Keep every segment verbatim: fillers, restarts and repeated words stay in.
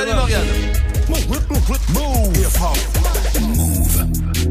Salut Morgane. Move.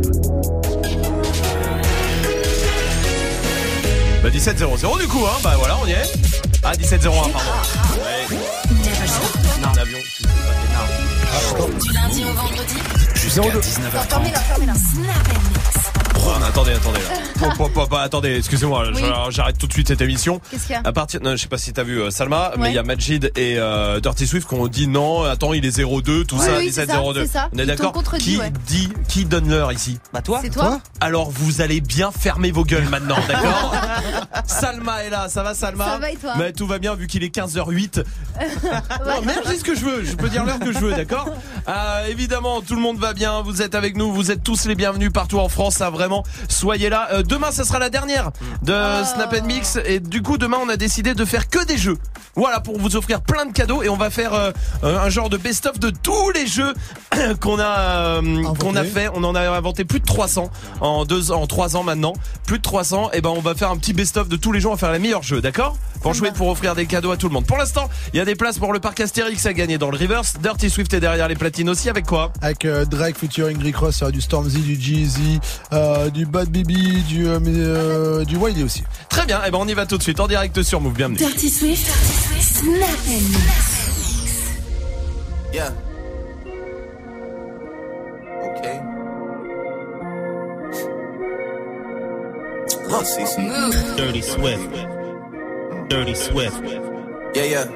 Bah dix-sept zéro zéro du coup hein, bah voilà on y est. Ah dix-sept zéro un pardon. Ouais. Non, l'avion, tu sais pas Du lundi au vendredi jusqu'à dix-neuf heures trente. Fermez-la, fermez-la. Snap and mix. Oh, attendez, attendez. Pop, pop, pop, pop, attendez, excusez-moi, Oui. j'arrête tout de suite cette émission. Qu'est-ce qu'il y a? À partir, non, je sais pas si t'as vu euh, Salma, Ouais. mais il y a Majid et euh, Dirty Swift qui ont dit non, attends, il est zéro deux, tout Oui, ça, oui, dix-sept c'est ça, zéro deux. c'est ça. On est Ils d'accord? t'ont contredit, Qui ouais. dit, qui donne l'heure ici? Bah toi. C'est toi? Alors vous allez bien fermer vos gueules maintenant, d'accord? Salma est là, ça va Salma? Ça va et toi? Mais tout va bien vu qu'il est quinze heures huit. Non, même je dis ce que je veux, je peux dire l'heure que je veux, d'accord? euh, Évidemment, tout le monde va bien, vous êtes avec nous, vous êtes tous les bienvenus partout en France, ça vraiment, soyez là. Euh, demain, ça sera la dernière de Oh. Snap and Mix et du coup, demain, on a décidé de faire que des jeux. Voilà, pour vous offrir plein de cadeaux et on va faire euh, un genre de best-of de tous les jeux qu'on a euh, qu'on a fait. On en a inventé plus de trois cents en deux en trois ans maintenant, plus de trois cents. Et ben, on va faire un petit best-of de tous les jeux, on va faire les meilleurs jeux, d'accord? Pour jouer, pour offrir des cadeaux à tout le monde. Pour l'instant, il y a des places pour le parc Astérix à gagner dans le Reverse. Dirty Swift est derrière les platines aussi. Avec quoi? Avec euh, Drake featuring Rick Ross, euh, du Stormzy, du Jeezy, euh, du Bad Baby, du euh, mais, euh, du Wiley aussi. Très bien. Et ben on y va tout de suite en direct sur Move. Bienvenue. Dirty Swift, Snap and Mix. Yeah. Okay. Love C C. Dirty Swift. Dirty Swift. Yeah, yeah.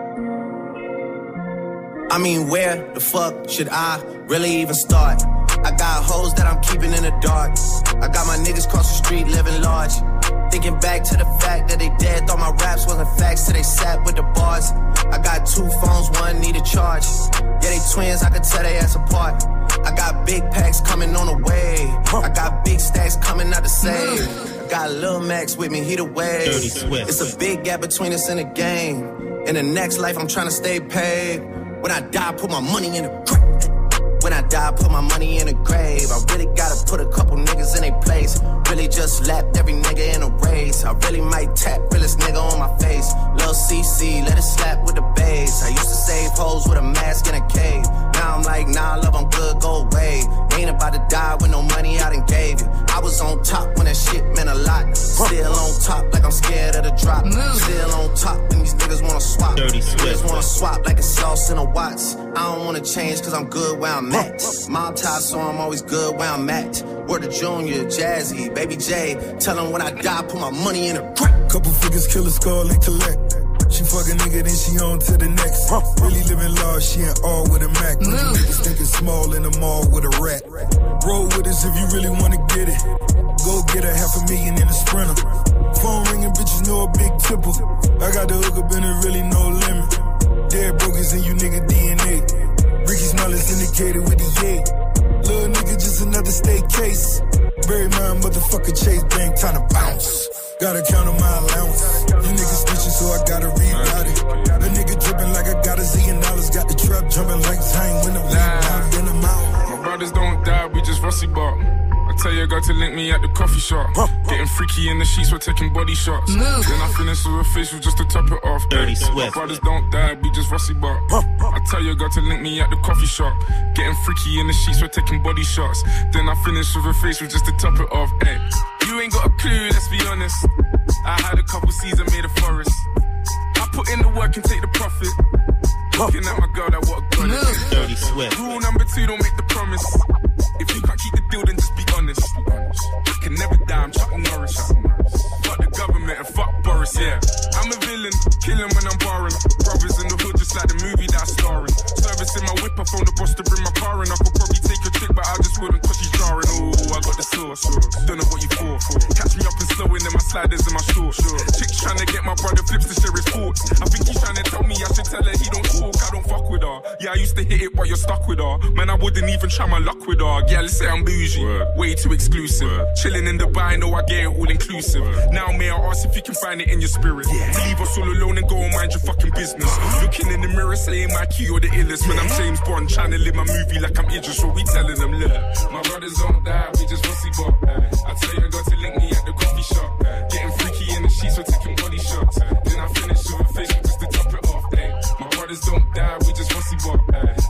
I mean, where the fuck should I really even start? I got hoes that I'm keeping in the dark. I got my niggas cross the street living large. Thinking back to the fact that they dead, thought my raps wasn't facts till they sat with the bars. I got two phones, one need a charge. Yeah, they twins, I could tell they ass apart. I got big packs coming on the way. I got big stacks coming out to save. I got Lil Max with me, he the way. Dirty Swift. It's a big gap between us in the game. In the next life, I'm trying to stay paid. When I die, put my money in the grave. When I die, put my money in the grave. I really gotta put a couple niggas in their place. Really just lapped every nigga in a race. I really might tap realest nigga on my face. Lil C C, let it slap with the bass. I used to save hoes with a mask in a cave. Now I'm like, nah, love, I'm good, go away. Ain't about to die with no money I done gave you. I was on top when that shit meant a lot. Still on top like I'm scared of the drop. Still on top when these niggas wanna swap. Dirty Swift. Niggas wanna swap like a sauce in a Watts. I don't wanna change cause I'm good where I'm at. Mob tie, so I'm always good where I'm at. Word to Junior, Jazzy, Baby J. Tell them when I die, put my money in a crack. Couple figures, kill a skull and collect. She fuck a nigga, then she on to the next. Really living large, she ain't all with a Mac. But you niggas thinking small in the mall with a rat. Roll with us if you really wanna get it. Go get a half a million in a Sprinter. Phone ringing, bitches know a big tipple. I got the hook up and it really no limit. Dead brokers in you nigga D N A. Ricky Smell is indicated with the yay. Little nigga just another state case. Bury my motherfucker Chase Bank, time to bounce. Gotta count on my allowance. You niggas snitching, so I gotta reroute it. A nigga dripping like I got a zillion dollars. Got the trap jumping like Zane when I'm out in the mountain. My brothers don't die, we just rusty bark. I tell your girl to link me at the coffee shop. Getting freaky in the sheets, we're taking body shots. Then I finish with a facial just to top it off. Dirty Swift. My brothers don't die, we just rusty bark. I tell your girl to link me at the coffee shop. Getting freaky in the sheets, we're taking body shots. Then I finish with a facial just to top it off. Hey, you ain't got a clue, let's be honest. I had a couple seasons made a forest. I put in the work and take the profit. Looking at my girl, that what a goddess. Dirty Swift. Rule number two, don't make the promise. If you can't keep the deal, then just be honest. I can never die, I'm Chuck Norris. Fuck the government and fuck Boris, yeah. I'm a villain, killing when I'm barring. Brothers in the hood, just like the movie that I'm starring. Service in my whip, I phone the boss to bring my car in. I could probably take a chick, but I just wouldn't cause she's jarring. Ooh, I got the sauce. Don't know what you for. Catch me up and slowing in my sliders in my shorts. Chick's trying to get my brother flips to share his thoughts. I think he's trying to tell me I should tell her he don't talk, I don't fuck with her. Yeah, I used to hit it, but you're stuck with her. Man, I wouldn't even try my luck with her. Yeah, let's say I'm bougie, Word. Way too exclusive. Word. Chilling in Dubai, know I get it all inclusive. Word. Now, may I ask if you can find it in your spirit? Yeah. Leave us all alone and go and mind your fucking business. Looking in the mirror, saying my key, you're the illest. When I'm James Bond, trying to live my movie like I'm Idris, so we telling them, look, my brothers don't die, we just rusty bop. I tell you, I got to link me at the coffee shop. Getting freaky in the sheets, we're taking body shots. Then I finish with a facial just to top it off. Ay. My brothers don't die, we just rusty bop.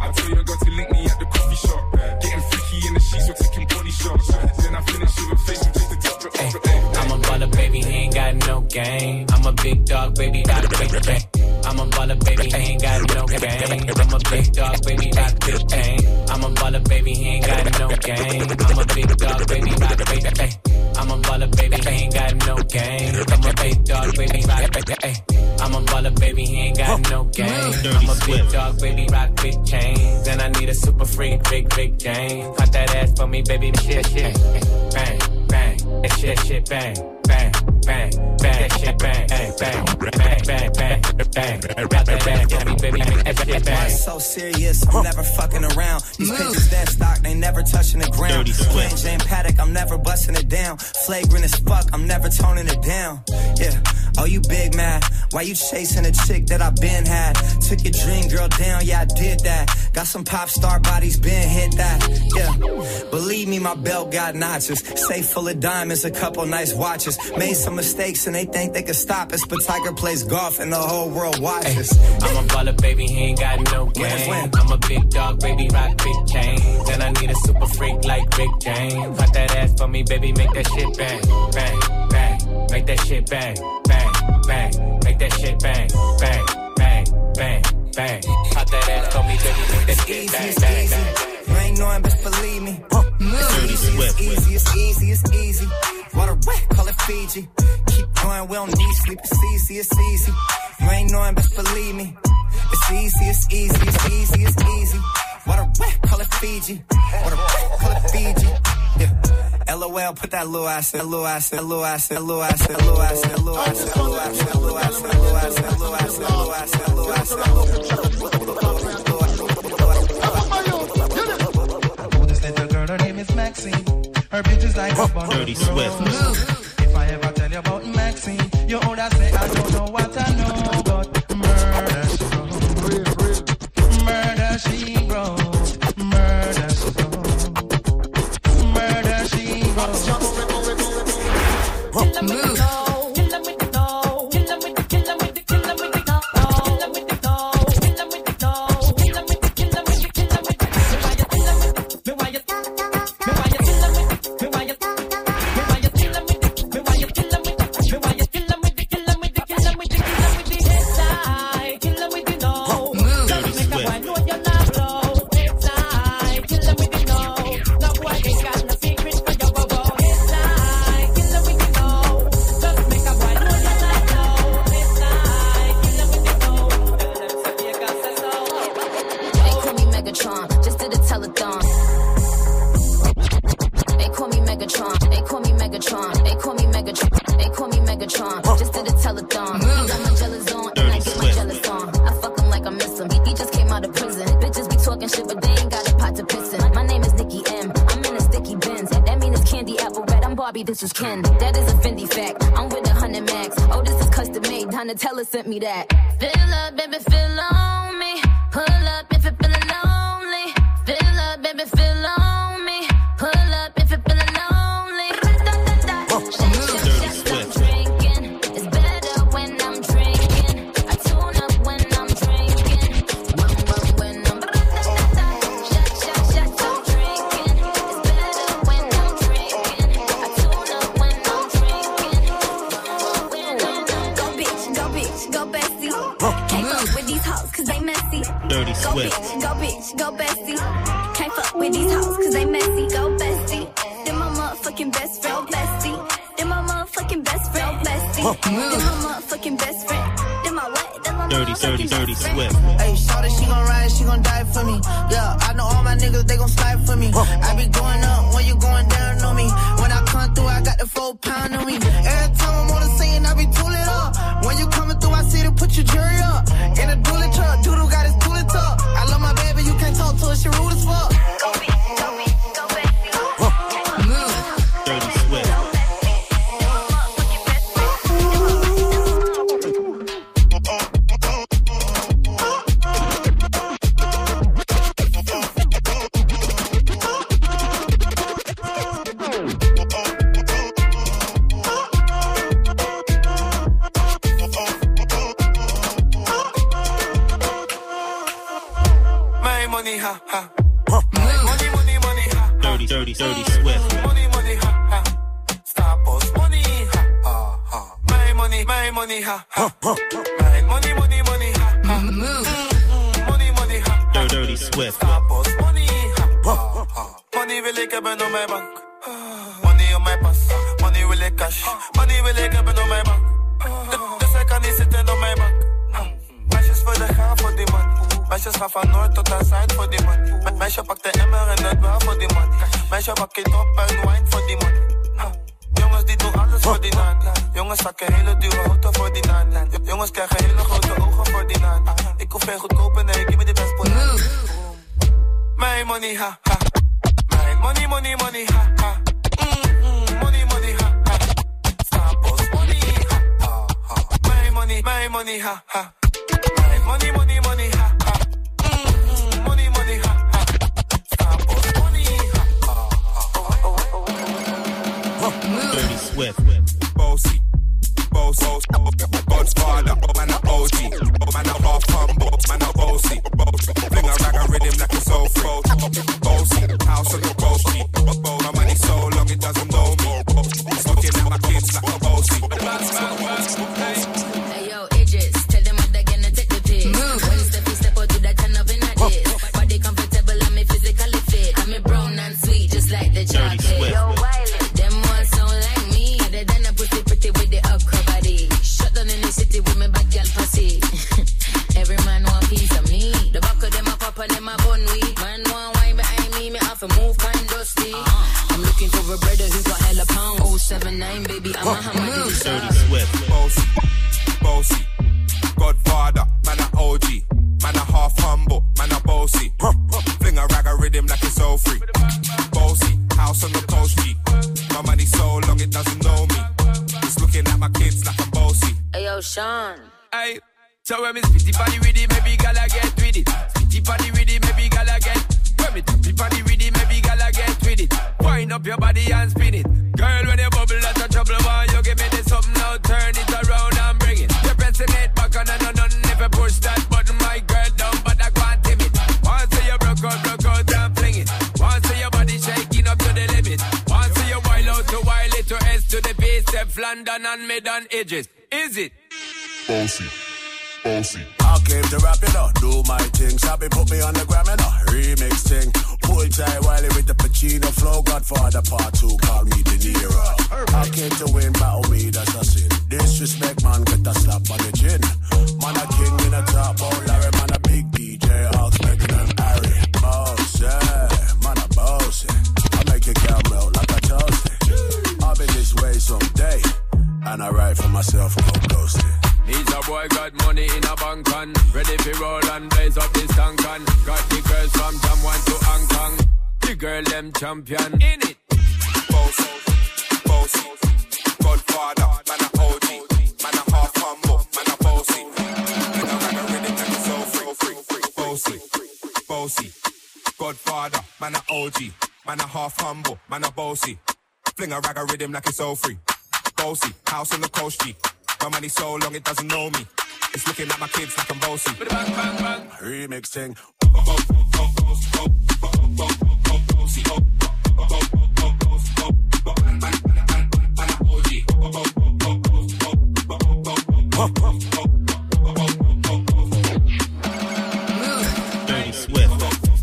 I'm a big dog, baby, rock big chain. I'm a baller, baby, he ain't got no game. I'm a big dog, baby, rock big chain. I'm a baller, baby, he ain't got no game. I'm a big dog, baby, rock big chain. I'm a baller, baby, he ain't got no game. I'm a big dog, baby, rock big chains. And I need a super freak, big, big chain. Cut that ass for me, baby, shit, shit. Bang, bang, that shit, shit, bang, bang, bang, bang, that shit, bang, bang, bang, bang, bang, bang, bang. Got that ass for me, baby, make that shit bang. I'm so serious, I'm never fucking around. These bitches that stock, they never touching the ground. Plain Jane Paddock, I'm never busting it down. Flagrant as fuck, I'm never toning it down. Yeah, oh you big mad, why you chasing a chick that I been had? Took your dream girl down, yeah I did that. Got some pop star bodies, been hit that. Yeah, believe me, my belt got notches. Safe full of diamonds, a couple nice watches. Made some mistakes and they think they can stop us, but Tiger plays golf and the whole world watches. Ay, I'm a baller, baby, he ain't got no game. I'm a big dog, baby, rock big chains. And I need a super freak like Rick James. Cut that ass for me, baby, make that shit bang, bang, bang. Make that shit bang, bang, bang. Make that shit bang, bang, bang, bang, bang. Cut that ass for me, baby, make that shit bang, bang, bang. You ain't knowing, but believe me. It's easy, it's easy, it's easy, it's easy. Water wet, call it Fiji. Keep going, we don't need sleep. It's easy, it's easy. You ain't knowing, but believe me. It's easy, it's easy, it's easy, it's easy. Water wet, call it Fiji. Water wet, call it Fiji. Yeah. LOL, put that little ass, that little ass, that little ass, that little ass, that little ass, that little ass, that little ass, that little ass, that little ass, that little ass, that little ass, that little ass, that little ass, that her name is Maxine. Her bitch is like a bundle. Dirty Swift. If I ever tell you about Maxine, you older say I don't know what I know, but murder she wrote. Murder she wrote. Murder she wrote. Murder she wrote. Move. This is Ken, that is a Fendi fact. I'm with a hundred max. Oh, this is custom made. Donatella sent me that. Fill up, baby, fill on me. Pull up if you're feeling lonely. Fill up, baby, fill on me. Pull up if you're feeling lonely. I'm drinking. It's better when I'm drinking. I tune up when I'm drinking. When, when, when I'm shot, shot, shot, I'm drinking. It's better when I'm drinking. I tune up when I'm drinking. Go bitch, go bitch, go bestie. Can't fuck with these hoes cause they messy. Dirty Go Swift. bitch, go bitch, go bestie. Can't fuck with these hoes cause they messy. Go bestie. Then my motherfucking best friend. Go bestie. Then my motherfucking best friend. Go bestie. Then my motherfucking best friend. Then my what? Then my Dirty, dirty, dirty Swift. Hey, shawty, she gon' ride, she gon' die for me. Yeah, I know all my niggas, they gon' slide for me. I be going up when you going down on me. When I come through, I got the full pound on me. Every time I'm on the scene, I be tooling up. When you coming through, I see to put your jury up. In a dually truck, Doodle got his tooling tuck. I love my baby, you can't talk to her, she rude as fuck. Go bitch, go bitch, go bestie. Move. Dirty Swift. Ha, ha. Money, money, money, ha. Dirty, dirty, dirty Swift. Money, money, ha, ha. Stop us, money, ha, ha, ha. My money, my money, ha, ha. My money, money, money, ha, ha. Money, money, ha, Dirty Swift. Stapels, money, ha, ha, ha. Money wil ik hebben op mijn bank. Money op mijn pas, money wil ik cash. Money wil ik hebben op mijn bank. Dus hij kan niet zitten op mijn bank. Meisjes willen gaan voor die man. Meisjes gaan van noord tot aan zuid voor die man. Meisje pakt de emmer en het wel voor die man. Meisje pakt het op en wine voor die man. Jongens die doen alles voor die naan. Jongens pakken hele dure auto voor die naan. Jongens krijgen hele grote ogen voor die naan. Ik hoef geen goedkope, nee, give me the best banaan. Mijn money, ha, ha. Mijn money, money, money, ha, ha. Mm-mm, money, money, ha, ha. Stapels, money, ha, ha, ha. Mijn money, mijn money, ha, ha. Mijn money, money, money, ha, ha. Mm-mm, money, money, ha, ha. Stapels, money, ha, ha, ha. Dirty Swift. Bossy, bossy, Godfather, man a O G, man a half humble, man a bossy, fling a rag and rhythm like it's so free. Bossy, house on the bossy, my money so long it doesn't know me. It's looking at my kids like a bossy. Hey yo, Idris, tell them what they're gonna take the piss. When step you step out to that turn up in a diss. Body comfortable, I'm me physically fit. I'm me brown and sweet, just like the chocolate. Yo, Wiley, them ones sound like me. They done a pretty pretty with the upper body. Shut down in the city with me bad girl pussy. Every man want piece of me. The back of them a papa, them a bun weed. Man want wine behind me, me have to move kind dusty. I'm looking for a brother who got hella pound. oh seven nine, baby, I'm a hammer. Dirty Swift. Bossy, bossy, Godfather, man a O G, man a half humble, man a bossy. Fling a rag a rhythm like it's so free. Bossy, house on the coast G. My money so long it doesn't know me. It's looking at my kids like I'm bossy. Hey yo, Sean. Hey, so when me spitty body with it, maybe gala get with it. Spitty body with it, maybe gala get. When me tappy body with it, maybe gala get with it. Wind up your body and spin it. Girl, when you bubble out of trouble, why you give me this something now? Turn it around and bring it. You're pressing it back on and on and never push that button, my girl, down, but I can't tame it. Once you broke out, broke out and fling it. Once your body shaking up to the limit. Once you wild out to wild it to S to the base, step London and mid on edges. Is it? Bossy, bossy. I came to rap it up, do my thing. Sabi put me on the gram and a remix thing. Pull tight Wiley with the Pacino flow. Godfather part two, call me De Niro. I came to win, battle me, that's a sin. Disrespect, man, get a slap on the chin. Man a king in a top, oh Larry, man a big D J. I'll make them Harry. Boss, yeah, man a boss. I make your girl melt like a toasty. I'll be this way someday. And I write for myself, no ghosting. Needs a boy got money in a bank and ready for roll and blaze up this tank and got the girls from Jamwan to Hong Kong. The girl them champion in it. Boss, boss, Godfather, man a O G, man a half humble, man a bossy. Man a rag a rhythm and it's so free, free, free. Bossy, bossy, Godfather, man a O G, man a half humble, man a bossy. Fling a rag a rhythm like it's so free. Bossy, house on the coast G. My money so long it doesn't know me. It's looking at my kids like I'm bossy. Bang, bang, bang. Remix thing. Dirty Swift.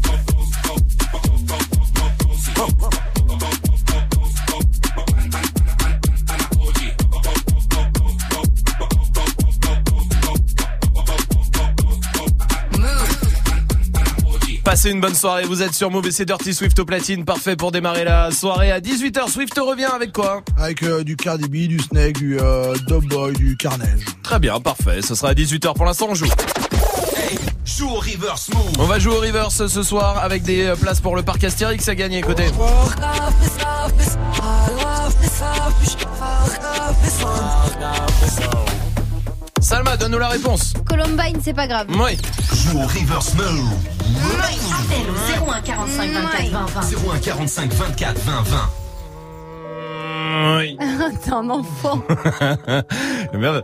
Passez une bonne soirée, vous êtes sur Move et c'est Dirty Swift au platine, parfait pour démarrer la soirée à dix-huit heures. Swift revient avec quoi? Avec euh, du Cardi B, du Snake, du euh, Dubboy, du Carnage. Très bien, parfait, ce sera à dix-huit heures. Pour l'instant on joue. Hey, joue au reverse move. On va jouer au reverse ce soir avec des places pour le parc Astérix à gagner. Écoutez. Salma, donne-nous la réponse. Columbine, c'est pas grave. Oui. Joue au reverse move. Appel au zéro un quarante-cinq vingt-quatre vingt vingt. zéro un quarante-cinq vingt-quatre vingt vingt. Oui. T'es un enfant. Merde.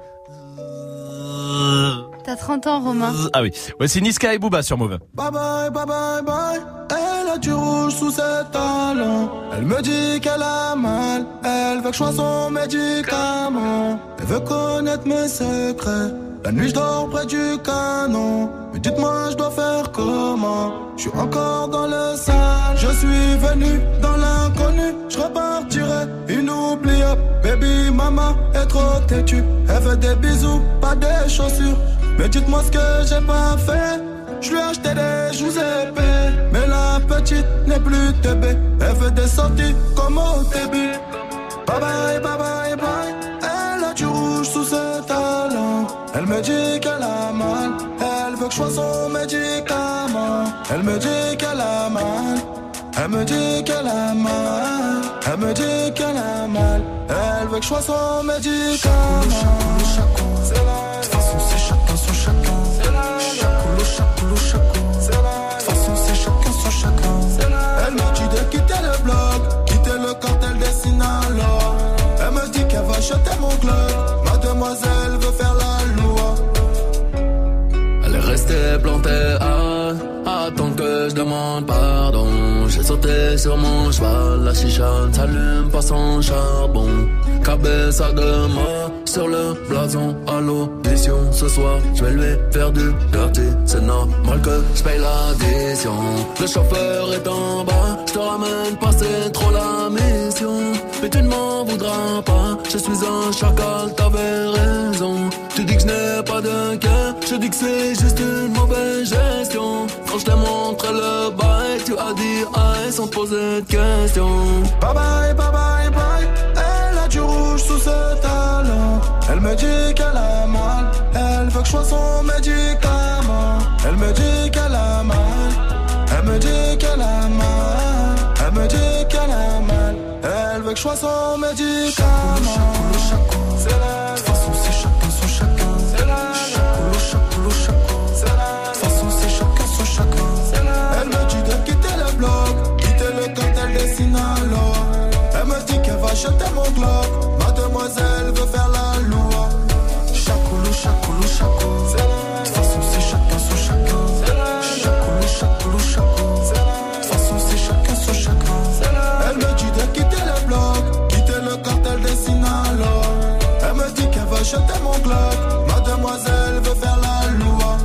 T'as trente ans, Romain. Ah oui. Voici Niska et Booba sur Move. Bye bye, bye bye, bye. Elle a du rouge sous ses talons. Elle me dit qu'elle a mal. Elle veut que je sois son médicament. Elle veut connaître mes secrets. La nuit je dors près du canon. Me Dites-moi, je dois faire comment? Je suis encore dans le sale. Je suis venu dans l'inconnu. Je repartirai inoubliable. Baby, maman est trop têtue. Elle veut des bisous, pas des chaussures. Mais dites-moi ce que j'ai pas fait. Je lui ai acheté des joues épais. Mais la petite n'est plus bébé. Elle veut des sorties comme au début. Bye bye, bye bye, bye. Elle a du rouge sous ses talons. Elle me dit qu'elle a mal. Elle veut que je sois son médicament. Elle me dit qu'elle a mal. Elle me dit qu'elle a mal. Elle me dit qu'elle a mal. Elle veut que je sois son médicament. C'est la. De toute façon, c'est chacun son chacun. C'est la. Chacoulou, chacoulou, chacoulou. C'est la. De toute façon, c'est chacun son chacun. C'est la. Elle me dit de quitter le bloc. Quitter le cartel des Sinaloa. Elle me dit qu'elle va jeter mon club. Mademoiselle veut faire la loi. Elle est restée plantée à attendre que je demande pardon. J'ai sauté sur mon cheval, la chicha ne s'allume pas sans charbon. Cabeza de mort sur le blason à l'audition. Ce soir, je vais lui faire du dirty. C'est normal que je paye l'addition. Le chauffeur est en bas, je te ramène pas, c'est trop la mission. Mais tu ne m'en voudras pas, je suis un chacal, t'avais raison. Tu dis que je n'ai pas de cœur, je dis que c'est juste une mauvaise gestion. Quand je t'ai montré le bail, tu as dit aïe sans poser de questions. Bye bye, bye bye, bye. Elle a du rouge sous ses talons. Elle me dit qu'elle a mal. Elle veut que je sois son médicament. Elle me dit qu'elle a mal. Elle me dit qu'elle a mal. Elle me dit qu'elle a mal. Elle veut que je sois son médicament. C'est la. De toute façon, c'est chacun son chacun. C'est la. Chacoulou, chacoulou, chacoulou. C'est la. De toute façon, c'est chacun son chacun. C'est la. Elle me dit de quitter le bloc. Quitter le cartel des Sinaloa. Elle me dit qu'elle va jeter mon globe. Mademoiselle veut faire la loi. Chacoulou, chacoulou, chacoulou. C'est la. De toute façon, c'est chacun son chacun. C'est la. Chacoulou, chacoulou, chacoulou. C'est la. De toute façon, c'est chacun son chacun. C'est la. Elle me dit de quitter le bloc. Quitter le cartel des Sinaloa. Elle me dit qu'elle va jeter mon globe. Mademoiselle veut faire la loi.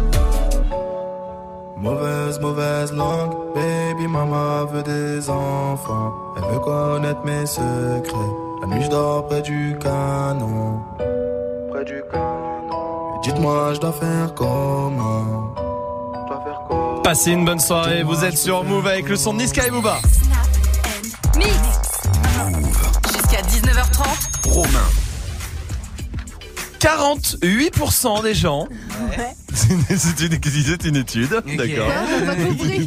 Mauvaise, mauvaise langue. Baby mama veut des enfants. Elle veut connaître mes secrets. La nuit je dors près du canon. Près du canon. Et dites-moi je dois faire comment? Je dois faire comment? Passez une bonne soirée, vous êtes sur Move avec le son de Niska et Booba. Mix. Jusqu'à dix-neuf heures trente. Romain. quarante-huit pour cent des gens. Ouais. C'est une, c'est une, c'est une étude, Okay. d'accord. Ouais, on a pas compris.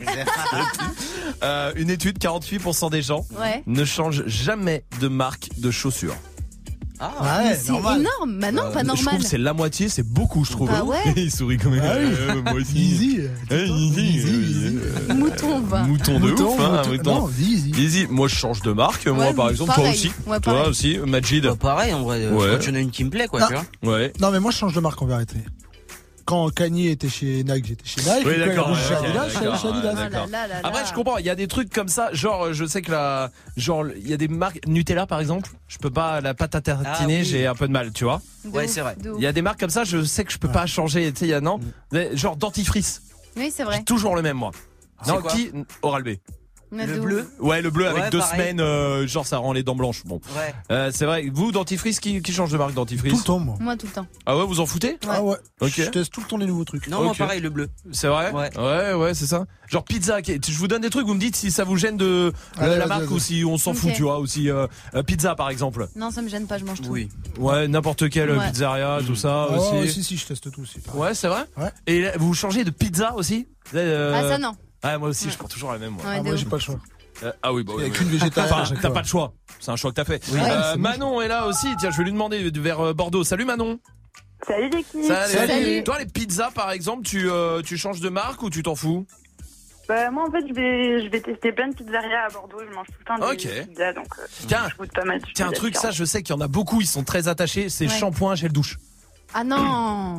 euh, une étude, quarante-huit pour cent des gens Ouais. ne changent jamais de marque de chaussures. Ah Mais ouais, c'est normal. énorme, bah non, Euh, pas Je normal. trouve que c'est la moitié, c'est beaucoup, je trouve. Bah ouais. Il sourit quand même. Ah oui. Euh, moi aussi. Easy. Eh, easy, Easy, euh, easy. euh, Mouton, va. Mouton de Mouton, ouf, hein, mouton. mouton. Non, easy. Easy. Moi, je change de marque. Moi, Ouais, par exemple, toi pareil. aussi. Ouais, Toi pareil. aussi, Majid. Bah, pareil, en vrai. Ouais. Quand il y en a une qui me plaît, quoi, Ah. tu vois. Ouais. Non, mais moi, je change de marque en vérité. Quand Kanye était chez Nike, j'étais chez Nike. Oui, Et quand d'accord, il est ouais, chez ok, Adidas, je suis allé d'accord, chez Adidas. ouais, Oh là d'accord. là là là. Après, je comprends. Il y a des trucs comme ça. Genre, je sais que la, genre, il y a des marques Nutella, par exemple. Je peux pas la pâte à tartiner. Ah oui. J'ai un peu de mal, tu vois. De Ouais, ouf, c'est vrai. de ouf. Il y a des marques comme ça. Je sais que je peux pas changer. Tu sais, il y a non. Genre dentifrice. Oui, c'est vrai. J'ai toujours le même moi. C'est Non, quoi qui Oral B. Mais Le de ouf. bleu. Ouais, le bleu avec Ouais, deux pareil. semaines. euh, genre, ça rend les dents blanches. Bon. Ouais. Euh, c'est vrai. Vous, dentifrice, qui, qui change de marque dentifrice? Tout le temps, moi. Moi, tout le temps. Ah ouais, vous en foutez? Ah ouais. Ok. Je teste tout le temps les nouveaux trucs. Non, moi, Ok. pareil, le bleu. C'est vrai? Ouais. Ouais, ouais, c'est ça. Genre pizza, qui- je vous donne des trucs, vous me dites si ça vous gêne de Allez, la vas-y, marque vas-y. ou si on s'en Ok. fout, tu vois, ou si euh, euh, pizza par exemple. Non, ça me gêne pas, je mange tout. Oui. Ouais, n'importe quelle Ouais. pizzeria, tout ça Ah aussi. ouais, si, si, je teste tout aussi. pareil. Ouais, c'est vrai? Ouais. Et là, vous changez de pizza aussi? Euh, Ah, ça, non. Ouais, moi aussi, Ouais. je prends toujours la même. Moi. Ouais, Ah, de moi, ouf. j'ai pas le choix. Euh, ah oui, bah Il y a oui, qu'une oui. végétarienne Enfin, à chaque t'as fois. pas de choix. C'est un choix que t'as fait. Oui. Euh, Ouais, c'est Manon est là aussi. Tiens, je vais lui demander de- vers euh, Bordeaux. Salut Manon. Salut l'équipe. Salut. Salut. Toi, les pizzas, par exemple, tu, euh, tu changes de marque ou tu t'en fous? Bah, moi en fait je vais, je vais tester plein de pizzerias à Bordeaux, je mange tout le temps des Ok. pizzas donc euh, Tiens, je goûte pas mal de tiens, un pizzas truc, ça, différentes. je sais qu'il y en a beaucoup, ils sont très attachés. C'est Ouais. shampoing, gel douche. Ah non.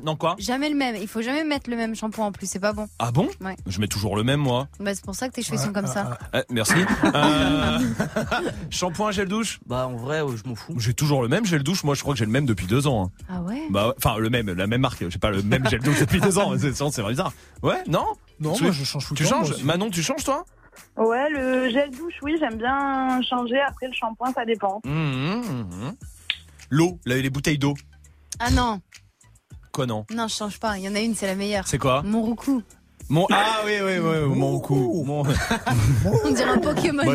Non quoi? Jamais le même. Il faut jamais mettre le même shampoing en plus, c'est pas bon. Ah bon? Ouais. Je mets toujours le même moi. Bah c'est pour ça que tes cheveux sont comme ça. Eh, merci. Euh... Shampoing, gel douche? Bah en vrai, euh, je m'en fous. J'ai toujours le même gel douche. Moi, je crois que j'ai le même depuis deux ans. hein. Ah ouais? Bah, enfin le même, la même marque. J'ai pas le même gel douche depuis deux ans. C'est, c'est vrai bizarre. Ouais, non? Non, Tu- moi je change tout le Tu temps, changes? moi aussi. Manon, tu changes toi? Ouais, le gel douche, oui, j'aime bien changer. Après, le shampoing, ça dépend. Mmh, mmh, mmh. L'eau, là, les bouteilles d'eau. Ah non, Quoi non? non je change pas. Il y en a une, c'est la meilleure. C'est quoi? Mon roucou. Mon ah oui oui oui mon coup. Mon On dirait un Pokémon.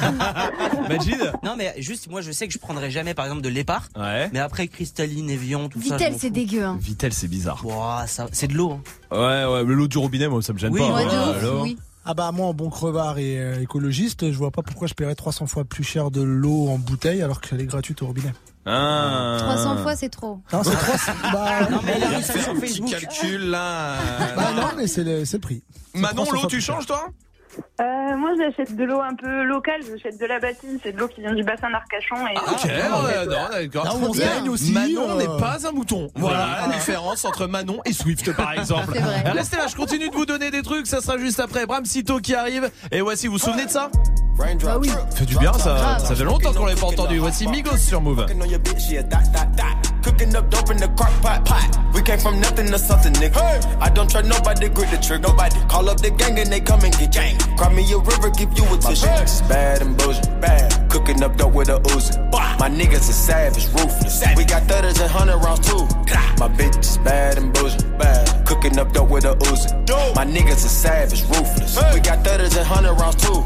Majid? Non mais juste moi je sais que je prendrais jamais par exemple de l'épar. Ouais. Mais après cristalline, Evian, tout ça. Vitel, c'est dégueu. Hein. Vitel, c'est bizarre. Ouah, ça, c'est de l'eau. Hein. Ouais ouais, mais l'eau du robinet, moi ça me gêne Oui, pas. ouais, Voilà, de ouf, alors. oui. Ah bah moi en bon crevard et euh, écologiste, je vois pas pourquoi je paierais trois cents fois plus cher de l'eau en bouteille alors qu'elle est gratuite au robinet. Ah. trois cents fois, c'est trop. Non, c'est trois cents. Bah, Non mais Il elle a a fait sur un petit Facebook. calcul là. bah non, mais c'est le, c'est le prix. C'est Manon, trois cents l'eau, fois tu plus cher. changes toi? Euh, moi, j'achète de l'eau un peu locale. J'achète de la bâtine. C'est de l'eau qui vient du bassin d'Arcachon. Et Ah, ok, ouais, non, d'accord. Non, on se bien. baigne aussi. Manon euh, n'est pas un mouton. Voilà la différence entre Manon et Swift par exemple. C'est vrai. Restez là, je continue de vous donner des trucs, ça sera juste après Bram Sito qui arrive. Et voici, vous vous souvenez de ça? Bah oui. Fait du bien ça, ça fait longtemps qu'on l'avait pas entendu. Voici Migos sur Move. Fucking on your bitch, yeah, dot, dot, dot. Cooking up dope in the crock pot, pot. We came from nothing to something, nigga. Hey. I don't try nobody, grip the trigger. Nobody call up the gang and they come and get gang. Cry me a river, give you a tissue. My bitch is bad and bullshit, bad. Cooking up dope with a Uzi. My niggas are savage, ruthless. We got thudders and hundred rounds too. My bitch is bad and bullshit, bad. Cooking up dope with a Uzi. My niggas are savage, ruthless. We got thudders and hundred rounds too.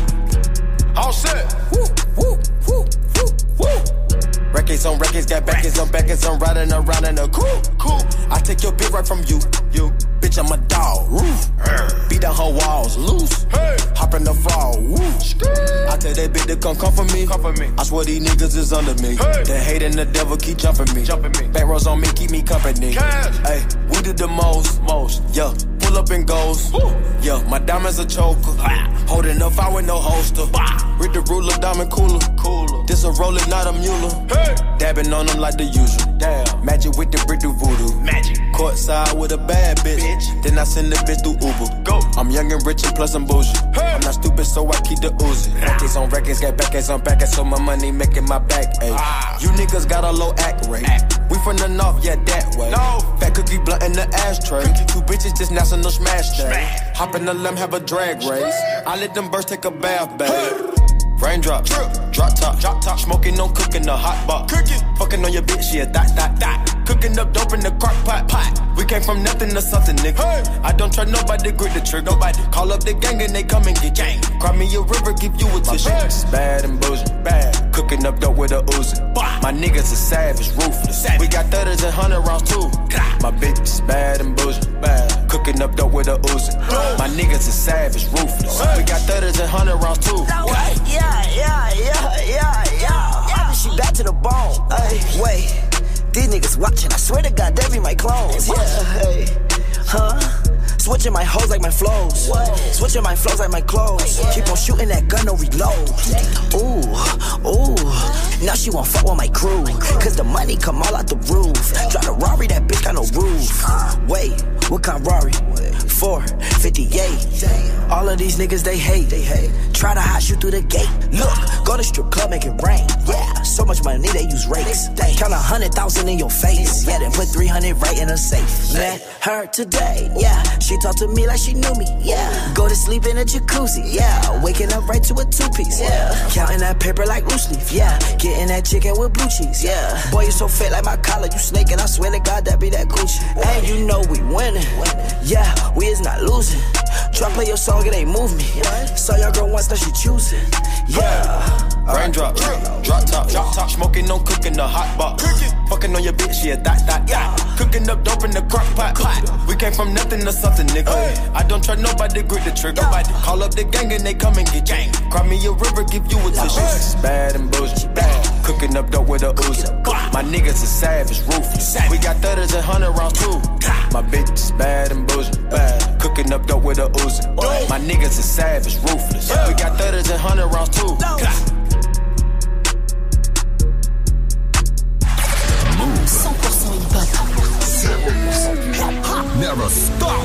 All set. Woo, woo, woo, woo, woo. Records on records, got backers on backers, I'm riding around in a cool, cool. I take your bitch right from you, you. Bitch, I'm a dog, roof. Beat down her walls, loose. Hey. Hop in the fall, woo. I tell that bitch to come come for me. Come for me. I swear these niggas is under me. Hey. The hate and the devil keep jumping me. Jumping me. Back rows on me, keep me company. Hey, we did the most, most, yeah. Pull up and goes, woo. Yeah. My diamonds a choker, holding up fire with no holster. Read the ruler, diamond cooler, cooler. This a roller, not a mule. Hey. Dabbing on them like the usual. Damn. Magic with the brick do voodoo. Magic. Courtside with a bad bitch. bitch. Then I send the bitch through Uber. Go. I'm young and rich and plus I'm bougie. Hey. I'm not stupid, so I keep the Uzi. Records on records, got backers on backers, so my money making my back ache. Ah. You niggas got a low act rate. Act. We from the north, yeah, that way. No. Fat cookie blunt in the ashtray. Cookie. Two bitches, just national smash day. Smash. Hop in the limb, have a drag race. I let them birds take a bath, babe. Hey. Raindrop, drip, drop top, drop top. Smoking, no cooking, the hot pot. Cooking, fucking on your bitch, yeah, dot, dot, dot. Cooking up dope in the crock pot, pot. We came from nothing to something, nigga. Hey. I don't try nobody, grip the trigger. Nobody call up the gang and they come and get gang. Cry me a river, give you a tissue. My bitch is bad and bullshit, bad. Cooking up dope with a Uzi. My niggas are savage, ruthless. Savage. We got thudders and hundred rounds too. My bitch is bad and bullshit, bad. Cooking up dope with a Uzi. My niggas are savage, ruthless. We got thudders and hundred rounds too. Yeah, yeah, yeah, yeah, yeah. I be she back to the bone. Ay, wait, these niggas watching. I swear to God, they be my clones. Yeah, hey, huh? Switching my hoes like my flows. Switching my flows like my clothes. Keep on shooting that gun, no reload. Ooh, ooh. Now she won't fuck with my crew. Cause the money come all out the roof. Drive a Rari, that bitch got no roof. Wait, what kind Rari? four fifty-eight. All of these niggas, they hate. They hate. Try to hide shoot through the gate. Look, go to strip club, make it rain. Yeah, so much money, they use rakes. Count a hundred thousand in your face. Yeah, then put three hundred right in a safe. Met her today. Yeah, she talked to me like she knew me. Yeah, go to sleep in a jacuzzi. Yeah, waking up right to a two-piece. Yeah, counting that paper like loose leaf. Yeah, getting that chicken with blue cheese. Yeah, boy, you so fat like my collar. You snaking, I swear to God, that be that Gucci. And you know we winning. Yeah, we is not losing. Try play your song, it ain't move me. Saw your girl once, now she choosing. Yeah. Raindrop, drop, drop top, drop top. Smoking, no cooking, the hot box. Fucking on your bitch, yeah, dot, dot, dot. Cooking up dope in the crock pot, pot. We came from nothing to something, nigga. Hey. I don't try nobody, grip the trigger. Nobody call up the gang and they come and get gang. Cry me a river, give you a tissue. Hey. Bad and bullshit, bad. Cooking up dope with a Uzi. My niggas are savage, ruthless. We got thudders and hundred rounds too. My bitch is bad and bullshit, bad. Cooking up dope with a Uzi. My niggas are savage, ruthless. We got thudders and hundred rounds too. cent pour cent hip-hop. zéro pour cent Storm.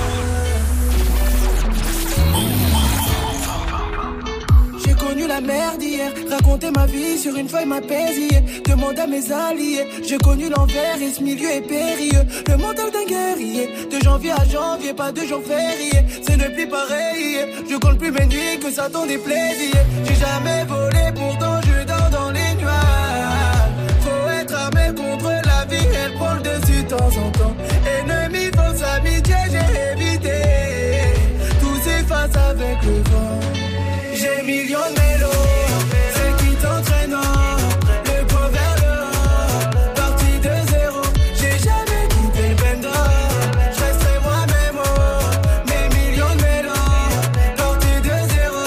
J'ai connu la merde hier, raconter ma vie sur une feuille m'apaisait. Demande à mes alliés, j'ai connu l'envers et ce milieu est périlleux. Le mental d'un guerrier, de janvier à janvier, pas de jour férié. C'est ne plus pareil, je compte plus mes nuits que ça t'en déplaisir. J'ai jamais volé, pourtant je dors dans les nuages. Faut être armé contre la vie, elle prend le dessus de temps en temps. Ennemi, fausse amitié, j'ai évité. Tout s'efface avec le vent. J'ai millions de mélos, celle qui t'entraîne, le point vers le haut, parti de zéro, j'ai jamais quitté le bendo, je resterai moi-même, oh, mes millions de mélos, parti de zéro,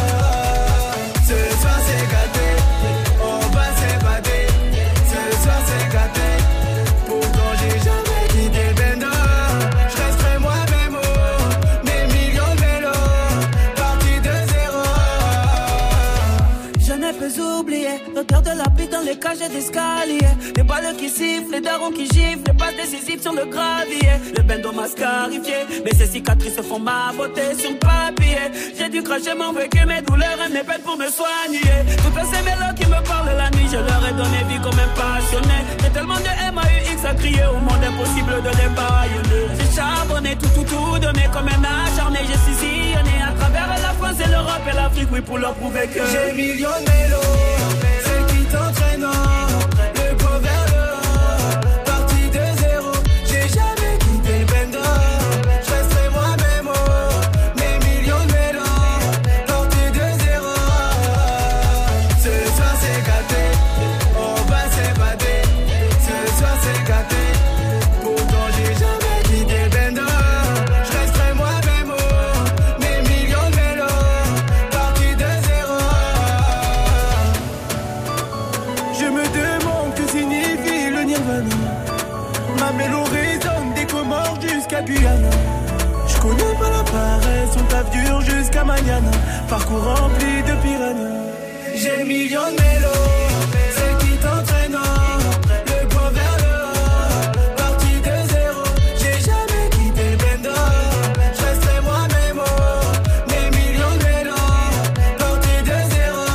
ce soir c'est gâté, on va s'évader, ce soir c'est gâté, pourtant j'ai jamais quitté le bendo, je resterai moi-même, oh, mes millions de mélos, parti de zéro. Je ne peux oublier l'odeur de la pluie dans les cages d'escalier. Les balles qui sifflent, les darons qui giflent, les passes décisives sur le gravier. Le bendo m'a scarifié, mais ces cicatrices font ma beauté sur le papier. J'ai dû cracher mon vécu, mes douleurs et mes peines pour me soigner. Toutes ces mélos qui me parlent la nuit, je leur ai donné vie comme un passionné. J'ai tellement de M A U X à crier au monde impossible de les baïonner. J'ai charbonné, tout, tout, tout donné comme un acharné. J'ai sillonné à travers la France et l'Europe et l'Afrique, oui, pour leur prouver que j'ai millions de mélos, celle qui t'entraîne, le point vers le haut, parti de zéro, j'ai jamais quitté le bendo, je resterai moi-même, oh, mes millions de mélos, parti de zéro, ce soir c'est gâté, on va s'évader, ce soir c'est gâté, pourtant j'ai jamais quitté le bendo, je resterai moi-même, oh, mes millions de mélos, parti de zéro. Je me demande que signifie le nirvana. Ma mélo résonne des Comores jusqu'à Guyana. Je connais pas la paresse, on taf dur jusqu'à Mañana. Parcours rempli de piranhas. J'ai millions de mélos, celle qui t'entraîne, le point vers le haut, parti de zéro. J'ai jamais quitté le bendo, je resterai moi-même, oh, mes millions de mélos, parti de zéro.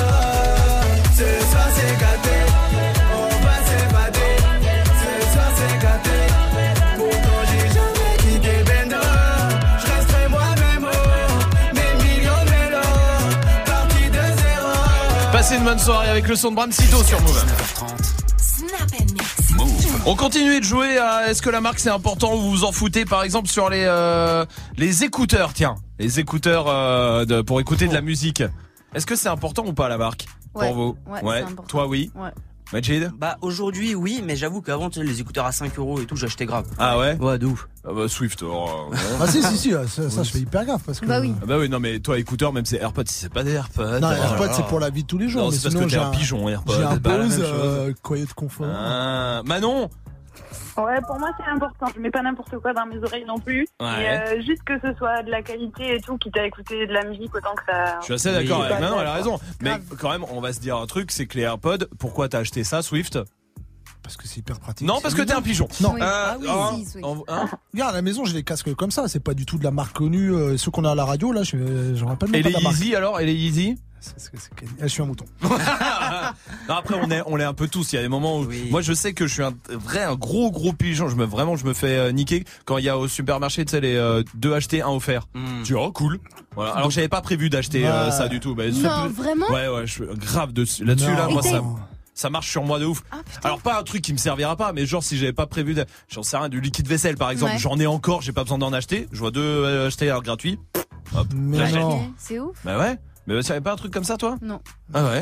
Ce soir c'est gâté, on va s'évader, ce soir c'est gâté, pourtant j'ai jamais quitté le bendo, je resterai moi-même, oh, mes millions de mélos, parti de zéro. Passez une bonne soirée avec le son de Bram Sito sur Move. Snap and mix. On continue de jouer à est-ce que la marque c'est important ou vous vous en foutez, par exemple sur les euh, les écouteurs, tiens, les écouteurs euh, de, pour écouter de la musique. Est-ce que c'est important ou pas la marque Ouais, pour vous? ouais, c'est important. Toi oui. Ouais. Majid? Bah aujourd'hui oui, mais j'avoue qu'avant tu sais, les écouteurs à cinq euros et tout, j'achetais grave. Ah ouais? Ouais, de ouf. Ah bah Swift. Oh, Ah si si si, ça, ça je fais hyper gaffe parce que. Bah oui. Ah bah oui, non mais toi écouteurs, même c'est AirPods, si c'est pas des AirPods. Non, oh AirPods là c'est là. pour la vie de tous les jours. Non, mais c'est parce sinon, que t'es j'ai un pigeon, AirPods. J'ai un c'est pas la Bose même chose. euh, coyer de confort. Ah, Manon? Ouais, pour moi c'est important. Je mets pas n'importe quoi dans mes oreilles non plus. Ouais. Et euh, juste que ce soit de la qualité et tout, quitte à écouter de la musique autant que ça. Je suis assez d'accord Oui. avec Manon, elle a Grave. raison. Mais quand même, on va se dire un truc, c'est que les AirPods, pourquoi t'as acheté ça, Swift? Parce que c'est hyper pratique. Non, parce que t'es un pigeon. Non. Euh, Ah oui, hein, si, Swift. en- hein Regarde, à la maison, j'ai les casques comme ça. C'est pas du tout de la marque connue. Euh, ceux qu'on a à la radio, là, je j'en rappelle même Et pas les de la marque. Yeezy alors? Et les Yeezy? C'est- c'est- c'est- eh, Je suis un mouton. Non, après on est on l'est un peu tous. Il y a des moments où moi je sais que je suis un vrai un gros gros pigeon. Je me vraiment je me fais euh, niquer quand il y a au supermarché tu sais les euh, deux achetés un offert. Mm. Tu dis oh cool. Voilà. Alors que j'avais pas prévu d'acheter euh, Ouais. ça du tout. Bah, Non, c'est- vraiment Ouais ouais je suis grave dessus là-dessus Non. là moi Et ça t'es- ça marche sur moi de ouf. Ah, Alors pas un truc qui me servira pas, mais genre si j'avais pas prévu, de, j'en sais rien, du liquide vaisselle par exemple, Ouais. j'en ai encore, j'ai pas besoin d'en acheter. Je vois deux euh, acheter à gratuit. Hop, Mais j'achète. non. C'est ouf. Bah ouais. Mais tu avais pas un truc comme ça toi? Non. Ah ouais.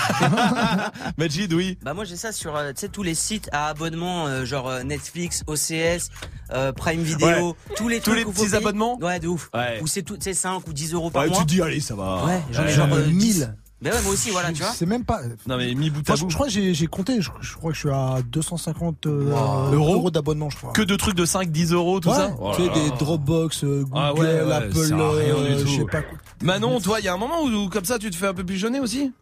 Majid oui. Bah moi j'ai ça sur euh, tu sais tous les sites à abonnement euh, genre euh, Netflix, O C S, euh, Prime Video, tous les Tous trucs les où faut petits payer. abonnements. Ouais, de ouf. Ouais. Où c'est tout, tu sais cinq ou dix euros par Ouais, mois. tu te dis allez ça va. Ouais, j'en ai Ouais. genre euh, dix. mille. Mais ouais, moi aussi voilà, tu vois. C'est même pas. Non mais mis bout Moi, à je, bout. je crois que j'ai j'ai compté. Je, je crois que je suis à deux cent cinquante euh, Wow. euros, Euros d'abonnement, je crois. Que de trucs de cinq dix euros tout Ouais, ça. Oh tu sais, là des là. Dropbox, euh, Google, Ah ouais, ouais, Apple, ça sert à rien euh, du tout. je sais pas quoi. Manon, toi, il y a un moment où, où comme ça tu te fais un peu pigeonner aussi?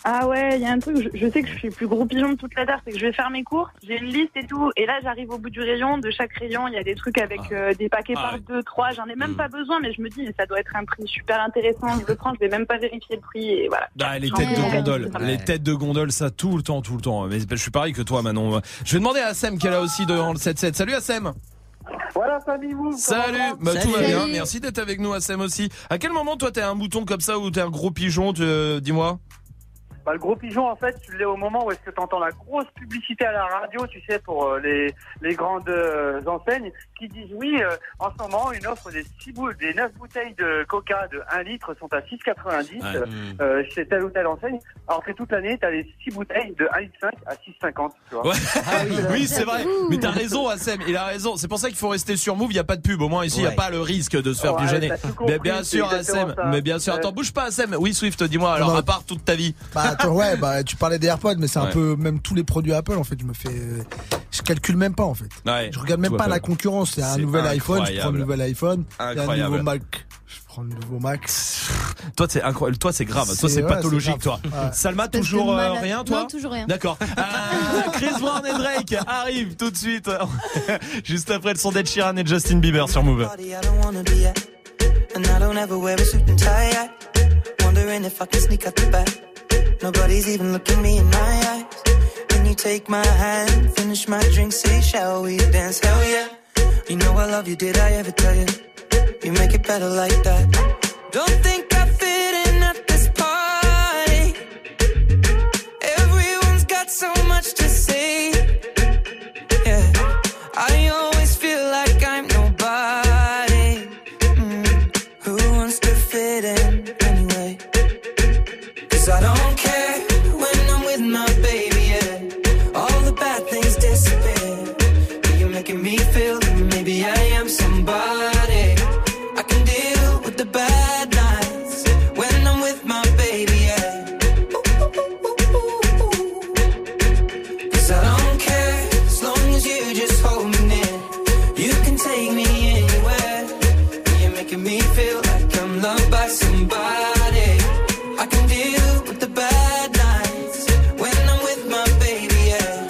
Ah ouais, il y a un truc, je, je sais que je suis le plus gros pigeon de toute la terre, c'est que je vais faire mes courses, j'ai une liste et tout, et là j'arrive au bout du rayon, de chaque rayon, il y a des trucs avec euh, des paquets Ah par ouais. deux, trois, j'en ai même Mm. pas besoin, mais je me dis, ça doit être un prix super intéressant, je le prends, je vais même pas vérifier le prix, et voilà. Bah, les J'en têtes ai de mon gondole, cadeau. les têtes de gondole, ça tout le temps, tout le temps. Mais je suis pareil que toi, Manon. Je vais demander à Assem qu'elle a aussi dans le sept sept. Salut Assem. Voilà, salut vous. Salut. Bah, Salut. tout va bien. Salut. Merci d'être avec nous, Assem aussi. À quel moment toi t'es un mouton comme ça ou t'es un gros pigeon, tu- dis-moi. Bah, le gros pigeon, en fait, tu l'es au moment où est-ce que tu entends la grosse publicité à la radio, tu sais, pour euh, les, les grandes euh, enseignes qui disent oui, euh, en ce moment, une offre des six boules, des neuf bouteilles de coca de un litre sont à six quatre-vingt-dix Ouais. euh, euh, chez telle ou telle enseigne. Alors que toute l'année, tu as les six bouteilles de un litre cinq à six cinquante, tu vois. Ouais. oui, c'est vrai. Mais t'as raison, Assem. Il a raison. C'est pour ça qu'il faut rester sur Move. Il y a pas de pub. Au moins ici, il y a Ouais. pas le risque de se faire Ouais, pigeonner. t'as tout compris, Mais bien c'est sûr, exactement Assem. ça. Mais bien sûr. Ouais. Attends, bouge pas, Assem. Oui, Swift, dis-moi. Alors, Non. à part toute ta vie. Bah attends, ouais, bah tu parlais des AirPods, mais c'est un Ouais. peu même tous les produits Apple en fait. Je me fais, je calcule même pas en fait. Ouais. Je regarde même Tout pas Apple. la concurrence. Il y a un C'est nouvel iPhone, je prends incroyable. le nouvel iPhone. Il y a un Incroyable. nouveau Mac, je prends le nouveau Mac. Toi, c'est incroyable. Toi, c'est grave. Toi, C'est- c'est ouais, pathologique, c'est toi. grave. Ouais. Salma, Espèce de toujours euh, malade. rien, toi Non, toujours rien. D'accord. Ah, Chris Brown et Drake arrivent tout de suite. Juste après le son d'Ed Sheeran et Justin Bieber sur Move. Party I don't wanna be at, and I don't ever wear a suit and tie at. Wondering if I can sneak out the back. Nobody's even looking me in my eyes. When you take my hand, finish my drink, say, shall we dance? Hell yeah. You know I love you, did I ever tell you? You make it better like that. Don't think I fit in at this party. Everyone's got so much to say. Yeah, I always feel like I'm nobody. Mm. Who wants to fit in anyway? 'Cause I don't care when I'm with my baby, yeah. All the bad things disappear. You're making me feel that maybe I am somebody. I can deal with the bad nights when I'm with my baby, yeah. 'Cause I don't care as long as you just hold me near. You can take me anywhere. You're making me feel like I'm loved by somebody. I can deal with the bad nights when I'm with my baby, yeah.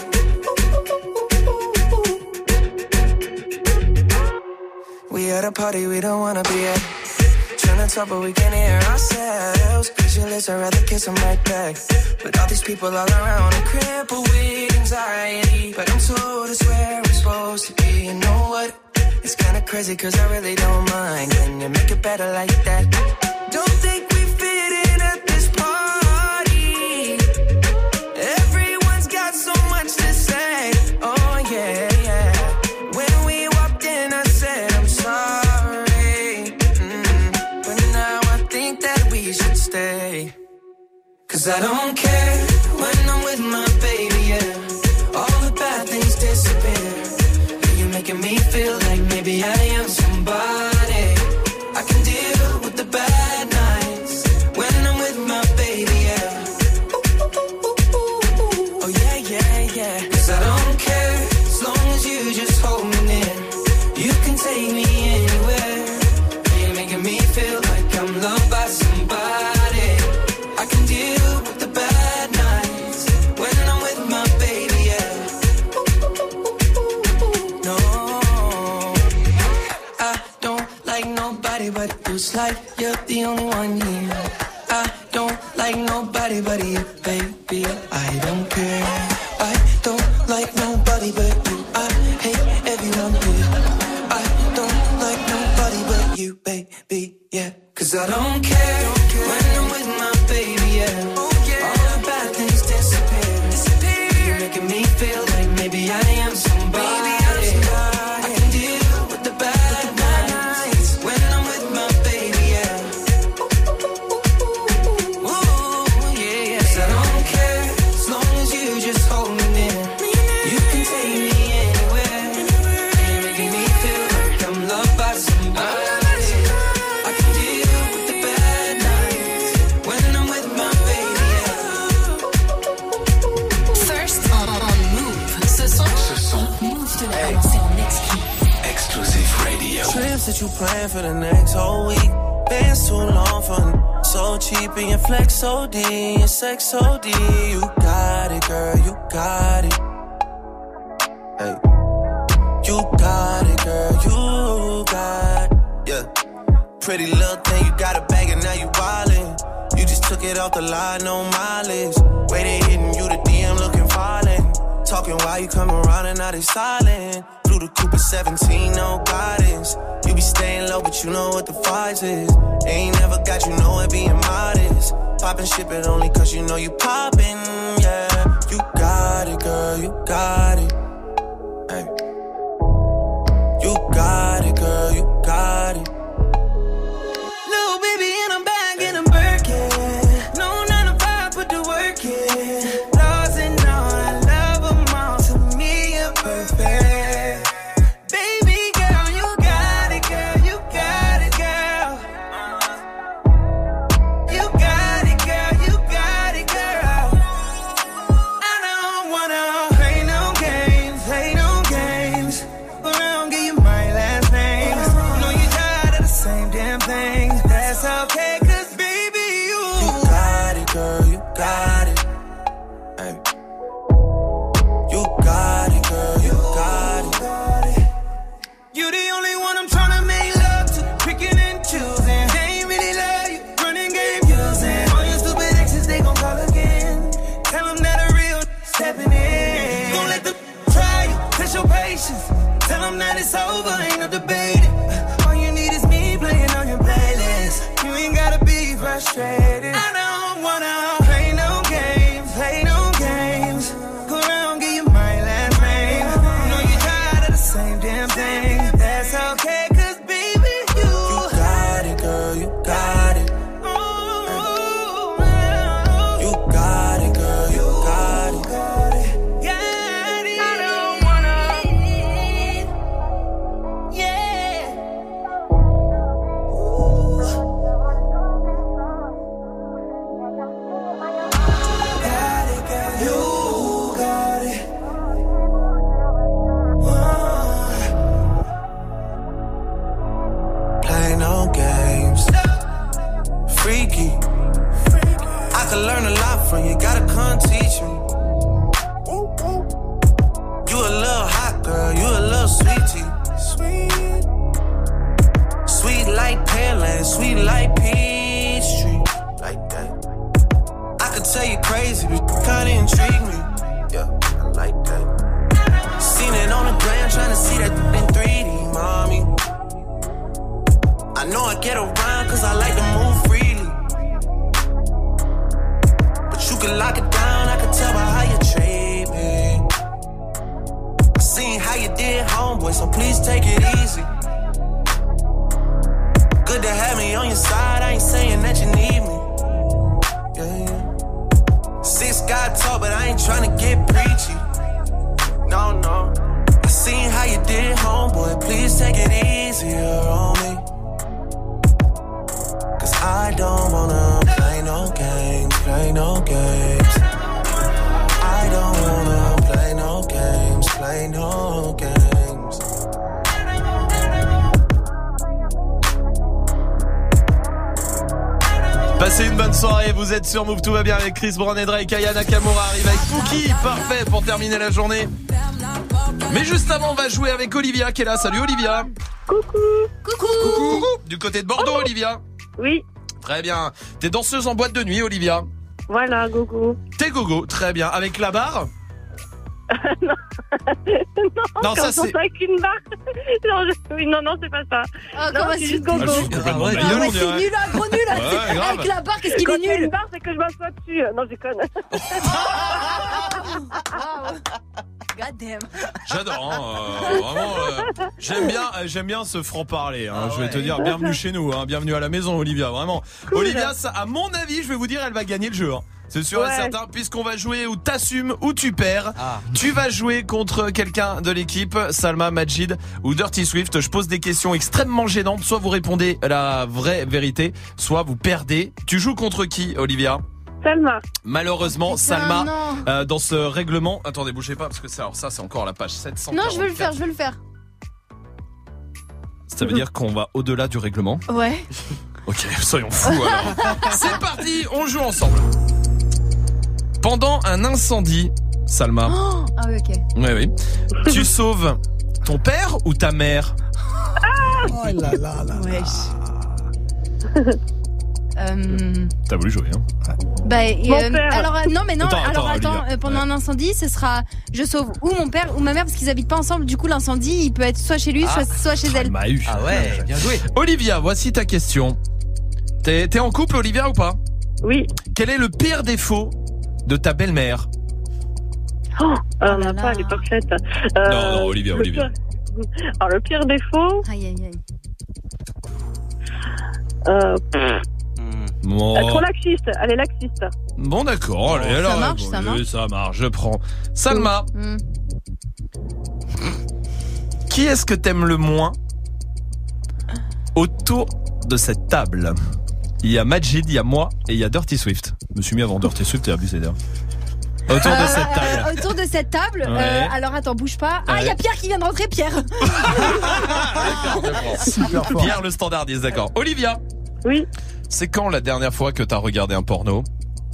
We at a party we don't wanna be at. Trying to talk but we can't hear ourselves. Pictureless, I'd rather kiss them right back. But all these people all around, I'm crippled with anxiety. But I'm told it's where I'm supposed to be. You know what? It's kinda crazy cause I really don't mind. Can you make it better like that? Don't think we fit in at this party. Everyone's got so much to say. Oh yeah, yeah. When we walked in I said I'm sorry. Mm. But now I think that we should stay. 'Cause I don't care when I'm with my baby, yeah. All the bad things disappear. You're making me feel like maybe I am somebody. I can deal with the bad nights when I'm with my baby, yeah. Oh yeah, yeah, yeah. 'Cause I don't care as long as you just hold me near. You can take me anywhere. You're making me feel like I'm loved by somebody. I can deal with the bad nights when I'm with my baby, yeah. No, I don't like nobody but you. It's like you're the only one here. I don't like nobody but you, baby. I don't care. I don't like nobody but you. I hate everyone here. I don't like nobody but you, baby, yeah. 'Cause I don't care when I'm with my baby, yeah. All the bad things disappear. You're making me feel like maybe I am somebody. I can deal with the bad nights when I'm with my baby, yeah. Ooh, yeah, yeah. 'Cause I don't care as long as you just hold me near. You can take me anywhere. You're making me feel like I'm loved by somebody. I can deal with the bad nights when I'm with my baby, yeah. First on, on Move. Ce son, ce son. Move te l'a annoncé en exclu. Exclusive radio. Trips that you plan for the next whole week. Bands too long for so cheap. cheap and your flex O D, your sex O D. You got it, girl, you got it. Hey. You got it, girl, you got it. Yeah. Pretty little thing, you got a bag and now you wildin'. You just took it off the line, no mileage. Waited hitting you the D M looking violent. Talking while you come around and now they silent. Blew the Cooper seventeen, no guidance. You be staying low, but you know what the price is. Ain't never got you know it being modest. Poppin' shit, but only cause you know you poppin', yeah. You got it, girl, you got it. Hey. You got it, girl, you got it. Little baby, and I'm back in a Birkin. No nine to five, put the work in. Lost and all, I love them all. To me, you're perfect. Baby girl, you got it, girl, you got it, girl. You got it, girl, you got it, girl. I don't wanna play no games, play no games. But I don't give you my last name. You know you tired of the same damn thing. That's okay, cause baby, you You got it, girl, you got it. Hey. You got it, girl, you got it. You the only one I'm tryna make love to, picking and choosing. They ain't really love you, running game using. All your stupid exes, they gon' call again. Tell them that a real stepping in. Don't let them try you, test your patience. Tell them that it's over, ain't no debating. All you need is me playing on your playlist. You ain't gotta be frustrated. I don't wanna play no games, play no games. Go around, give you my last name. You know you tired of the same damn thing. That's okay, cause baby, you You got it, girl, you got it. Hey. You got it, girl, you got it. got it. I don't wanna, yeah. Got it, girl, you got it. Play no games. Freaky. I could learn a lot from you, gotta come teach me. You a little hot girl, you a little sweetie. Sweet. Sweet like Pearland, sweet like Peachtree. Like that. I could tell you crazy, but you kinda intrigue me. Yeah, I like that. Seen it on the gram, tryna see that in three D, mommy. I know I get around cause I like to move freely. But you can lock it down, I can tell by how you treat me. I seen how you did, homeboy, so please take it easy. Good to have me on your side, I ain't saying that you need me. Yeah, yeah. Six got talk, but I ain't tryna get preachy. No, no. I seen how you did, homeboy, please take it easier on me. Cause I don't wanna play no games, play no games. I don't wanna play no games, play no games. Passez une bonne soirée, vous êtes sur Move, tout va bien avec Chris Brown et Drake. Aya Nakamura arrive avec Pookie, parfait pour terminer la journée. Mais juste avant, on va jouer avec Olivia qui est là. Salut Olivia. Coucou. Coucou. Coucou. Du côté de Bordeaux, Olivia. Oui. Très bien. T'es danseuse en boîte de nuit, Olivia. Voilà, gogo. T'es gogo, très bien. Avec la barre? non, non, quand ça on c'est. avec une barre. non, je... oui, non, non, c'est pas ça. Oh, non, comment c'est c'est juste gogo. Ah, je suis complètement Ah bagnole, ouais, on c'est dirait. nul, un gros nul. Ouais, grave. Avec la barre, qu'est-ce qu'il Quand est il y a nul. une barre, c'est que je m'assois dessus. Non, je conne. God damn. J'adore, hein, euh, vraiment. euh, j'aime bien, euh, j'aime bien ce franc-parler. Hein, Ah je vais ouais. te dire, bienvenue chez nous, hein, bienvenue à la maison, Olivia. Vraiment. Cool. Olivia, ça, à mon avis, je vais vous dire, elle va gagner le jeu. Hein. C'est sûr Ouais. et certain, puisqu'on va jouer où t'assumes ou tu perds. Ah. Tu vas jouer contre quelqu'un de l'équipe, Salma, Majid ou Dirty Swift. Je pose des questions extrêmement gênantes. Soit vous répondez la vraie vérité, soit vous perdez. Tu joues contre qui, Olivia? Salma. Malheureusement, Putain, Salma, non. euh, dans ce règlement. Attendez, bougez pas parce que ça, alors ça, c'est encore la page sept cent quarante-quatre. Non, je veux le faire, je veux le faire. Ça veut dire qu'on va au-delà du règlement. Ouais. Ok, soyons fous alors. C'est parti, on joue ensemble. Pendant un incendie, Salma. Oh, ah oui, ok. Oui, oui. Tu sauves ton père ou ta mère? Oh là là là. Wesh. Euh, T'as voulu jouer, hein? bah, et, Mon euh, père. alors euh, non mais non Attends, alors attends, attends, Olivia. euh, pendant Ouais. un incendie ce sera je sauve ou mon père ou ma mère parce qu'ils habitent pas ensemble, du coup l'incendie il peut être soit chez lui Ah. soit, soit chez elle. m'a eu. Ah ouais, bien joué. Olivia, voici ta question. T'es, t'es en couple, Olivia, ou pas? Oui. Quel est le pire défaut de ta belle-mère? Oh, on n'a pas, elle est parfaite. Euh, Non, non, Olivia, le Olivia. pire- Alors, le pire défaut. Aïe aïe aïe. Euh, Bon, elle est trop laxiste, elle est laxiste. bon d'accord, allez, Ça alors, marche, bon, ça oui, marche. ça marche, je prends. Salma, Mm. qui est-ce que t'aimes le moins autour de cette table? Il y a Majid, il y a moi et il y a Dirty Swift. Je me suis mis avant Dirty Swift et abusé d'ailleurs. Autour de Euh, cette table. euh, autour de cette table. Ouais. euh, alors attends, bouge pas. Ah, il y a Ouais. Pierre qui vient de rentrer, Pierre. Super fort. Pierre le standardiste, d'accord. Olivia. Oui. C'est quand la dernière fois que t'as regardé un porno?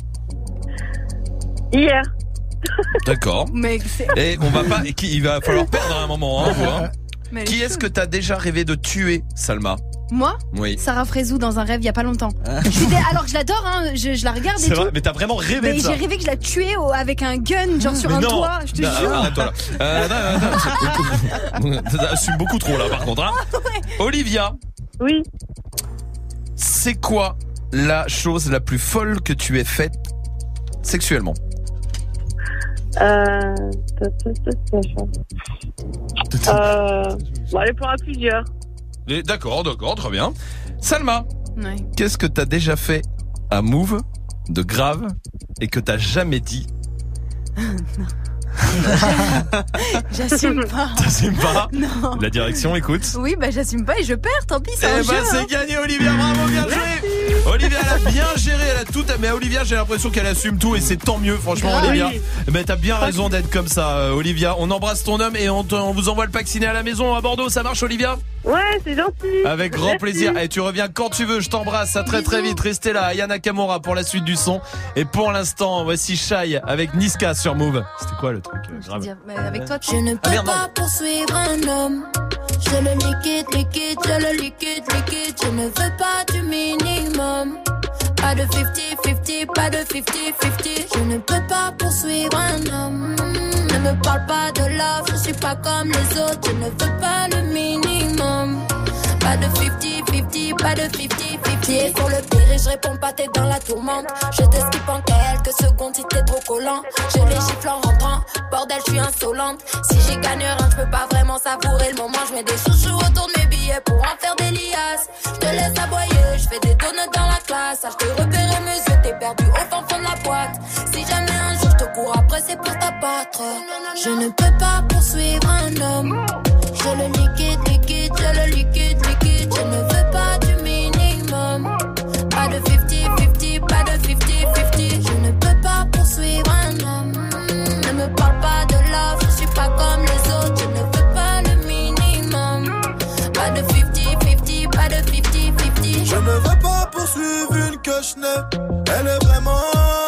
Hier. D'accord. Mais c'est... Et on va pas, et qui, il va falloir perdre à un moment, hein, vous, hein. Mais elle est Qui est-ce chaude. que t'as déjà rêvé de tuer, Salma? Moi Oui. Sarah Frézou dans un rêve il y a pas longtemps. Je suis dé- Alors que je l'adore, hein, je, je la regarde et C'est tout. vrai, mais t'as vraiment rêvé Mais de ça. j'ai rêvé que je la tuais au- avec un gun, genre sur Mais un non. toit, je te Non, jure. arrête-toi là. Euh, non, non, non, c'est- T'assumes beaucoup trop là, par contre. Hein. Olivia. Oui. C'est quoi la chose la plus folle que tu aies faite sexuellement? Euh... euh... Bon, allez, pour un plusieurs. Et- D'accord, d'accord, très bien. Salma. Ouais. Qu'est-ce que t'as déjà fait à Move de grave et que t'as jamais dit? J'assume pas. T'assumes pas? Non. La direction, écoute. Oui, bah j'assume pas et je perds, tant pis, c'est un Eh jeu. ben c'est hein. gagné, Olivia, bravo, bien joué. Olivia, elle a bien géré, elle a tout. Mais Olivia, j'ai l'impression qu'elle assume tout et c'est tant mieux, franchement, Grave. Olivia. Oui. Eh ben t'as bien raison d'être comme ça, euh, Olivia. On embrasse ton homme et on, te- on vous envoie le pack ciné à la maison à Bordeaux. Ça marche, Olivia? Ouais, c'est gentil. Avec grand Merci. plaisir. Et tu reviens quand tu veux. Je t'embrasse. À très très vite. Restez là. Aya Nakamura pour la suite du son. Et pour l'instant, voici Shai avec Niska sur Move. C'était quoi le truc euh, grave? Dire, mais avec toi, Je ne peux Ah, merde, non. pas poursuivre un homme. Je le liquide, liquide, je le liquide, liquide. Je ne veux pas du minimum. Pas de cinquante cinquante, pas de cinquante cinquante. Je ne peux pas poursuivre un homme. Ne me parle pas de love, je suis pas comme les autres. Je ne veux pas le minimum. Pas de cinquante cinquante, pas de cinquante cinquante. Pieds sur le pire et je réponds pas, t'es dans la tourmente. Je t'esquive en quelques secondes si t'es trop collant. Je les gifle en rentrant, bordel, je suis insolente. Si j'y gagne rien, je peux pas vraiment savourer le moment. Je mets des chouchous autour de mes billets pour en faire des liasses. Je te laisse aboyer, je fais des donuts dans la classe. Ah, je t'ai repéré mes yeux, t'es perdu au fin fond de la boîte. Si jamais un jour je te cours après, c'est pour t'abattre. Je ne peux pas poursuivre un homme. Je le liquide, liquide, je le liquide, liquide. Je ne veux pas du minimum. Pas de cinquante cinquante, pas de cinquante cinquante. Je ne peux pas poursuivre un homme. Ne me parle pas de love, je suis pas comme les autres. Je ne veux pas le minimum. Pas de cinquante cinquante, pas de cinquante cinquante. Je ne veux pas poursuivre une que je n'ai. Elle est vraiment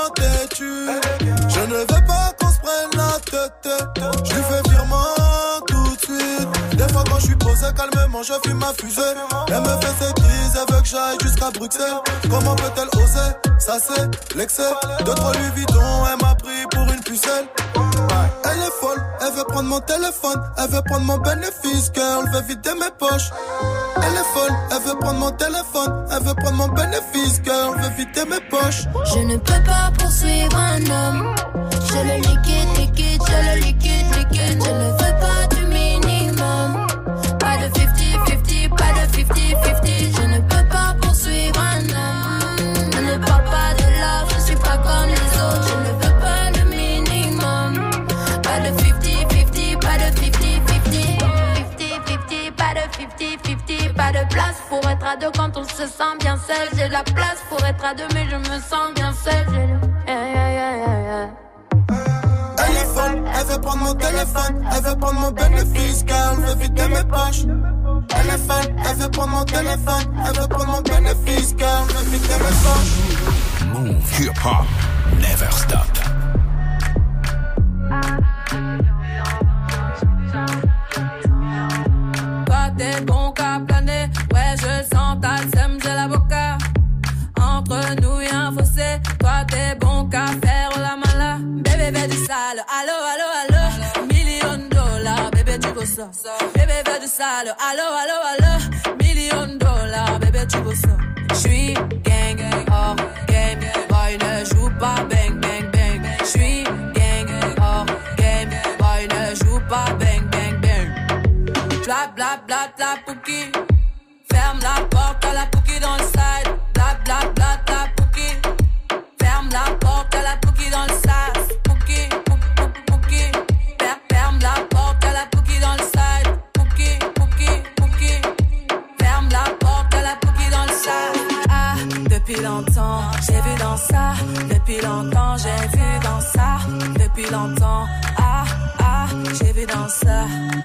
têtue. Je ne veux pas qu'on se prenne la tête. Je lui fais virement tout de suite. Des fois quand je suis posé calmement, je fume ma fusée. Elle me fait ses crises, elle veut que j'aille jusqu'à Bruxelles. Comment peut-elle oser? Ça c'est l'excès. De trop lui Vuitton, elle m'a pris pour une pucelle. Elle est folle, elle veut prendre mon téléphone. Elle veut prendre mon bénéfice, girl, veut vider mes poches. Elle est folle, elle veut prendre mon téléphone. Elle veut prendre mon bénéfice, girl, veut vider mes poches. Je ne peux pas poursuivre un homme. Je le liquide, liquide, je le liquide, liquide. Je ne veux pas du minimum. Pas de cinquante cinquante, pas de cinquante cinquante. Je ne peux pas poursuivre un homme. Ne me parle pas de love, je suis pas comme les autres. Je ne veux pas le minimum. Pas de cinquante cinquante, pas de cinquante cinquante. cinquante cinquante, pas de cinquante cinquante. Pas de place pour être à deux quand on se sent bien seul. J'ai la place pour être à deux mais je me sens bien seul. J'ai le... Yeah, yeah, yeah, yeah, yeah. Elle est folle, elle veut prendre mon téléphone, elle veut prendre mon bénéfice, car elle veut vider mes poches. Elle est fan, elle veut prendre mon téléphone, elle veut prendre mon bénéfice, car elle veut vider mes poches. Move hip hop, never stop. Toi t'es bon qu'à planer, ouais je sens ta sème, j'ai l'avocat. Entre nous y'a un fossé, toi t'es bon qu'à faire la mala. Bébé veut du sale, allo allo allo, million de dollars, bébé tu veux ça. Bébé veut du sale, allo allo allo, million de dollars, bébé tu veux ça. J'suis gang, hors game, boy ne joue pas bang bang bang. J'suis gang, hors game, boy ne joue pas bang bang bang. Bla bla bla bla pouki, ferme la porte à la pouki dans le side. Bla bla bla bla pouki, ferme la porte à la pouki dans le sas. Pouki, pouki, pouki, ferme la porte à la pouki dans le side. Pouki, pouki, pouki, ferme la porte à la pouki dans le sas. Ah, depuis longtemps, j'ai vu dans ça. Depuis longtemps, j'ai vu dans ça. Depuis longtemps, ah, ah, j'ai vu dans ça.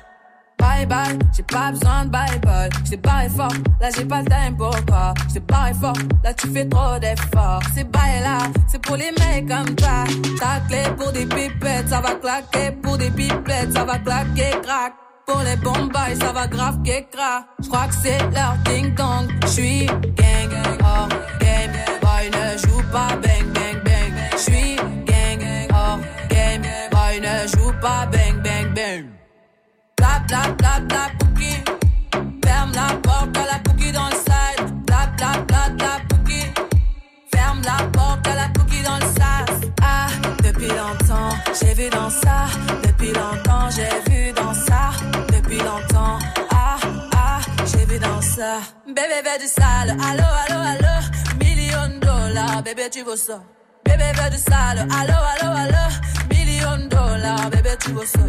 Bye bye, j'ai pas besoin de bye bye. J't'ai barré fort, là j'ai pas le time pour toi. J't'ai barré fort, là tu fais trop d'efforts. C'est bye là, c'est pour les mecs comme toi. Ta clé pour des pipettes, ça va claquer. Pour des pipettes, ça va claquer, crack. Pour les bombes, ça va grave qu'écra. J'crois que c'est leur ding dong. J'suis gang, hors game. Boy ne joue pas bang bang bang. J'suis gang, hors game. Boy ne joue pas bang bang bang. Bla bla bla bla pouki, ferme la porte à la pouki dans le side. Bla bla bla bla pouki, ferme la porte à la pouki dans le sas. Ah, depuis longtemps, j'ai vu dans ça. Depuis longtemps, j'ai vu dans ça. Depuis longtemps, ah, ah, j'ai vu dans ça. Bébé veut du sale, allo, allo, allo. Million de dollars, bébé tu veux ça. Bébé veut du sale, allo, allo, allo. Million de dollars, bébé tu veux ça.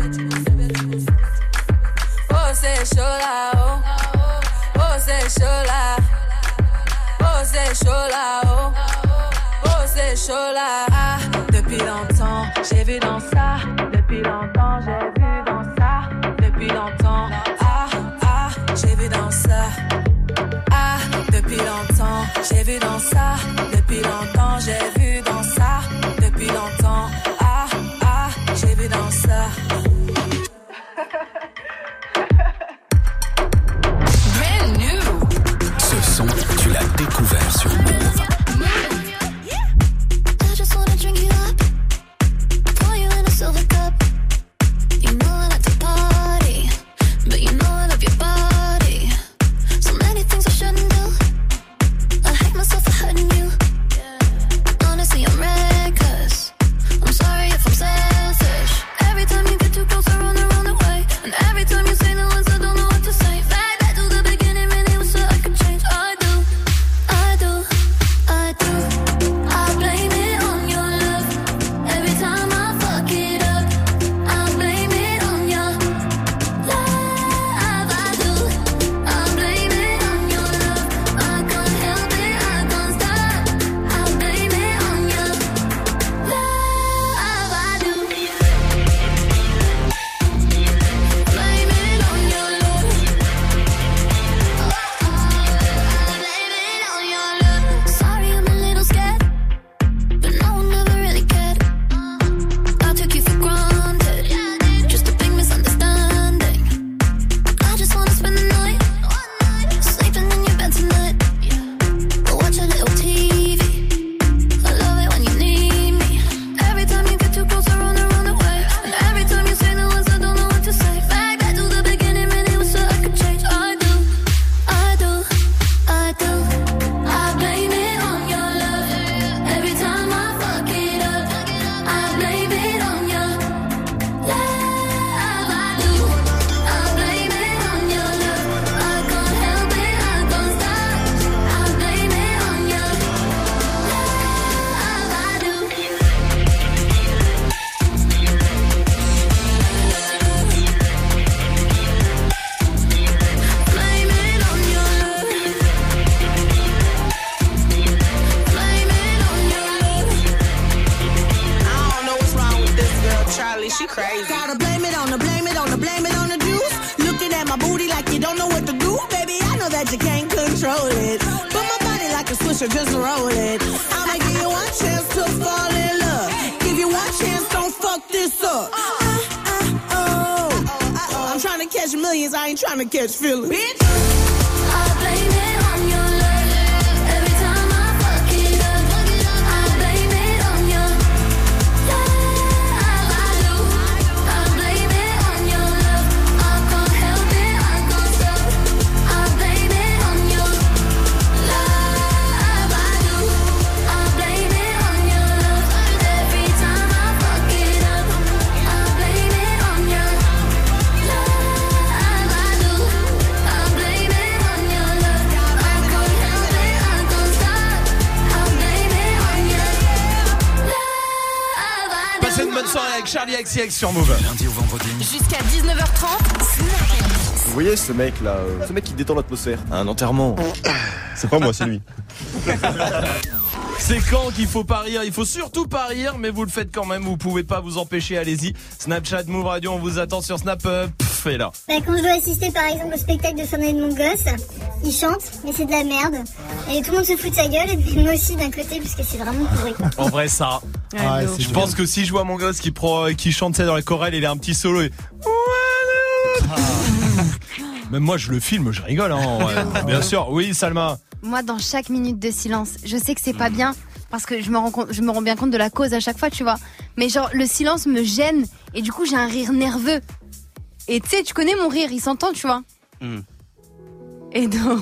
Oh c'est chaud là, oh, oh c'est chaud là, oh c'est chaud là, oh, oh c'est chaud là. Ah, depuis longtemps, j'ai vu dans ça. Depuis longtemps, j'ai vu dans ça. Depuis longtemps, ah, ah, j'ai vu dans ça. Ah, depuis longtemps, j'ai vu dans ça. Depuis longtemps, j'ai vu dans ça. Depuis longtemps, ah, ah, j'ai vu dans ça. Ce son, tu l'as découvert sur Move. I just wanna drink you up, pour you in a silver cup. You know I like to party, but you know I love your body. So many things I shouldn't do. I hate myself for hurting you. she crazy. Gotta blame it on the, blame it on the, blame it on the juice. Looking at my booty like you don't know what to do. Baby, I know that you can't control it. But my body like a swisher, just roll it. I'ma give you one chance to fall in love. Give you one chance, don't fuck this up. Uh, uh, oh. I'm trying to catch millions, I ain't trying to catch feelings. Bitch. I blame it on your love. Every time I fuck it up, I blame it on your love. I do. I blame it on your love. I can't help it, I can't stop. I blame it on your love. I do. I blame it on your love. Every time I fuck it up, I blame it on your love. I do. I blame it on your love. I can't help it, I can't stop. I blame it on your love. I do. Passez une bonne soirée avec Charlie X C X sur Move. Lundi au vendredi. Jusqu'à dix-neuf heures trente, Vous voyez ce mec là, euh, ce mec qui détend l'atmosphère. Un enterrement. C'est pas moi, c'est lui. C'est quand qu'il faut pas rire. Il faut surtout pas rire, mais vous le faites quand même. Vous pouvez pas vous empêcher. Allez-y. Snapchat, Move Radio, on vous attend sur Snap. Euh, pff, et là. Bah, quand je dois assister par exemple au spectacle de fin d'année de mon gosse, il chante, mais c'est de la merde. Et tout le monde se fout de sa gueule, et puis moi aussi d'un côté, parce que c'est vraiment pourri. En vrai, ça. Ah, ouais, je pense que si je vois mon gosse qui, pro, qui chante ça dans les chorales, il a un petit solo. Et... Même moi, je le filme, je rigole. Hein, ouais. Bien sûr. Oui, Salma. Moi, dans chaque minute de silence, je sais que c'est pas bien parce que je me rends compte, je me rends bien compte de la cause à chaque fois, tu vois. Mais genre, le silence me gêne et du coup, j'ai un rire nerveux. Et tu sais, tu connais mon rire, il s'entend, tu vois. Mm. Et donc...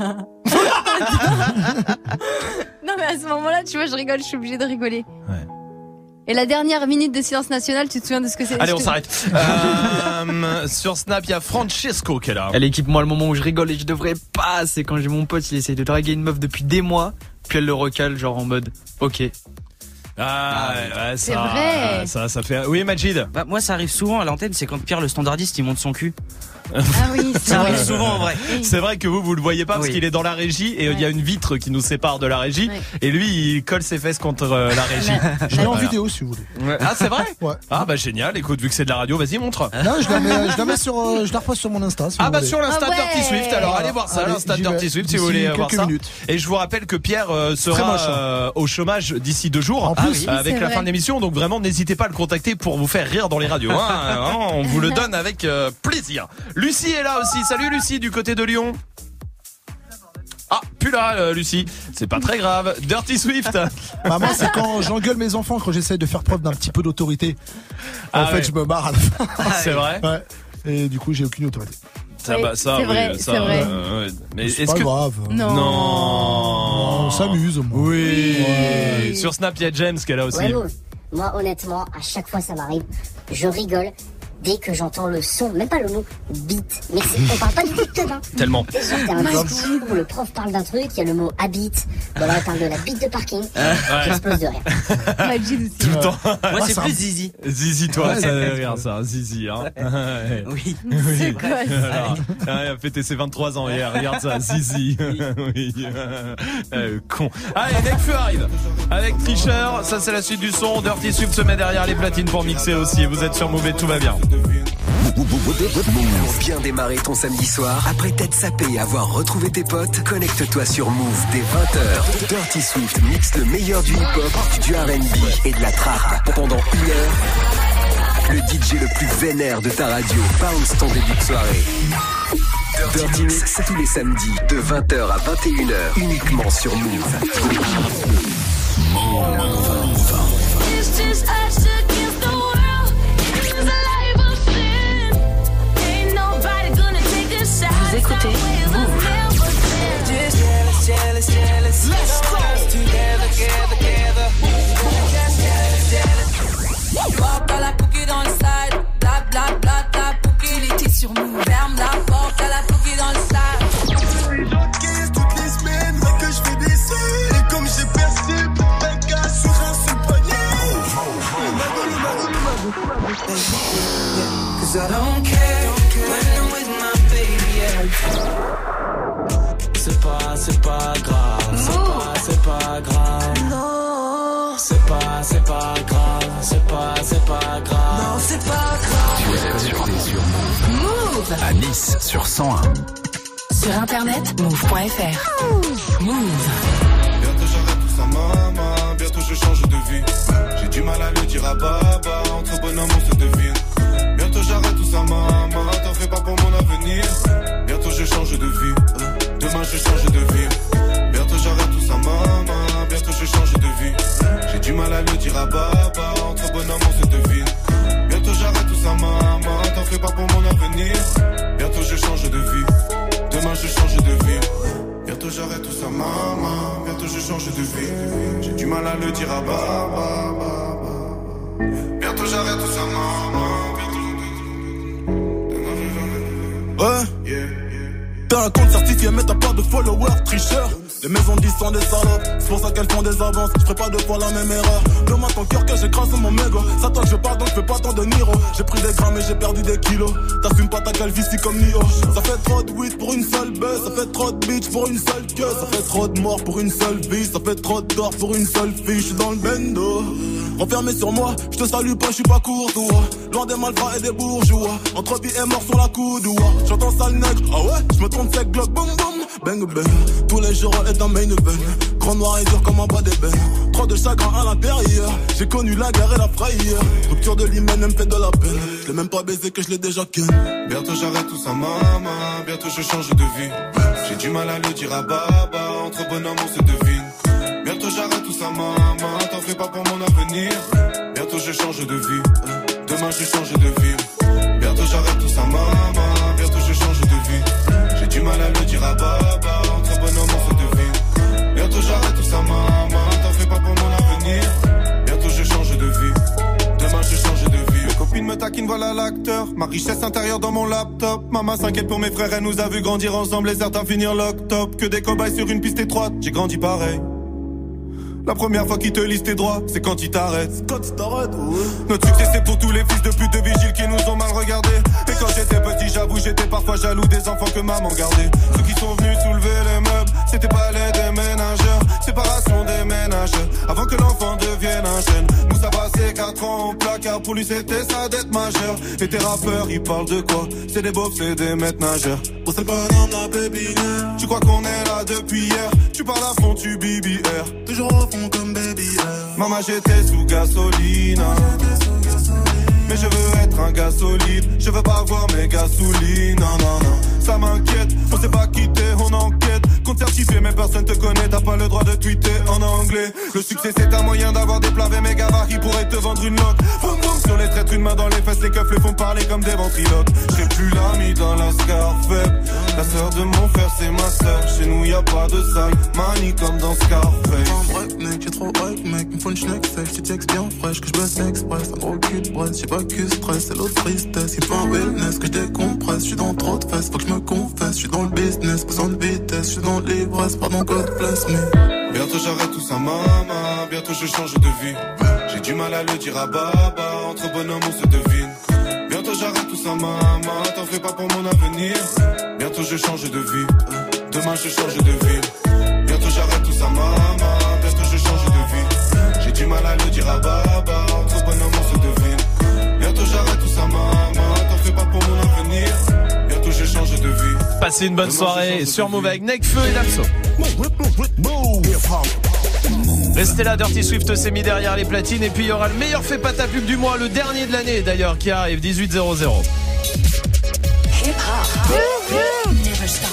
non, mais à ce moment-là, tu vois, je rigole, je suis obligée de rigoler. Ouais. Et la dernière minute de silence national, tu te souviens de ce que c'est? Allez, on s'arrête. euh, sur Snap, il y a Francesco qui est là. Elle équipe moi le moment où je rigole et je devrais pas. C'est quand j'ai mon pote, il essaye de draguer une meuf depuis des mois, puis elle le recale, genre en mode ok. Ah, ouais, ouais, C'est ça, vrai. ça, ça fait. Oui, Majid. Bah, moi, ça arrive souvent à l'antenne, c'est quand Pierre, le standardiste, il monte son cul. Ah oui, c'est Ça vrai. arrive souvent en vrai. C'est vrai que vous, vous le voyez pas parce Oui. qu'il est dans la régie et il Ouais. y a une vitre qui nous sépare de la régie Ouais. et lui, il colle ses fesses contre euh, la régie. Je l'ai en Voilà. vidéo si vous voulez. Ouais. Ah, c'est vrai? Ouais. Ah, bah génial. Écoute, vu que c'est de la radio, vas-y, montre. Non, je la mets, je la mets sur, euh, je la reposte sur mon Insta. Si Ah vous bah voulez. sur l'Insta Ah ouais. Dirty Swift, alors allez voir ça, Allez, l'Insta j'y vais. Dirty Swift si vous D'ici voulez voir quelques ça. minutes. Et je vous rappelle que Pierre euh, Très sera moche, hein. euh, au chômage d'ici deux jours En plus. euh, avec C'est la vrai. fin de l'émission, donc vraiment n'hésitez pas à le contacter pour vous faire rire dans les radios. Hein. Vraiment, on vous le donne avec euh, plaisir. Lucie est là aussi, salut Lucie du côté de Lyon. Ah, plus là, euh, Lucie. C'est pas très grave. Dirty Swift. Bah, moi, c'est quand j'engueule mes enfants quand j'essaie de faire preuve d'un petit peu d'autorité. En Ah fait, ouais. je me barre à la fin. C'est vrai. Ouais. Et du coup, j'ai aucune autorité. Ça, Oui, bah, ça, c'est oui, vrai, ça, c'est vrai. euh, ouais. Mais C'est est-ce pas que grave. Non. non, On s'amuse, moi. Oui. Ouais. Sur Snap, il y a James qui est là aussi. Ouais, Move. Moi, honnêtement, à chaque fois ça m'arrive, je rigole dès que j'entends le son, même pas le mot beat, mais c'est- on parle pas du tout de teub, hein. Tellement. C'est genre, t'as un discours où le prof parle d'un truc, il y a le mot habit, ou alors il parle de la bite de parking, j'explose de rire. Majid aussi. Tout le temps. Moi, c'est c'est plus un- Zizi. Zizi, toi, Ouais, ça c'est- rire, ça, un Zizi, hein. Ouais. Oui. C'est quoi ça? Alors, ah, il a fêté ses vingt-trois ans hier, regarde ça, Zizi. Oui. Euh, con. Allez, Nekfeu arrive. Avec Tricheur, ça c'est la suite du son. Dirty Swift se met derrière les platines pour mixer aussi. Vous êtes sur Move et tout va bien. Pour bien démarrer ton samedi soir, après t'être sapé et avoir retrouvé tes potes, connecte-toi sur Move dès vingt heures. Dirty Swift mixe le meilleur du hip-hop, du R and B et de la trap. Pendant une heure, le D J le plus vénère de ta radio bounce ton début de soirée. Dirty Mix, c'est tous les samedis de vingt heures à vingt et une heures, uniquement sur Move. It's just us against the world. This is a life of sin. Ain't nobody gonna take a shot. Vous écoutez Just jealous, jealous, jealous. Let's go. Together, together, together. Just jealous, jealous. Porte à la pouki dans le side. Bla bla bla bla pouki. Il était sur nous. Ferme la porte à la pouki dans le side. J'encaisse toutes les semaines, mais que je fais des seuls. Et comme j'ai percé, un gars sur un seul poignet. Le mago, le mago, le mago. Cause I don't care when I'm with my baby, yeah. C'est pas, c'est pas grave, c'est pas, c'est pas grave. Non, C'est pas pas, c'est pas grave, c'est pas, c'est pas grave. Non, c'est pas grave. Tu es connecté sur Move. Move. À Nice sur cent un. Sur internet, move point f r. Move. Bientôt j'arrête tout ça, maman. Bientôt je change de vie. J'ai du mal à le dire à baba. Entre bonhomme on se devine. Bientôt j'arrête tout ça, maman. T'en fais pas pour mon avenir. Bientôt je change de vie. Demain je change de vie. Bientôt j'arrête tout ça, maman. Bientôt je change de vie. J'ai du mal à le dire à baba. Entre bonhomme on se devine. Bientôt j'arrête tout ça, maman. T'en fais pas pour mon avenir. Bientôt je change de vie. Demain je change de vie. Bientôt j'arrête tout ça, maman. Bientôt je change de vie. J'ai du mal à le dire à baba. Bientôt j'arrête tout ça, maman. Ouais, t'as un compte certifié mais t'as pas de followers, tricheur. Les maisons disent sont des salopes, c'est pour ça qu'elles font des avances. Je ferai pas deux fois la même erreur. Demande ton cœur que j'écrase mon mégot. Ça toi que je parle donc je fais pas tant de Niro. J'ai pris des grammes et j'ai perdu des kilos. T'assumes pas ta calvitie comme Nio. Ça fait trop de weed pour une seule baisse. Ça fait trop de bitch pour une seule queue. Ça fait trop de morts pour une seule vie. Ça fait trop de tort pour une seule fille. J'suis dans le bendo. Renfermé sur moi, je te salue pas, je suis pas courtois. Loin des malfrats et des bourgeois. Entre vie et mort sur la coudoua. J'entends sale nègre, ah ouais, je me trompe sec, glock, boum boum. Bang bang, tous les jours est un main event. Grand noir et dur comme un bas d'ébène. Trop de chagrin à l'intérieur. J'ai connu la guerre et la frayeur. Rupture de l'hymen, elle me fait de la peine. Je l'ai même pas baisé que je l'ai déjà ken. Bientôt j'arrête tout ça, maman. Bientôt je change de vie. J'ai du mal à le dire à baba. Entre bonhomme on se devine. Bientôt j'arrête tout ça, maman. T'en fais pas pour mon avenir. Bientôt je change de vie. Demain je change de vie. Bientôt j'arrête tout ça, maman. Bientôt je change de vie. J'ai du mal à le dire à baba. Entre bonhomme on se devine. Bientôt j'arrête tout ça, maman. T'en fais pas pour mon avenir. Bientôt je change de vie. Demain je change de vie. Mes copines me taquinent, voilà l'acteur. Ma richesse intérieure dans mon laptop. Maman s'inquiète pour mes frères, elle nous a vu grandir ensemble et certains finir lock-top. Que des cobayes sur une piste étroite, j'ai grandi pareil. La première fois qu'ils te lisent tes droits, c'est quand ils t'arrêtent. Quand ils t'arrêtent, ouais. Notre succès c'est pour tous les fils de pute de vigiles qui nous ont mal regardés. Et quand j'étais petit, j'avoue, j'étais parfois jaloux des enfants que maman gardait. Ceux qui sont venus soulever les meubles, c'était pas les déménageurs. Séparation des ménageurs, avant que l'enfant devienne un jeune. Nous ça passait quatre ans au placard, pour lui c'était sa dette majeure. Et tes rappeurs, ils parlent de quoi? C'est des beaufs, c'est des maîtres nageurs. Oh c'est le bonhomme, la baby. Tu crois qu'on est là depuis hier? Tu parles à fond, tu B B R. Toujours au fond comme baby air. Maman j'étais sous gasoline. Mais je veux être un gars solide. Je veux pas voir mes gasolines. Non non non, ça m'inquiète. On s'est pas quitté, on enquête. Compte certifié mais personne te connaît. T'as pas le droit de tweeter en anglais. Le succès c'est un moyen d'avoir des plats mes gabarits pourraient te vendre une loque. Boum boum sur les traîtres, une main dans les fesses. Les keufs les font parler comme des ventriloques. J'serai plus l'ami dans la Scarface. La sœur de mon frère c'est ma sœur. Chez nous y a pas de salle manie comme dans Scarface. En break mec, j'ai trop hype mec. Me faut une schneck sec, si texte bien fraîche. Que je bosse express, un gros cul de braise. J'ai pas que stress, c'est l'autre tristesse. Il me faut un wellness que je décompresse. J'suis dans trop de fesses, faut que je me confesse. J'suis dans le business, besoin de vitesse. J'suis dans l'ivresse, pardon God bless me. Bientôt j'arrête tout ça, maman. Bientôt je change de vie. J'ai du mal à le dire à baba. Entre bonhomme on se devine. Bientôt j'arrête tout ça, maman. T'en fais pas pour mon avenir. Bientôt je change de vie. Demain je change de vie. Bientôt j'arrête tout ça, maman. Bientôt je change de vie. J'ai du mal à le dire à baba. Entre bonhomme on se devine. Bientôt j'arrête tout ça, maman. T'en fais pas pour mon avenir. Bientôt je change de vie. Passez une bonne soirée sur Move avec Nekfeu et Damso. Restez là, Dirty Swift s'est mis derrière les platines. Et puis il y aura le meilleur fait pas ta pub du mois, le dernier de l'année d'ailleurs, qui arrive, dix-huit zéro zéro. Hip hop. Never stop.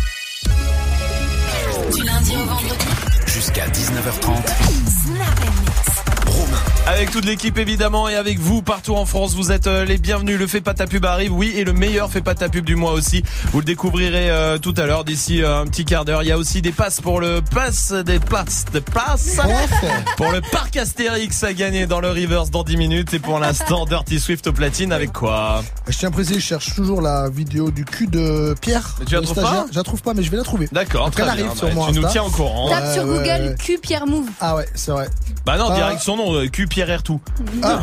Du lundi au vendredi. Jusqu'à dix-neuf heures trente. Snap and mix. Avec toute l'équipe évidemment et avec vous partout en France, vous êtes euh, les bienvenus. Le fait pas ta pub arrive, oui, et le meilleur fait pas ta pub du mois aussi. Vous le découvrirez euh, tout à l'heure d'ici euh, un petit quart d'heure. Il y a aussi des passes pour le pass des passes des passes pour le parc Astérix à gagner dans le Rivers dans dix minutes. Et pour l'instant, Dirty Swift au platine avec quoi? Je tiens à préciser, je cherche toujours la vidéo du cul de Pierre. Tu la trouves pas? Je la trouve pas, mais je vais la trouver. D'accord, très très arrive bien. sur Bah, mon tu nous Insta. tiens au courant. Tape Ouais, sur ouais, Google ouais. Q Pierre Move. Ah ouais, c'est vrai. Bah non, Ah. direct son nom, euh, Q Pierre Air tout. Ah.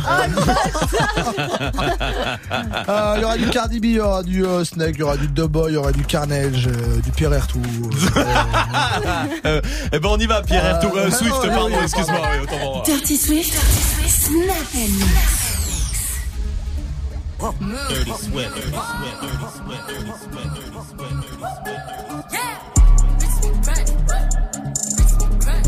Ah, il y aura du Cardi B, il y aura du euh, Snake, il y aura du Doughboy, il y aura du Carnage, euh, du Pierre Air tout. Euh, eh ben on y va, Pierre Air tout. Euh, Euh, Swift, ouais, pardon, ouais, excuse-moi. Oui, autant pour moi. Dirty Dirty Swift, Dirty Swift, Snap and Mix. Dirty Swift, Dirty Swift, Dirty Swift, Dirty Swift, Dirty Swift, Dirty Swift. Yeah. Bitch be crack. Bitch be crack.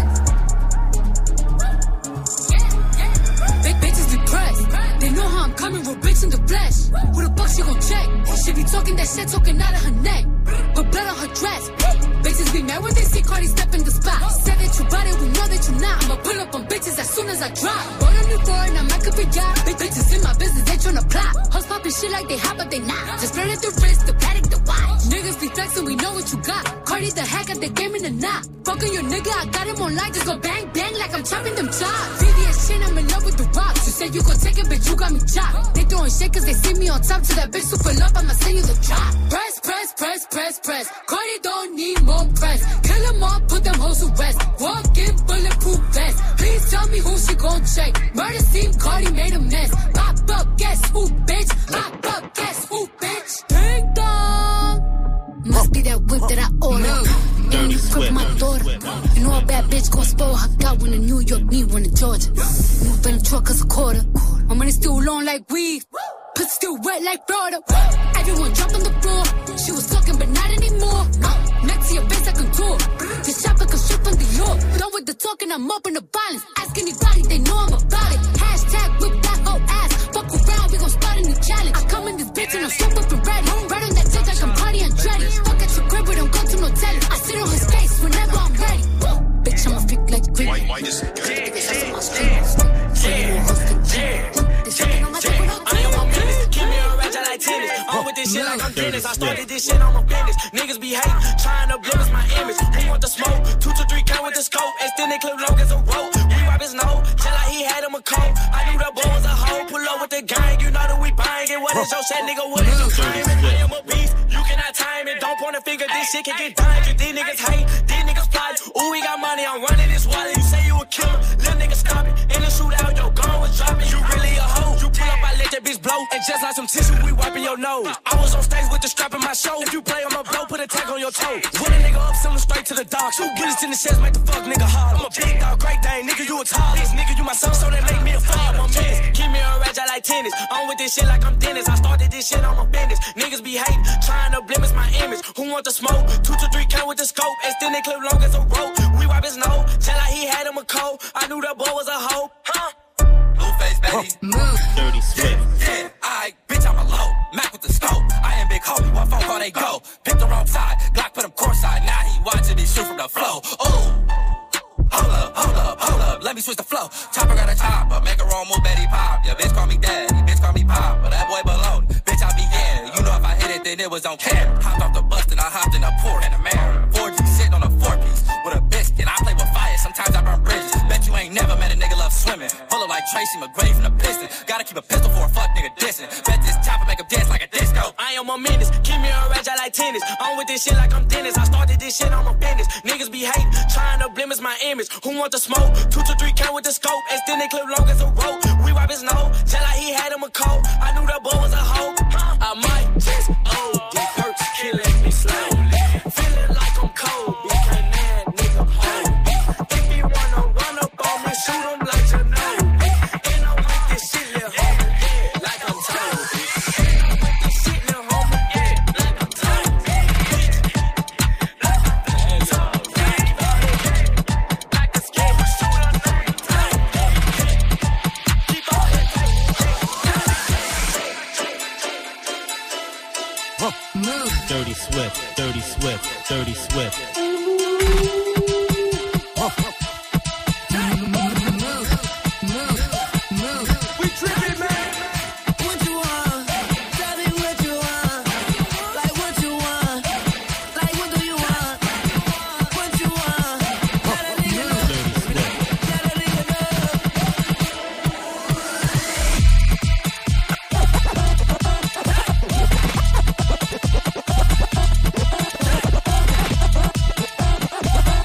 Yeah, yeah. Big bitches depressed. They know how I'm coming, real bitch in the flesh. Who the fuck she gon' check? She be talking that shit, talking out of her neck. Put blood on her dress. Bitches be mad when they see Cardi step in the spot. Said that you bought it, we know that you not. I'ma pull up on bitches as soon as I drop. Bought a new foreign, I'm like a big yacht. Big bitches in my business, they tryna plot. Hoes poppin' shit like they hot, but they not. Just flirted the wrist, the paddock, the watch. Niggas be flexin', we know what you got. Cardi the hack at the game in the knot. Fuckin' your nigga, I got him on light. Just go bang, bang like I'm chopping them chops. V V S shit, I'm in love with the rocks. You said you gon' take it, bitch, you got me chopped. They throwin' shit cause they see me on top. To that bitch super love, I'ma send you the drop. Press, press, press, press, press. Cardi don't need more press. Kill them all, put them hoes to rest. Walk in bulletproof vest. Please tell me who she gon' check. Murder scene, Cardi made a mess. Pop up, guess who, bitch? Pop up, guess who, bitch? Ding dong. Must be that whip that I ordered. And you grip my daughter. You know a bad bitch gon' spoil her. Got one in New York, me one in Georgia. Move in the truck cause a quarter. My money still long like weed. Pussy still wet like Florida. Everyone drop on the floor. She was talking but not anymore. Next to your face I contour. This chopper come straight from the York. Done with the talking, I'm up in the violence. Ask anybody, they know I'm about it. Hashtag whip that whole ass. Fuck around, we gon' start a new challenge. I come in this bitch and I'm so up and ready. Right on that dick like I'm Cardi Andretti. Fuck at your crib, but don't go to no telly. I sit on his face whenever I'm ready. Woo. Bitch, I'm a freak like Rick. White, white is good. Yeah, yeah, I'm with this shit like I'm Dennis. I started this shit on my business. Niggas be hating, trying to blemish my image. Who want the smoke? Two to three count with the scope. Extended clip long as a rope. We wipe his nose, just like he had him a coat. I knew the boy was a hoe. Pull up with the gang, you know that we buying it. What is your shit, nigga? What is your crime? I am a beast, you cannot time it. Don't point a finger, this shit can get done. These niggas hate, these niggas plot. Ooh, we got money, I'm running this wallet. You say you a killer, little nigga stop it. In the shootout, your gun was dropping. You really a hoe. You pull up, I let that bitch blow. And just like some tissue, we wiping your nose. I was on stage with the strap in my show. If you play on my blow, put a tag on your toe. Put a nigga up, send him straight to the dogs. Two bullets in the chest, make the fuck nigga hard. I'm a big dog, great dane, nigga, you a tall. This nigga, you my son, so that make me a father. I'm menace, keep me a ratchet like tennis. I'm with this shit like I'm Dennis. I started this shit on my business. Niggas be hating, trying to blemish my image. Who want the smoke? Two to three count with the scope. Extended clip long as a rope. We wipe his nose, tell like he had him a cold. I knew that boy was a hoe, huh? Blueface, baby. Move. Dirty Swift. Yeah, yeah, alright, bitch, I'm a low. Mac with the scope. I am Big Homie, one phone call, they go. Pick the wrong side, Glock put him courtside. Now he watching me shoot from the flow. Ooh. Hold up, hold up, hold up, let me switch the flow. Chopper got a chopper, make a wrong move, Betty Pop. Yeah, bitch call me daddy, bitch call me pop. But that boy baloney, bitch I be yeah. You know if I hit it, then it was on camera. Hopped off the bus, then I hopped in a port and a mirror. four G sitting on a four-piece with a biscuit. I play with fire, sometimes I burn bridges. Bet you ain't never met a nigga love swimming. Pull up like Tracy McGrady from the Pistons. Gotta keep a pistol for a fuck nigga dissing. Bet this chopper make him dance like a disco. I am a menace, keep me a ratchet like tennis. I'm with this shit like I'm Dennis. I started this shit on my business. Niggas be hating, trying to blemish my image. Who want the smoke? Two to three count with the scope. Extended clip long as a rope. We wipe his nose, just like he had him a coat. I knew that boy was a hoe. I might just O D perks killing me slowly. Feeling like I'm cold. You can't man, nigga, hold me. If you wanna run up on me, shoot him like you know me. And I'm with this shit, little homie, yeah, like I'm told. And I'm with this shit, little homie, yeah, like I'm told. Like I'm told. Like a scheme, shoot him like I'm told. Keep on it. Move. Dirty Swift, Dirty Swift, Dirty Swift. Move.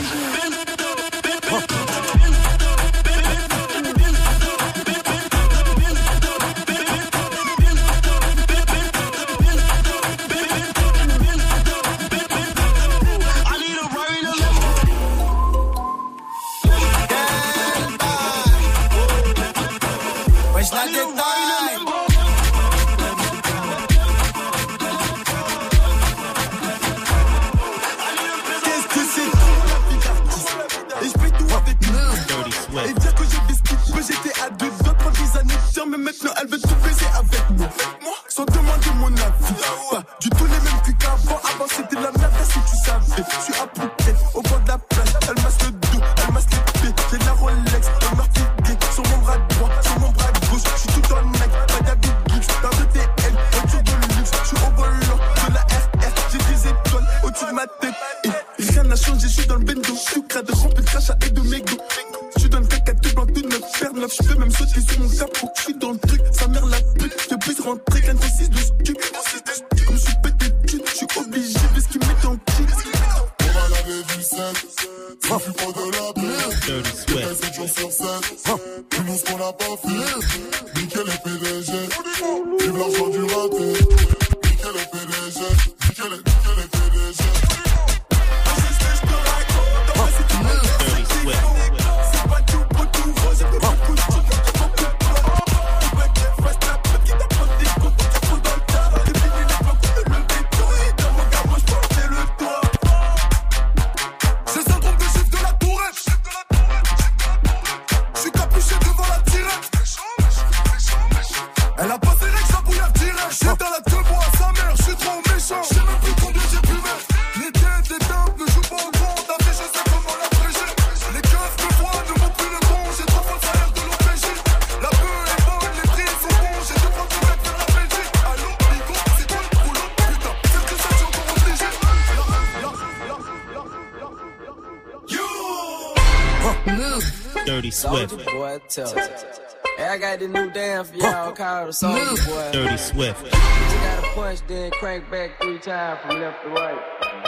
Dirty Swift. Soulja Boy, tell it. Hey, I got this new dance for y'all called Soulja Boy. Dirty Swift. You gotta punch, then crank back three times from left to right.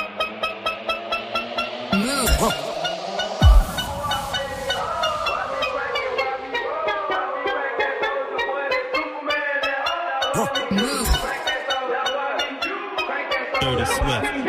Move. Dirty Swift.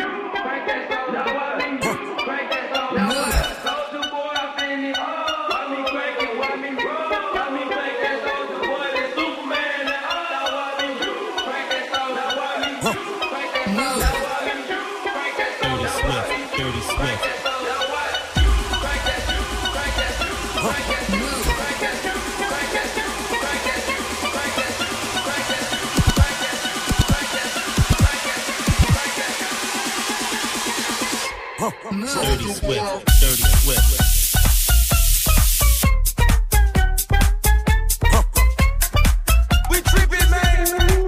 Dirty Swift, Dirty Swift. We trippin', man.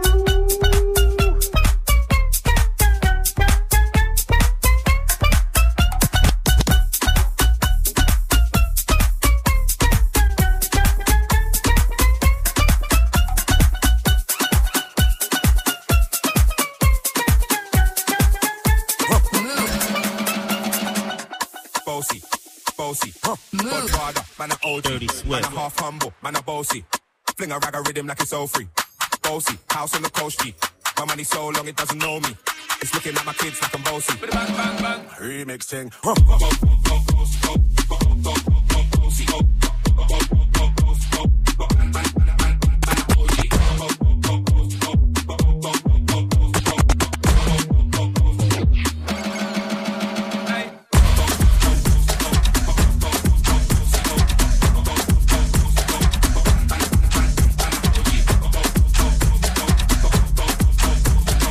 Bossy, bossy, Godfather, man a O G, Dirty Swift, man a half humble, man a bossy. Fling a rag a rhythm like it's all free. Bossy, house on the coast G. My money so long it doesn't know me. It's looking at my kids like I'm bossy. Bang bang bang, remix thing.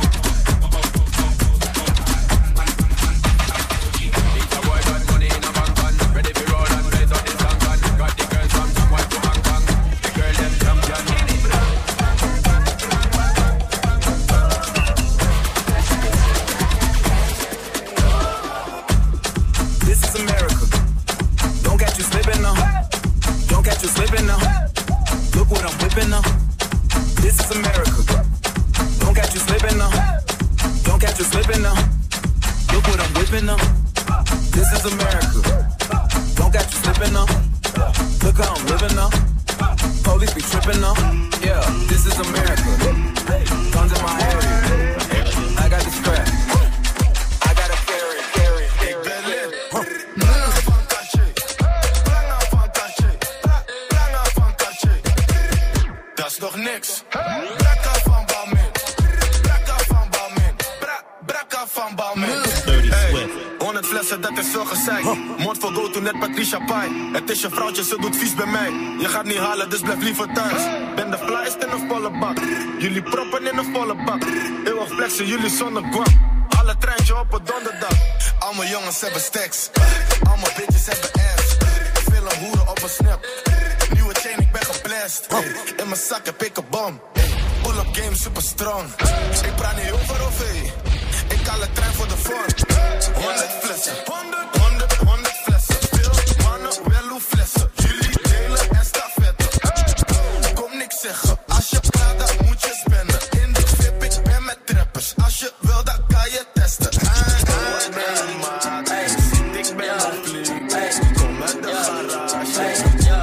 Money in a bank tripping now. Look how I'm living now. Police be tripping now. Yeah, this is America. Guns in my area. I got the strap. I gotta carry, carry, carry, carry. Dat is toch niks. Brakka van Balmin. Brakka van Balmin. Brakka van Balmin. Hey, honderd flessen, dat is veel gezeik. Mond vol go to net Patricia Pai. Het is je vrouwtje, ze doet vies bij mij. Je gaat niet halen, dus blijf liever thuis. Ben de flyest in een volle bak. Jullie proppen in een volle bak. Eeuwig flexen, jullie zonder guap. Alle treintje op een donderdag. Al mijn jongens hebben stacks. Al mijn bitches hebben ass. Veel een hoeren op een snap. Nieuwe chain, ik ben geblest. In mijn zak heb ik een bom. Pull-up game super strong. Ik praat niet over O V. Ik haal een trein voor de front. Honderd flessen. Honderd, honderd, honderd flessen. Veel mannen, wel hoe flessen. Jullie delen en stafetten. Kom niks zeggen. Als je praat, dan moet je spenden. In de VIP, ik ben met trappers. Als je wil, dan kan je testen. Ik ben een vlieg. Kom uit de garage.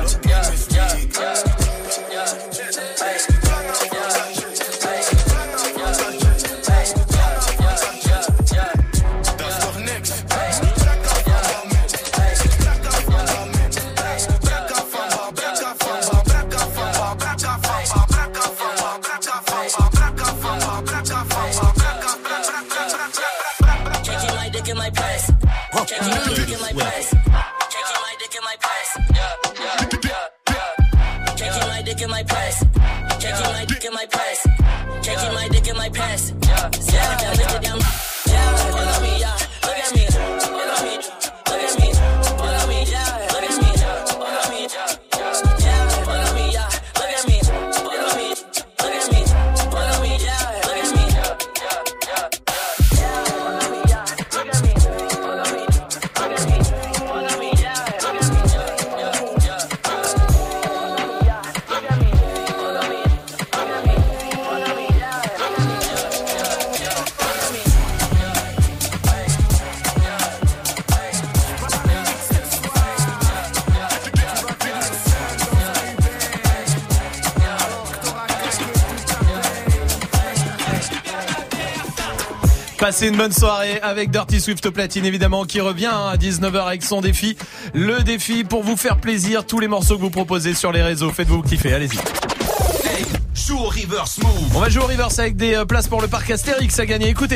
Passez une bonne soirée avec Dirty Swift au platine évidemment qui revient à dix-neuf heures avec son défi. Le défi pour vous faire plaisir, tous les morceaux que vous proposez sur les réseaux, faites-vous kiffer, allez-y. Hey, joue au reverse move. On va jouer au reverse avec des euh, places pour le parc Astérix à gagner, écoutez.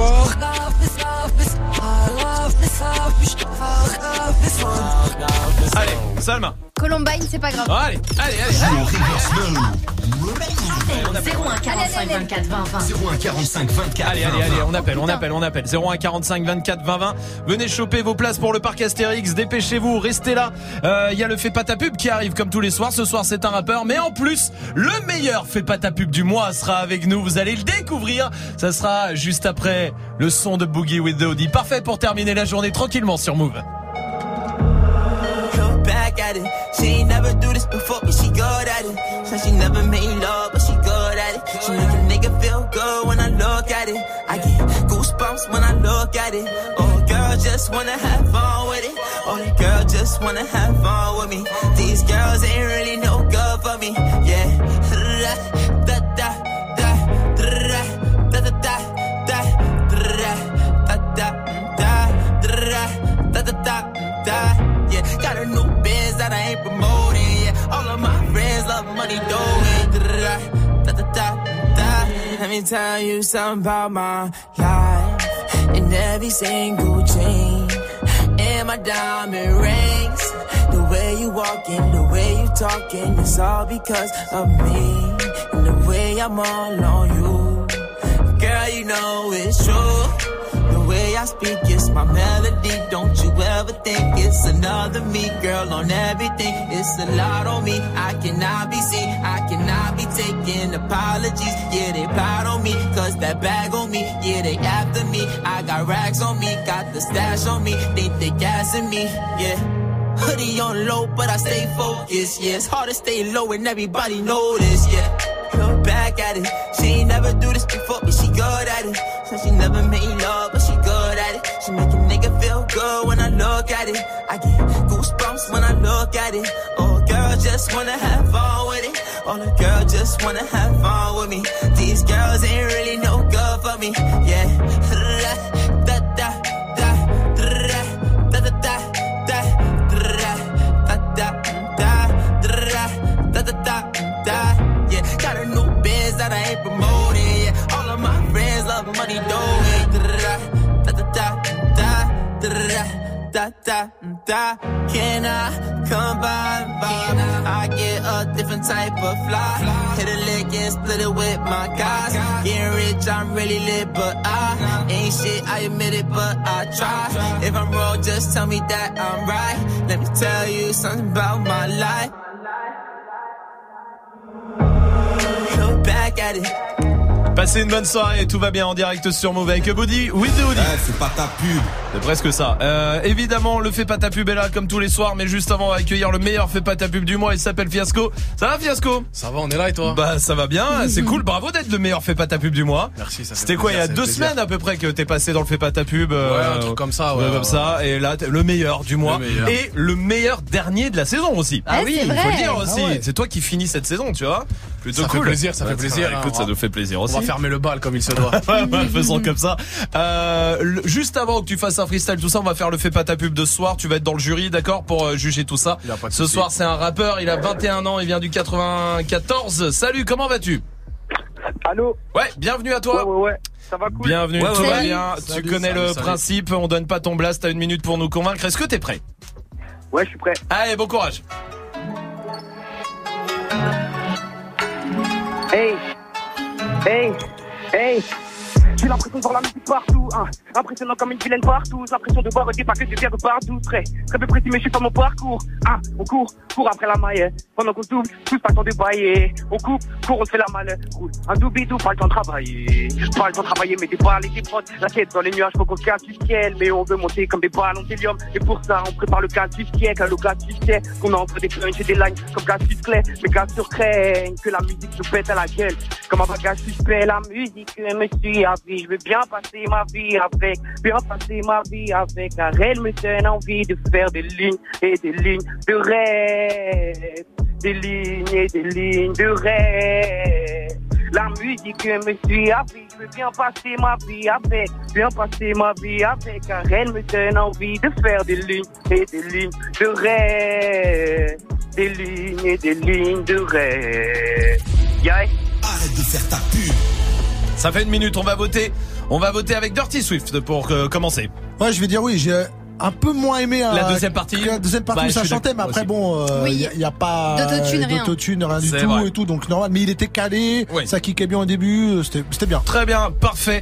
Allez, Salma. Columbine, c'est pas grave. Allez, allez, allez. Joue au reverse move. zéro un quarante-cinq vingt-quatre vingt vingt. zéro un quarante-cinq vingt-quatre. Allez, allez, allez, on appelle, on appelle, on appelle. zéro un quarante-cinq vingt-quatre vingt vingt. Venez choper vos places pour le parc Astérix. Dépêchez-vous, restez là. Il euh, y a le Fais pas ta pub qui arrive comme tous les soirs. Ce soir, c'est un rappeur. Mais en plus, le meilleur Fais pas ta pub du mois sera avec nous. Vous allez le découvrir. Ça sera juste après le son de Boogie with Dodie. Parfait pour terminer la journée tranquillement sur Move. Back at it. She ain't never do this before, but she good at it. Said she never made love, but she good at it. She make a nigga feel good when I look at it. I get goosebumps when I look at it. Oh, girl, just wanna have fun with it. Oh, the girl just wanna have fun with me. These girls ain't really no good for me. Yeah. Da da da da da da da da da da da da da da. Yeah, got a new biz that I ain't promoting. Yeah, all of my friends love money doing. Da, da, da, da, da. Let me tell you something about my life. In every single chain, and my diamond rings. The way you walking, the way you talking, it's all because of me. And the way I'm all on you, girl, you know it's true. The way I speak, it's my melody. Don't you ever think it's another me, girl, on everything. It's a lot on me. I cannot be seen. I cannot be taking apologies. Yeah, they proud on me, cause that bag on me. Yeah, they after me. I got racks on me, got the stash on me. Think they gassing me, yeah. Hoodie on low, but I stay focused, yeah. It's hard to stay low and everybody know this, yeah. Look back at it. She ain't never do this before, but she good at it. Said she never made love, but she good at it. She make a nigga feel good when I look at it. I get goosebumps goosebumps when I look at it. Oh, girl, just wanna have fun with it. Oh, the girl just wanna have fun with me. These girls ain't really no good for me. Yeah. Da da da da da da da da da da da da da da da. Yeah, got a new biz that I ain't promoting. Yeah, all of my friends love money doing. Da da da da da da da da. Can I come by? I get a different type of fly. Hit a lick and split it with my guys. Getting rich, I'm really lit, but I ain't shit. I admit it, but I try. If I'm wrong, just tell me that I'm right. Let me tell you something about my life. Look back at it. Passez une bonne soirée, tout va bien en direct sur Move avec Body with the Hoodie. Ouais, c'est pas ta pub. C'est presque ça. Euh, évidemment, le Fais pas ta pub est là comme tous les soirs, mais juste avant, on va accueillir le meilleur Fais pas ta pub du mois. Il s'appelle Fiasco. Ça va, Fiasco? Ça va, on est là et toi? Bah, ça va bien. C'est cool. Bravo d'être le meilleur Fais pas ta pub du mois. Merci. Ça fait C'était quoi, il y a deux plaisir. semaines à peu près que t'es passé dans le Fais pas ta pub. Ouais, euh, un truc comme ça. Ouais, ouais, ouais, comme ça. Et là, t'es le meilleur du mois. Le meilleur. Et le meilleur dernier de la saison aussi. Ah oui, il c'est faut vrai. le dire aussi. Ah ouais. C'est toi qui finis cette saison, tu vois. Plutôt Ça cool. fait plaisir, ça fait Ouais, plaisir. Écoute, hein. ça nous fait plaisir aussi. On va fermer le bal comme il se doit. Ouais, ouais, faisons comme ça. Euh, le- juste avant que tu fasses un freestyle, tout ça, on va faire le Fais pas ta pub de ce soir. Tu vas être dans le jury, d'accord, pour euh, juger tout ça. Y a pas de Ce souci. soir, c'est un rappeur. Il a vingt et un ans. Il vient du quatre-vingt-quatorze. Salut, comment vas-tu? Allô? Ouais, bienvenue à toi. Ouais, ouais, ouais. Ça va cool? Bienvenue, Ouais, tout ouais, va ouais. bien. Salut, tu connais salut, le salut. principe. On donne pas ton blast. T'as une minute pour nous convaincre. Est-ce que t'es prêt? Ouais, je suis prêt. Allez, bon courage. Hey! Hey! Hey! J'ai l'impression de voir la musique partout, hein. Impressionnant comme une vilaine partout. J'ai l'impression de voir des paquets de bière de partout. Très, très peu précis, mais je suis pas mon parcours. Hein, on court, court après la maille. Pendant qu'on double, tous pas le temps de bailler. On coupe, court, on se fait la malle. Roule un doubidou, pas le temps de travailler. Pas le temps de travailler, mais des balles et des prods. La tête dans les nuages, faut qu'on casse du ciel. Mais on veut monter comme des ballons d'hélium. Et pour ça, on prépare le cas du siècle. Le cas du siècle, qu'on envoie des punches et des lines comme gaz clé. Mais gaz sur craigne, que la musique nous pète à la gueule. Comme un bagage suspect, la musique me suit à vie. Je veux bien passer ma vie avec, bien passer ma vie avec. Car elle me donne envie de faire des lignes et des lignes de rêve. Des lignes et des lignes de rêve. La musique me suit à vie. Je veux bien passer ma vie avec, bien passer ma vie avec. Car elle me donne envie de faire des lignes et des lignes de rêve. Des lignes et des lignes de rêve. Yeah. Arrête de faire ta pub. Ça fait une minute. On va voter. On va voter avec Dirty Swift pour euh, commencer. Ouais, je vais dire oui, j'ai un peu moins aimé euh, La deuxième partie. que la deuxième partie Bah, où ça je suis chantait, mais d'accord après aussi. bon, il Oui. n'y a, y a pas D'autotune, rien. d'autotune, rien du C'est tout vrai. et tout, donc normal. Mais il était calé, Oui. ça kickait bien au début, euh, c'était c'était bien. Très bien, parfait.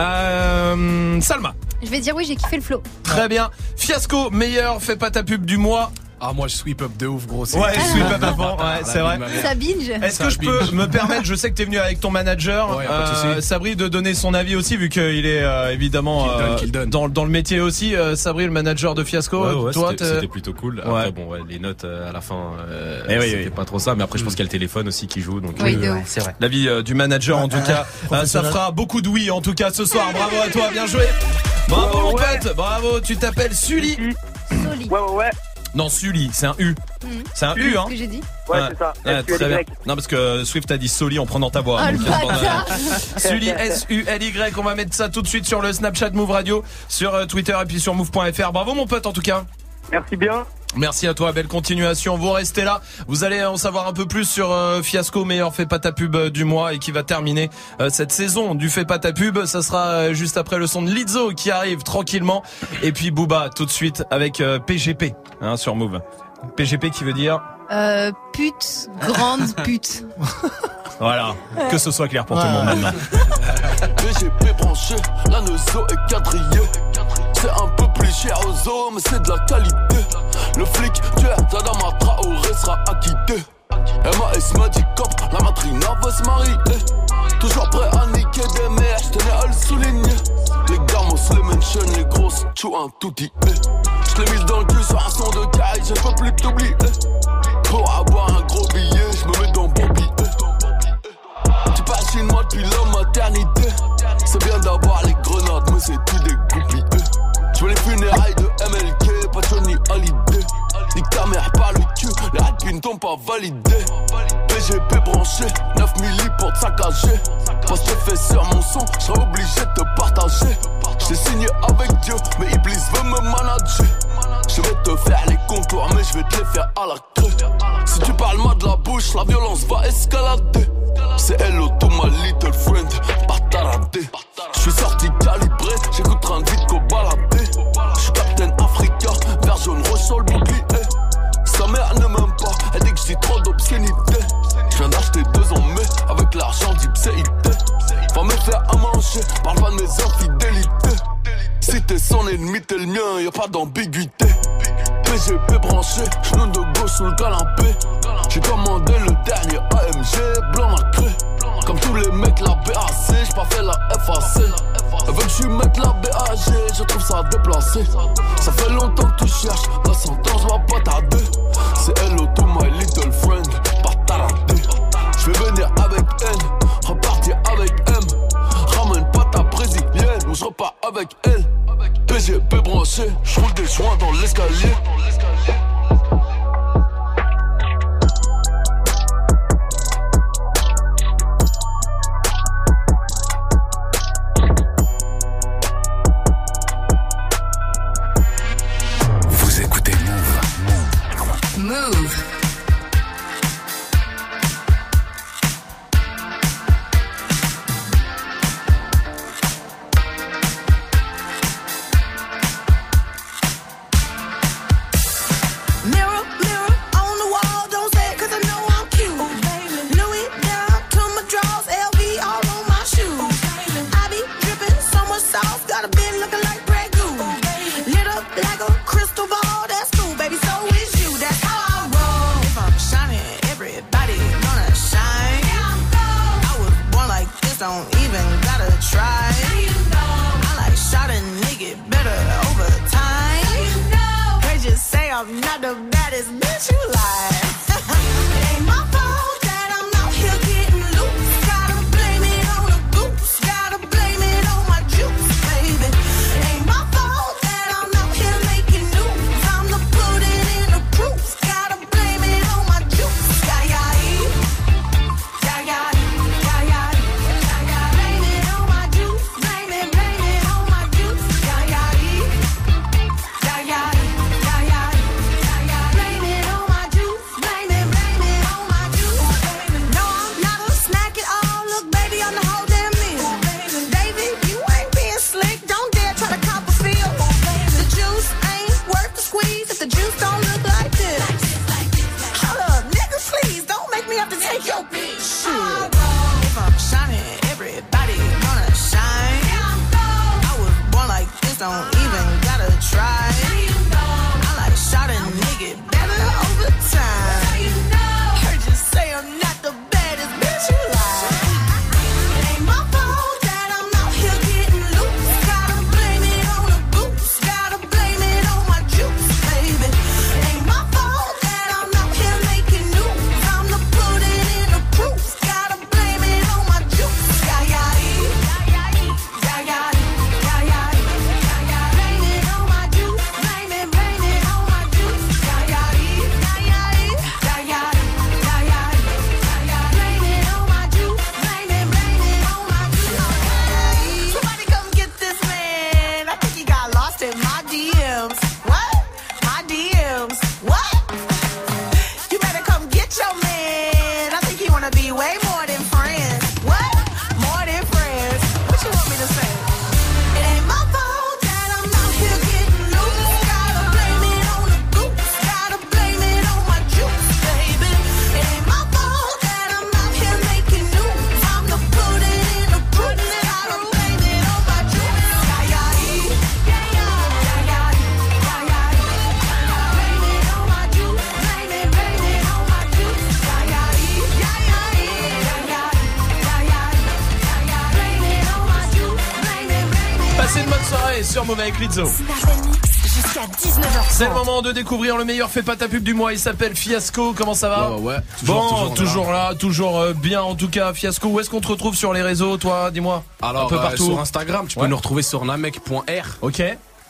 Euh, Salma. Je vais dire oui, j'ai kiffé le flow. Très bien. Fiasco, meilleur Fais pas ta pub du mois. Ah, moi je sweep up de ouf, gros. c'est- Ouais, sweep up avant, ouais, c'est vrai. Ça binge. Est-ce Ça que je peux binge. me permettre, je sais que t'es venu avec ton manager, Ouais, y a pas de euh, souci. Sabri, de donner son avis aussi, vu qu'il est euh, évidemment Qu'il donne, euh, qu'il donne. Dans, dans le métier aussi. Euh, Sabri, le manager de Fiasco, Ouais, ouais, toi, c'était, t'es- c'était plutôt cool. Après, Ouais. bon, ouais, les notes euh, à la fin, euh, Eh oui, c'était oui. pas trop ça. Mais après, je pense qu'il y a le téléphone aussi qui joue. Donc, Oui, euh, de Ouais, ouf. c'est vrai. l'avis euh, du manager en tout cas. Euh, ça Professionnel. fera beaucoup de oui en tout cas ce soir. Bravo à toi, bien joué. Bravo mon pote, bravo. Tu t'appelles Sully. Soli. Ouais, ouais, ouais. Non, Sully, c'est un U. Mhm. C'est un U, hein. Ce que j'ai dit. Ouais, c'est ça. Ouais, S U L Y. très bien. Non, parce que Swift a dit Sully en prenant ta voix. Oh, le Donc, euh, bâtard. Sully, S U L Y. On va mettre ça tout de suite sur le Snapchat Move Radio, sur euh, Twitter et puis sur move point f r. Bravo mon pote en tout cas. Merci bien. Merci à toi, belle continuation. Vous restez là. Vous allez en savoir un peu plus sur euh, Fiasco, meilleur Fais pas ta pub euh, du mois et qui va terminer euh, cette saison du Fais pas ta pub. Ça sera euh, juste après le son de Lizzo qui arrive tranquillement. Et puis Booba tout de suite avec euh, P G P hein, sur Move. P G P qui veut dire Euh, pute, grande pute. voilà, que ce soit clair pour tout le monde maintenant. P G P branché, la Neuzo est quadrillée. C'est un peu plus cher aux hommes, mais c'est de la qualité. Le flic, tu es Tadama Traoré sera acquitté. M A S m'a dit cop, la matrina veut se marier. Toujours prêt à niquer des mères, j'tenais à le souligner. Les gamos, les mentions, les grosses, tu un tout dit. J'l'ai mis dans le cul sur un son de caille, je peux plus t'oublier. Pour avoir un gros billet, j'me mets dans bon billet. Tu passes chez moi depuis la maternité. C'est bien d'avoir les grenades, mais c'est tout des goupilles. Je veux les funérailles de M L K, pas Johnny Hallyday. Ni mère par le cul, les Alpines t'ont pas validé. P G P branché, neuf milli pour te saccager. Poste fait sur mon son, j'serais obligé de te partager. J't'ai signé avec Dieu, mais Iblis veut me manager. Je vais te faire les contours, mais je vais te les faire à la creux. Si tu parles mal de la bouche, la violence va escalader. C'est hello to my little friend, pas taradé. J'suis sorti calibré, j'écoute train de vite qu'au baladé. J'suis Captain Africa, vert jaune rouge sur le bouclier. Sa mère ne m'aime pas, elle dit que j'dis trop d'obscénité. J'viens d'acheter deux en mai, avec l'argent d'Ipséité. Va me faire à manger, parle pas de mes infidélités. Si t'es son ennemi, t'es le mien, y'a pas d'ambiguïté. P G P branché, genou de gauche sous le canapé. J'ai commandé le dernier A M G, blanc nacré. Comme tous les mecs, la B A C, j'ai pas fait la F A C. Elle veut que je mette la B A G, je trouve ça déplacé. Ça fait longtemps que tu cherches, la sentence va pas tarder. C'est hello to my little friend, pas taradé. Je vais venir avec N, repartir avec M. Ramène pas ta brésilienne, ou je repars avec elle. P G P branché, je roule des joints dans l'escalier. Vous écoutez Move. Move. Don't even gotta try. You know. I like shot a nigga better over time. You know. They just say I'm not the baddest bitch you like. It ain't my fault that I'm out here getting loose. Gotta blame it on the goose. Gotta blame it on my juice, baby. It ain't my fault that I'm out here making news. I'm the pudding in the proof. Gotta blame it on my juice. Yeah, yeah, yeah, yeah, yeah. Take your bitch. Shit. If I'm shining, everybody gonna shine. I was born like this, don't even gotta try. I like shot a nigga better over time. Heard you say I'm not the baddest bitch you like. It ain't my fault that I'm out here getting loose. Gotta blame it on the goose. Gotta blame it on my juice, baby. It ain't my fault that I'm out here making news. I'm the pudding in the proof. Gotta blame it on my juice. Yeah, yeah, yeah, yeah, yeah, yeah, yeah, yeah. Blame it on my juice. Blame it, blame it on my juice. Yeah, yeah, yeah, yeah, yeah, yeah, yeah, yeah. Blame it on my juice. Blame it, blame it on my juice. Somebody come get this man. I think he got lost in my D Ms. What? My D Ms. What? You better come get your man. I think he wanna be way more than friends. What? More than friends. What you want me to say? It ain't my fault that I'm out here getting loose. Gotta blame it on the goose. Gotta blame it on my juice, baby. It ain't my fault that I'm out here making news. I'm the pudding in the proof. Gotta blame it on my juice. Yeah, yeah, yeah, yeah, yeah, yeah, yeah, yeah. Blame it on my juice. Blame it, blame it on my juice. Yeah, yeah, yeah, yeah, yeah, yeah, yeah, yeah. Blame it on my juice. Blame it, blame it. Passez une bonne soirée sur Move avec Lizzo. Jusqu'à dix-neuf heures. C'est le moment de découvrir le meilleur fait pas ta pub du mois. Il s'appelle Fiasco. Comment ça va? Ouais, ouais, ouais. Toujours, Toujours, bon, toujours toujours là, toujours euh, bien en tout cas. Fiasco, où est-ce qu'on te retrouve sur les réseaux, toi? Dis-moi. Alors, un peu euh, partout. sur Instagram, tu Ouais. peux nous retrouver sur namek point r. Ok.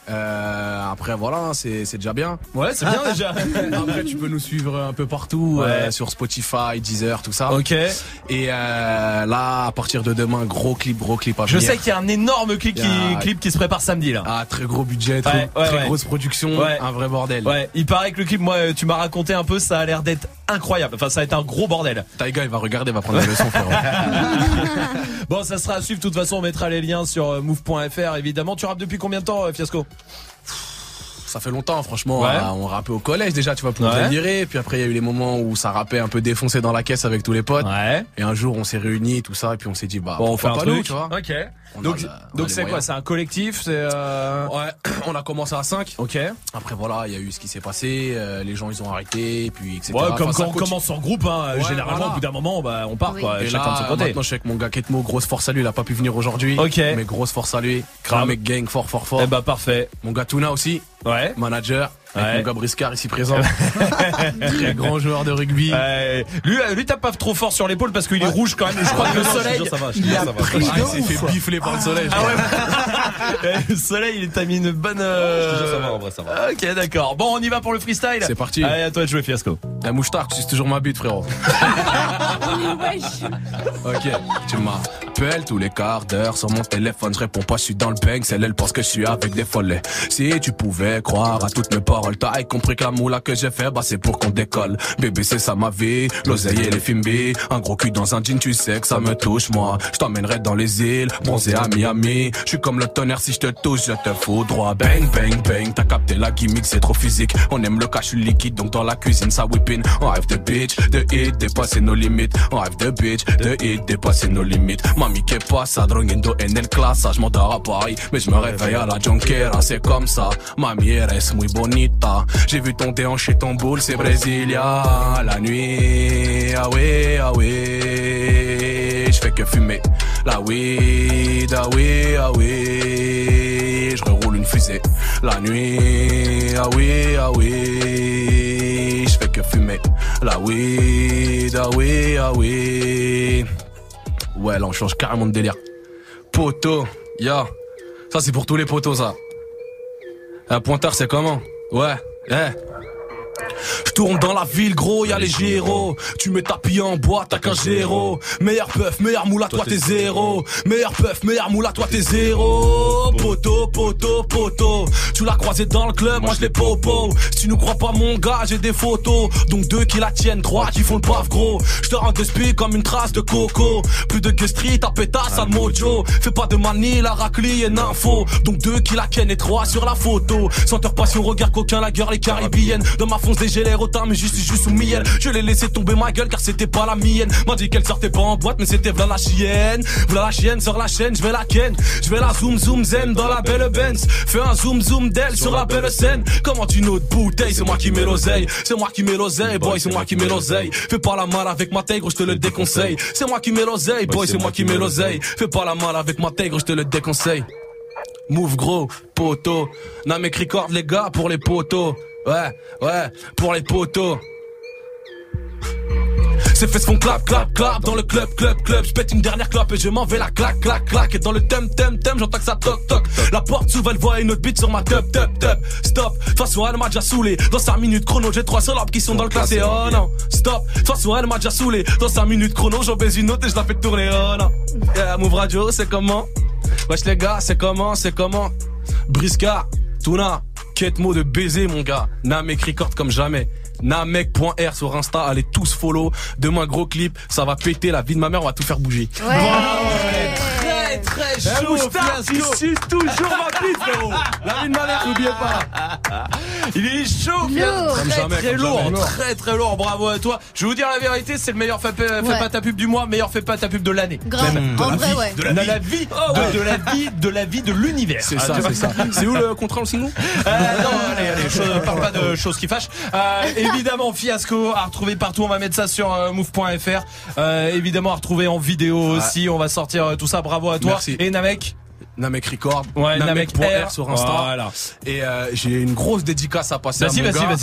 Euh, après voilà, c'est c'est déjà bien. Ouais, c'est bien déjà. Après tu peux nous suivre un peu partout, ouais. euh, sur Spotify, Deezer, tout ça. Ok. Et euh, là, à partir de demain, gros clip, gros clip à Je venir. sais qu'il y a un énorme clip, a... qui, clip qui se prépare samedi là. Ah, très gros budget, très, ouais, ouais, très ouais. grosse production, ouais. un vrai bordel. Ouais, il paraît que le clip, moi, tu m'as raconté un peu, ça a l'air d'être incroyable. Enfin, ça va être un gros bordel. Taiga, il va regarder, il va prendre la leçon, frérot. Bon, ça sera à suivre. De toute façon, on mettra les liens sur move point f r. Évidemment, tu rappes depuis combien de temps, Fiasco? Ça fait longtemps, franchement. Ouais. Euh, on rappait au collège déjà, tu vois, pour ouais. délirer. Puis après, il y a eu les moments où ça rappait un peu défoncé dans la caisse avec tous les potes. Ouais. Et un jour, on s'est réunis, tout ça, et puis on s'est dit, bah, bon, on fait un pas truc. Nous, tu vois. Ok. On donc, a, on donc a c'est quoi? C'est un collectif? C'est euh... Ouais. On a commencé à cinq. Ok. Après, voilà, il y a eu ce qui s'est passé. Euh, les gens, ils ont arrêté, puis et cetera. Ouais, comme enfin, quand on commence en groupe, hein, ouais, généralement, voilà. au bout d'un moment, bah, on part, oui. quoi. Et chacun là, de son côté. Maintenant, je suis avec mon gars Ketmo, grosse force à lui. Il a pas pu venir aujourd'hui. Ok. Mais grosse force à lui. Grave. Mec gang, fort, fort, fort. Eh bah, parfait. Mon gars Tuna aussi. Ouais. Manager. Avec ouais. mon gars Briscard ici présent. Très grand joueur de rugby. Ouais. Lui, lui tape pas trop fort sur l'épaule parce qu'il est rouge quand même. Je crois que le soleil. Ça va, il a ça va. pris Ah, il s'est fait bifler par le soleil. Ah ouais. Le soleil, il t'a mis une bonne. Euh... Je te jure, ça va, en vrai, ça va. Ok, d'accord. Bon, on y va pour le freestyle. C'est parti. Allez, à toi de jouer, Fiasco. La mouchetard, tu suces toujours ma bite, frérot. Ok, tu m'appelles tous les quarts d'heure sur mon téléphone. Je réponds pas, je suis dans le bang. C'est elle pense que je suis avec des follets. Si tu pouvais croire à toutes mes paroles, t'as compris que la moula que j'ai fait, bah c'est pour qu'on décolle. Bébé, c'est ça ma vie. L'oseille et les films B. Un gros cul dans un jean, tu sais que ça me touche, moi. Je t'emmènerai dans les îles, bronzé à Miami. Je suis comme le tonnerre, si je te touche, je te fous droit. Bang, bang, bang. T'as capté la gimmick, c'est trop physique. On aime le cash, je suis liquide, donc dans la cuisine, ça whipping. On rêve de bitch, de hit, dépasser nos limites. On rêve de bitch, de hit, dépasser nos limites. Mami, que pasa, droguendo en el classe. Je m'endors à Paris, mais je me réveille à la Jonquera. C'est comme ça, mami, eres muy bonita. J'ai vu ton déhanché, ton boule, c'est Brasilia. La nuit, ah oui, ah oui. Je fais que fumer la weed, ah oui, ah oui. Je reroule une fusée. La nuit, ah oui, ah oui. Je fais que fumer la weed, ah oui, ah oui. Ouais, là on change carrément de délire. Poteau, ya. Yeah. Ça c'est pour tous les poteaux, ça. Un pointeur, c'est comment? Ouais, eh. Hey. Je tourne dans la ville, gros, y'a les gyros. Tu mets ta pille en boîte, t'as qu'un géro. Meilleur puff, meilleur moula, toi t'es zéro. Meilleur puff, meilleur moula, toi t'es zéro. Poto, poto, poto. Tu l'as croisé dans le club, moi je l'ai popo. Si tu nous crois pas, mon gars, j'ai des photos. Donc deux qui la tiennent, trois qui font le paf, gros. Je te rends de spi comme une trace de coco. Plus de guest street, ta pétasse, à mojo. Fais pas de manie, la raclie et info. Donc deux qui la ken et trois sur la photo. Senteur passion, regard coquin, la gueule, les caribéennes. Dans ma fonce des j'ai l'air autant mais juste juste sous miel. Je l'ai laissé tomber ma gueule car c'était pas la mienne. M'a dit qu'elle sortait pas en boîte mais c'était v'là la chienne. V'là la chienne sur la chaîne, je vais la ken. Je vais la zoom zoom zen dans la belle Benz. Fais un zoom zoom d'elle sur la belle scène. Comment tu notes bouteille, c'est moi qui mets l'oseille. C'est moi qui mets l'oseille, boy, c'est moi qui mets l'oseille. Fais pas la mal avec ma tègre, je te le déconseille. C'est moi qui mets l'oseille, boy, c'est moi qui mets l'oseille. Fais pas la mal avec ma tègre, je te le déconseille. Move gros, poteau. Namek record les gars pour les poteaux. Ouais, ouais, pour les poteaux. Ces fesses font clap, clap, clap dans le club, club, club. Je pète une dernière clope et je m'en vais la clac, clac, clac. Et dans le thème, thème, thème, j'entends que ça toc, toc. La porte s'ouvre, elle voit une autre bite sur ma top, top, top. Stop, de toute façon elle m'a déjà saoulé. Dans cinq minutes chrono, j'ai trois salopes qui sont dans le classé. Oh non, stop, de toute façon elle m'a déjà saoulé. Dans cinq minutes chrono, j'en baise une autre et je la fais tourner. Oh non. Yeah, Move Radio, c'est comment? Wesh les gars, c'est comment, c'est comment? Briscard, Tuna. Ketmo de baiser mon gars. Namek record comme jamais. Namek.r sur Insta, allez tous follow. Demain gros clip, ça va péter la vie de ma mère, on va tout faire bouger. Ouais, ouais. Très très chaud, Fiasco. Il suce toujours ma bite, frérot. La vie de ma mère, n'oubliez pas. Il est chaud, Fiasco. Très jamais, très lourd, jamais. très très lourd. Bravo à toi. Je vais vous dire la vérité, c'est le meilleur fait, fait Ouais. pas ta pub du mois, meilleur fait pas ta pub de l'année. Grave. Même. En vrai, ouais. De la vie, de la vie, Oh, ouais. de, de la vie, de la vie de l'univers. C'est Ah, ça, tu vois. c'est ça. C'est où le contrat au single? Euh, non, allez, allez, je parle pas de choses qui fâchent. Euh, évidemment, Fiasco à retrouver partout. On va mettre ça sur euh, move point f r. Euh, évidemment, à retrouver en vidéo aussi. On va sortir euh, tout ça. Bravo à toi. Merci. Et Namek. Namek Record, Ouais, Namek.r Namek.r sur Insta. Voilà. Et euh, j'ai une grosse dédicace à passer à Vas-y, mon vas-y, gars. vas-y.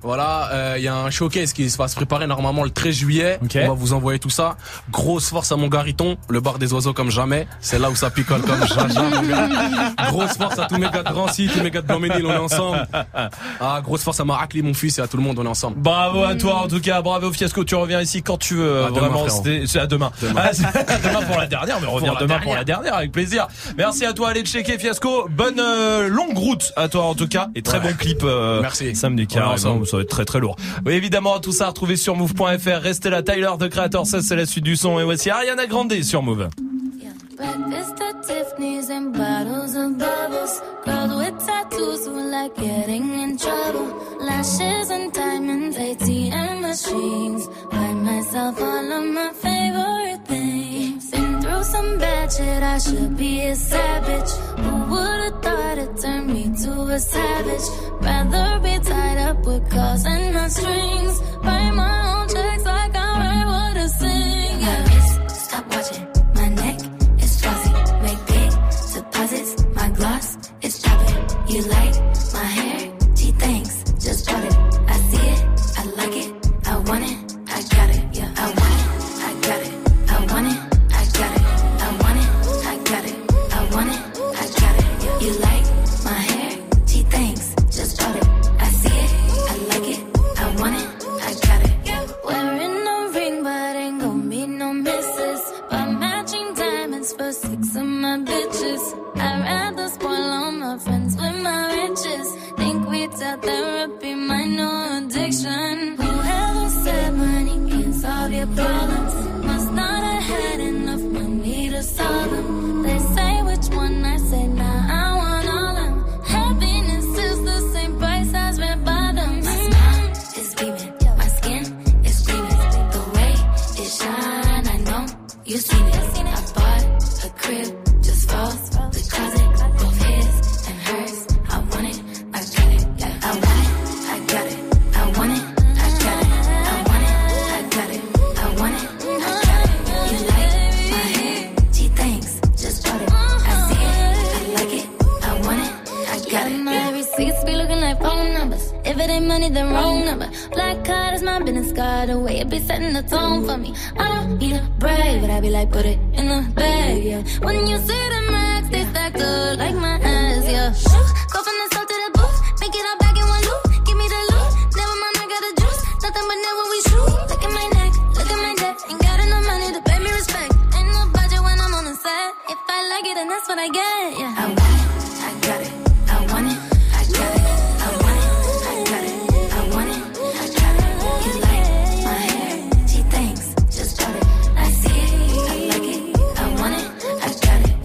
Voilà, il euh, y a un showcase qui va se préparer normalement le treize juillet. Okay. On va vous envoyer tout ça. Grosse force à mon Gariton, le bar des oiseaux comme jamais. C'est là où ça picole comme jaja, mon gars. Grosse force à tous mes gars de Drancy, tous mes gars de Blanc-Ménil, on est ensemble. Ah, grosse force à Maracli, mon fils, et à tout le monde, on est ensemble. Bravo à toi, en tout cas, bravo Fiasco, tu reviens ici quand tu veux. À vraiment, demain, c'est à demain. Demain. Ah, demain pour la dernière, mais reviens demain dernière. pour la dernière, avec plaisir. Merci à toi, allez checker Fiasco. Bonne euh, longue route à toi en tout cas, et très ouais. bon clip. Euh, Merci. Samedi car ça va être très très lourd. Oui, évidemment, tout ça retrouvé sur move point f r. Restez là, Tyler de Creator, ça c'est la suite du son. Et voici Ariana Grande sur Move. Breakfast at Tiffany's and bottles of bubbles. Girls with tattoos who like getting in trouble. Lashes and diamonds, A T M machines. Buy myself all of my favorite things. Been through some bad shit, I should be a savage. Who would've thought it turned me to a savage? Rather be tied up with calls and not strings. Write my own checks like I write what I sing. Yeah. My wrist, stop watching. My neck is fuzzy. Make big deposits. My gloss is popping. You like my hair? Gee, thanks. Just bought it. I see it. I like it. I want it. I got it. Yeah. I want it. I got it. I want it. I got it. I want it. I got it. I want it. I got it. Yeah. You like my hair? Gee, thanks. Just bought it. I see it. I like it. I want it. I got it. Yeah. Wearing a ring, but ain't gon' be no misses. But matching diamonds for six of my bitches. I'd rather spoil all my friends with my riches. Think we tell therapy my new addiction. Whoever said money can solve your problems must not have had enough money to solve them. They say which one, I say nah, I want all them. Happiness is the same price as red bottoms. My smile is beaming, my skin is gleaming. The way it shine, I know you seen it. I bought a crib just for the closet, both his and hers. I want it, I got it, yeah. I want it, I got it. I want it, I got it. I want it, I got it. I want it, I got it. You like my hair? Gee, thanks, just bought it. I see it, I like it. I want it, I got it. My receipts be looking like phone numbers. If it ain't money, then wrong number. Black card is my business card. The way it be setting the tone for me. I don't need a brag, but I be like, put it in the bag, yeah. When you see the max, they stacked up like my ass, yeah. Go from the south to the booth, make it all back in one loop. Give me the loot, never mind, I got the juice. Nothing but never we shoot. Look at my neck, look at my debt. Ain't got enough money to pay me respect. Ain't no budget when I'm on the set. If I like it, then that's what I get, yeah. I want it, I got it. I want it, I got it. I want it, I got it. I want it, I got it. You like my hair? Gee, thanks, just bought it. I see it, I like it. I want it, I got it.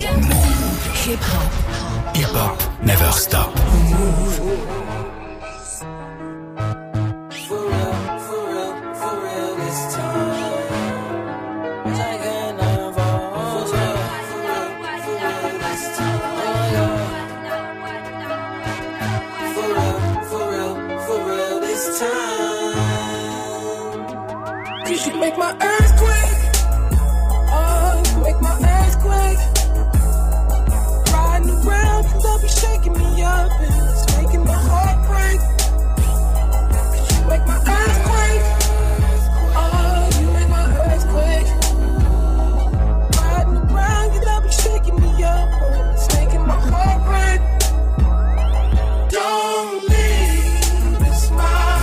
Hip hop. Hip hop never stop. You make my earthquake. Oh, you make my earthquake. Riding around, cause I'll be shaking me up and it's making my heart break. Cause you make my earthquake. Oh, you make my earthquake. Riding around, cause I'll be shaking me up and it's making my heart break. Don't leave, it's my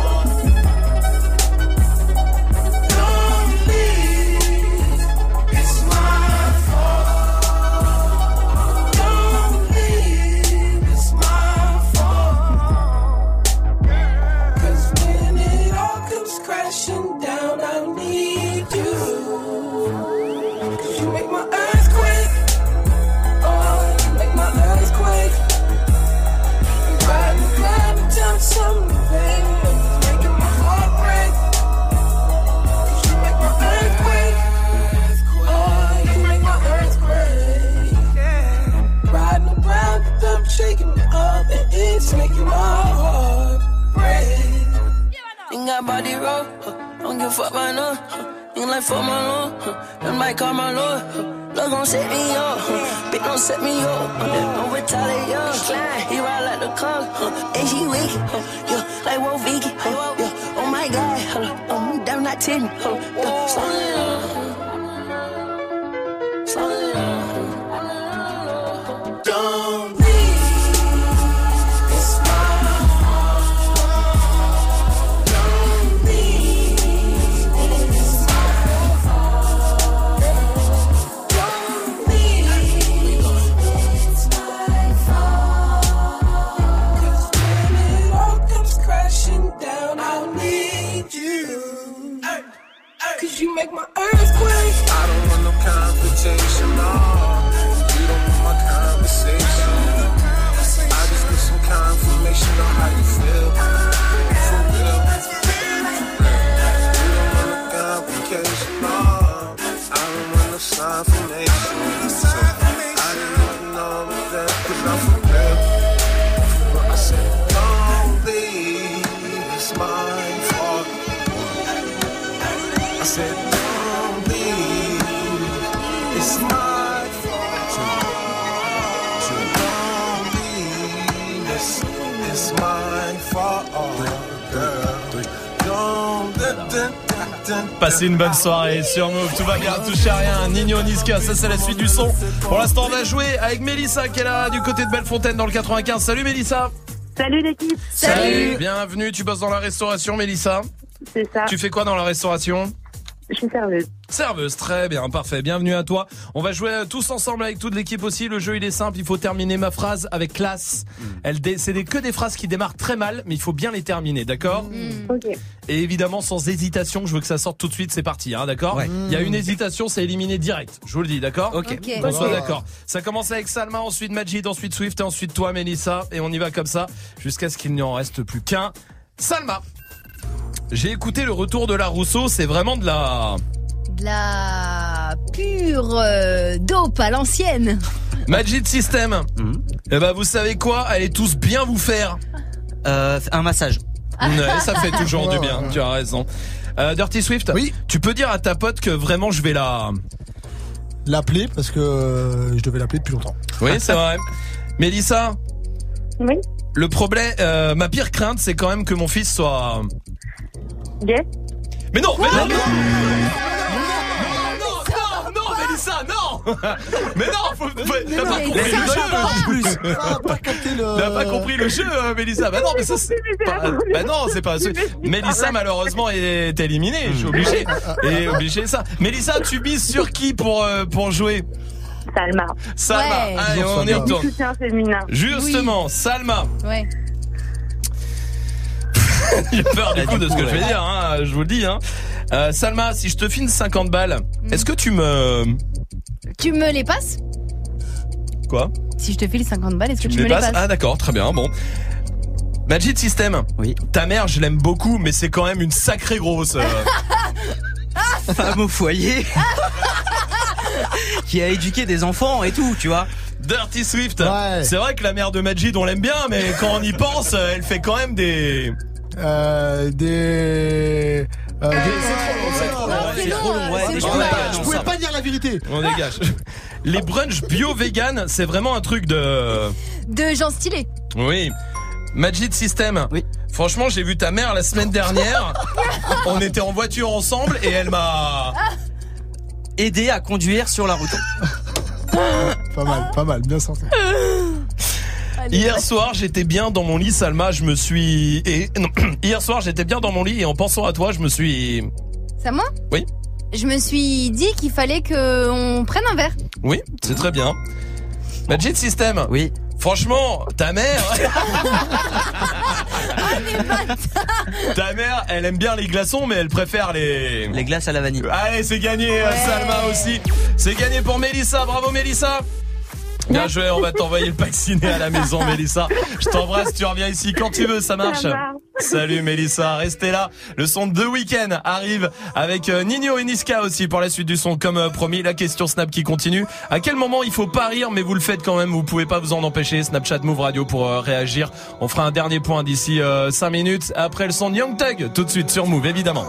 shaking me up and it's making my heart break. Think I body roll, huh? Don't give a fuck by no. Huh? Think like fuck my lord, huh? Them might call my lord. Huh? Love gon' set me up, huh? Bitch don't set me up. Huh? Don't retaliate, huh? He ride like the car, huh? And she weak, huh? Yeah. like whoa, Vicky. Oh, yeah. Oh my God, hold up. Oh, damn, not ten. Hold up. Yeah. Slow down. Slow down. Don't leave. It's my fault. Don't leave. It's my fault. Don't leave. It's my fault. 'Cause when it all comes crashing down, I'll need you. Hey, hey. 'Cause you make my earthquake. I don't want no confrontation, no. You don't want my conversation. I just need some confirmation on how you feel. For real. You don't want no complication, no. I don't want no confirmation. So I didn't even know that, 'cause I'm for real. But I said, don't leave, it's my fault. I said, don't leave, it's my fault. Don't leave, it's, it's my fault, girl. Don't, dun, dun, dun, Passez une bonne soirée sur Move, tout va bien, touchez à rien. Nino Niska, ça c'est la suite du son. Pour l'instant, on va jouer avec Mélissa qui est là du côté de Bellefontaine dans le quatre-vingt-quinze. Salut Mélissa. Salut l'équipe. Salut. Bienvenue, tu bosses dans la restauration Mélissa. C'est ça. Tu fais quoi dans la restauration? Je suis serveuse. Serveuse, très bien, parfait, bienvenue à toi. On va jouer tous ensemble avec toute l'équipe aussi. Le jeu il est simple, il faut terminer ma phrase avec classe. Elle dé- c'est des, que des phrases qui démarrent très mal, mais il faut bien les terminer, d'accord? Mmh. Ok. Et évidemment sans hésitation, je veux que ça sorte tout de suite, c'est parti, hein, d'accord? Ouais. Il y a une hésitation, c'est éliminé direct, je vous le dis, d'accord? Ok. Ok. On soit Ok. d'accord. Ça commence avec Salma, ensuite Majid, ensuite Swift et ensuite toi Mélissa. Et on y va comme ça, jusqu'à ce qu'il n'y en reste plus qu'un. Salma, j'ai écouté le retour de la Rousseau, c'est vraiment de la... De la pure euh, dope à l'ancienne. Magic System. Mhm. Eh ben vous savez quoi? Allez tous bien vous faire. Euh, un massage. Ouais, ça fait toujours du bien, tu as raison. Euh, Dirty Swift, Oui. tu peux dire à ta pote que vraiment je vais la... L'appeler parce que euh, je devais l'appeler depuis longtemps. Oui, c'est vrai. Mélissa, Oui. le problème, euh, ma pire crainte, c'est quand même que mon fils soit... Gay. Mais non, mais non, mais non, non, non, non, Mélissa, non. Mais non, faut, faut, t'as pas mais compris ça, le jeu. Ça a pas capté le. T'as pas compris le jeu, euh, Mélissa. Bah non, mais ça, c'est pas, bah non, c'est pas. Mélissa, malheureusement, est éliminée. Je suis obligé. Et obligé de ça. Mélissa, tu mises sur qui pour euh, pour jouer? Salma. Salma. Ouais. Allez, Toujours on y Salma. Du retourne. soutien féminin. Justement, Salma. Ouais. J'ai peur du coup de ce que je vais dire, hein, je vous le dis. Hein. Euh, Salma, si je te file cinquante balles, est-ce que tu me... Tu me les passes? Quoi? Si je te file cinquante balles, est-ce que tu, me me les passes? Ah d'accord, très bien, bon. Magic System. Oui. Ta mère, je l'aime beaucoup, mais c'est quand même une sacrée grosse. euh. Femme au foyer. Qui a éduqué des enfants et tout, tu vois. Dirty Swift. Ouais. C'est vrai que la mère de Majid, on l'aime bien, mais quand on y pense, elle fait quand même des... Euh, des. Euh, des... C'est trop long, Non, c'est c'est trop long, long. ouais, On c'est dégage, long. Je on pouvais sort. pas dire la vérité. On dégage. Les brunchs bio-vegan, c'est vraiment un truc de... De gens stylés. Oui. Magic System. Oui. Franchement, j'ai vu ta mère la semaine dernière. On était en voiture ensemble et elle m'a... Aider à conduire sur la route. Pas mal, pas mal, bien sorti. Allez, Hier ouais. soir, j'étais bien dans mon lit, Salma, je me suis... Et... Non, hier soir, j'étais bien dans mon lit et en pensant à toi, je me suis... C'est à moi? Oui. Je me suis dit qu'il fallait qu'on prenne un verre. Oui, c'est très bien. Magic System. Oui. Franchement, ta mère... Ta mère, elle aime bien les glaçons, mais elle préfère les... Les glaces à la vanille. Allez, c'est gagné, ouais. Salma aussi. C'est gagné pour Mélissa. Bravo, Mélissa. Bien joué, on va t'envoyer le pack ciné à la maison, Mélissa. Je t'embrasse, tu reviens ici quand tu veux, ça marche. Ça marche. Salut Mélissa, restez là. Le son de The Weeknd arrive avec euh, Nino et Niska aussi pour la suite du son. Comme euh, promis, la question Snap qui continue. À quel moment il faut pas rire, mais vous le faites quand même, vous pouvez pas vous en empêcher. Snapchat Move Radio pour euh, réagir. On fera un dernier point d'ici euh, cinq minutes. Après le son de Young Thug, tout de suite sur Move, évidemment.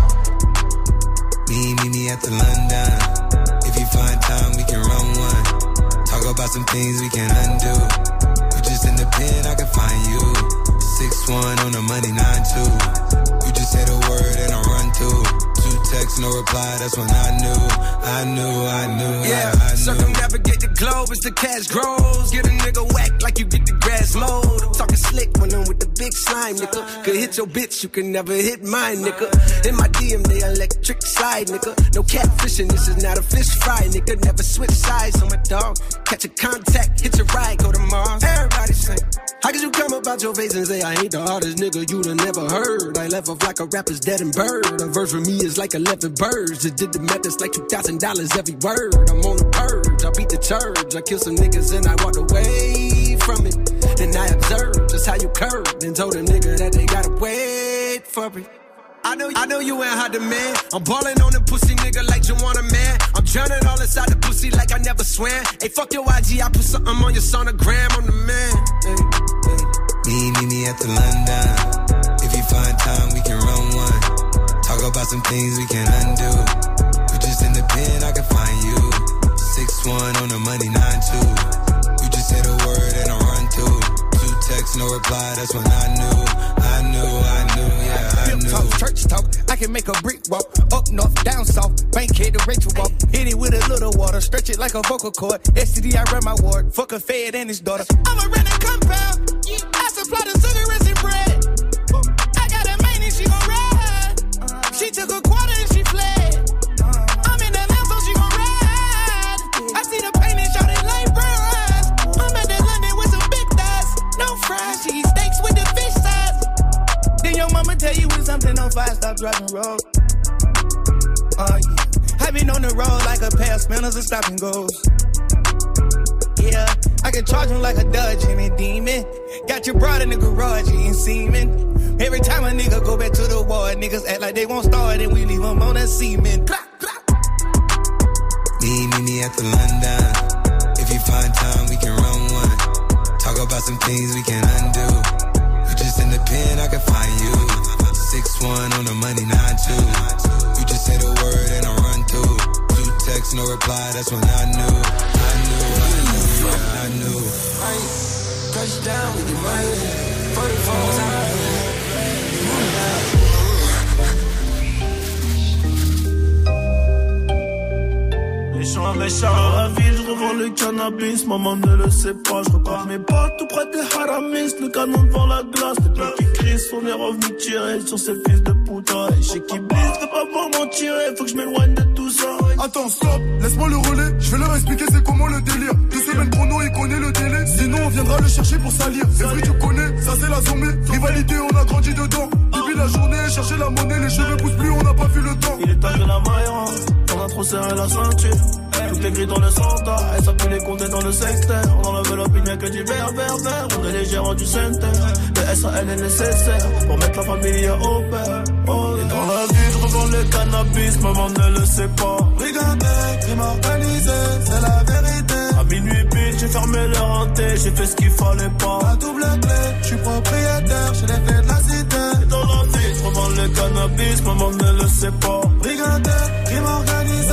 Me, me, me at the London. If you find time, we can run one. Talk about some things we can undo. You just in the pen, I can find you. six one on the money, nine two. You just say the word and I run through. Two texts, no reply, that's when I knew. I knew, I knew, yeah, I, I knew. Circumnavigate the globe as the cash grows. Get a nigga whack like you get the grass mowed. I'm talking slick when I'm with the big slime, nigga. Could hit your bitch, you can never hit mine, nigga. In my D M, they electric slide, nigga. No catfishing, this is not a fish fry, nigga. Never switch sides on my dog. Catch a contact, hit your ride, go to Mars. Everybody sing. How could you come about your face and say I ain't the hardest nigga you'd have never heard? I left off like a rapper's dead and bird. A verse for me is like eleven birds. Just did the math, it's like two thousand dollars every word. I'm on the purge, I beat the church. I killed some niggas and I walked away from it. Then I observed just how you curved and told a nigga that they gotta wait for it. I know, I know you ain't hot demand. I'm ballin' on the pussy nigga like you want a man. I'm drowning all inside the pussy like I never swam. Hey, fuck your I G, I put something on your sonogram. I'm the man. Hey, hey. Me, me, me at the London. If you find time, we can run one. Talk about some things we can undo. You just in the pen, I can find you. six one on the money, nine two. You just say the word and I run through. Two texts, no reply, that's when I knew. I knew, I knew, yeah, I knew. Talk, church talk, I can make a brick walk. Up north, down south, Bankhead to Rachel walk. Hit it with a little water, stretch it like a vocal cord. S T D, I run my ward, fuck a fed and his daughter. I'm a rent a compound, I supply the cigarettes and bread. I got a main and she gon' ride. She took a quarter and she fled. I'm in the lamb so she gon' ride. I see the pain and shot it like bronze. I'm at that London with some big thighs. No fries, she eat steaks with the fish size. Then your mama tell you when something on fire, stop driving road. Uh, yeah. I been on the road like a pair of spinners and stop and goes. Yeah, I can charge him like a Dodge and a demon. Got your broad in the garage, you ain't semen. Every time a nigga go back to the war, niggas act like they won't start and we leave them on that semen. Me, me, me at the London. If you find time, we can run one. Talk about some things we can undo. You just in the pen, I can find you. six one on the money, nine two. You just say the word and I run through. Two texts, no reply, that's when I knew. I knew, I knew, yeah, I knew. Touch down with your money. forty-four times. Méchant, méchant, à la ville, je revends le cannabis, maman ne le sait pas, je repars mes potes tout près des haramis, le canon devant la glace, les blocs qui crient, on est revenu tirer sur ces fils de putain, et chez qui blisse, fais pas pour m'en tirer, faut que je m'éloigne de tout ça. Attends, stop, laisse-moi le relais, je vais leur expliquer c'est comment le délire. Deux semaines chrono, il connaît le délai, sinon on viendra le chercher pour salir. C'est vrai, tu connais, ça c'est la zombie, rivalité, on a grandi dedans. Depuis la journée, chercher la monnaie, les cheveux poussent plus, on n'a pas vu le temps. Il est temps de la maillera, on a trop serré la ceinture. Toutes les grilles dans le centre, et ça peut les compter dans le secteur. On enlève l'opinion que du vert, vert, vert. On est les gérants du centre. Le S A L est nécessaire pour mettre la famille au père. Oh, et dans la vie, je revends le cannabis, maman ne le sait pas. Brigandais, crime organisé, c'est la vérité. À minuit pile, j'ai fermé leur hanté, j'ai fait ce qu'il fallait pas. La double clé, je suis propriétaire, j'ai les clés de la cité. Et dans la vie, je revends le cannabis, maman ne le sait pas. Brigandais, crime organisé.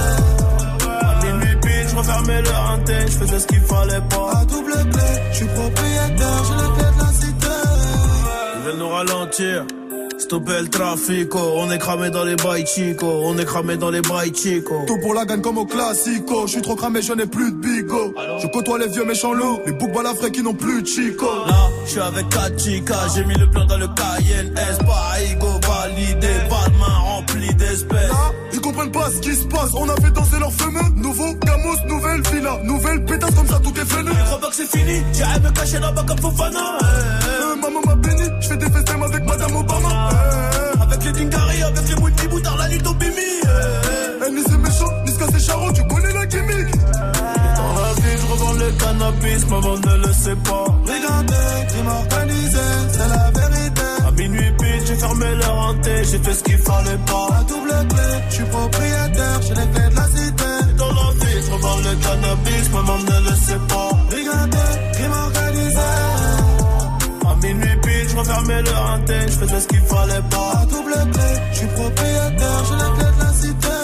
Je refermais le hanté, je faisais ce qu'il fallait pas. À double clé, je suis propriétaire, j'ai les clés de la cité. Ils veulent nous ralentir, stopper le trafico. On est cramé dans les bails chico, on est cramé dans les bails chico. Tout pour la gagne comme au classico. Je suis trop cramé, je n'ai plus de bigo. Je côtoie les vieux méchants loups, les boucs balafrés qui n'ont plus de chico. Là, je suis avec quatre chicas, j'ai mis le plan dans le Cayenne S. Parigo validé, pas de main remplie d'espèces. Ils comprennent pas ce qui se passe, on a fait danser leurs fameux. Nouveau Gamos, nouvelle villa, nouvelle pétasse comme ça tout est fenu. Je crois pas que c'est fini, j'irai me cacher là-bas comme Fofana. Euh, maman m'a béni, je fais des festins avec Madame Obama. Euh, avec les Dingari, avec les multi-boutards, la nuit au Bimi. Euh, ni c'est méchant, ni ce c'est charron, tu connais la gimmick. Dans la vie, je revends le cannabis, maman ne le sait pas. Brigandais, crime organisé, c'est la vérité. À minuit pile, j'ai fermé leur hanté, j'ai fait ce qu'il fallait pas. À double clé, je suis propriétaire, j'ai les clés de la cité. Dans la vie, je revends le cannabis, maman ne le sait pas. Brigandais, crime organisé. À minuit pile, je refermais le hanté, je faisais ce qu'il fallait pas. À double clé, je suis propriétaire, j'ai les clés de la cité.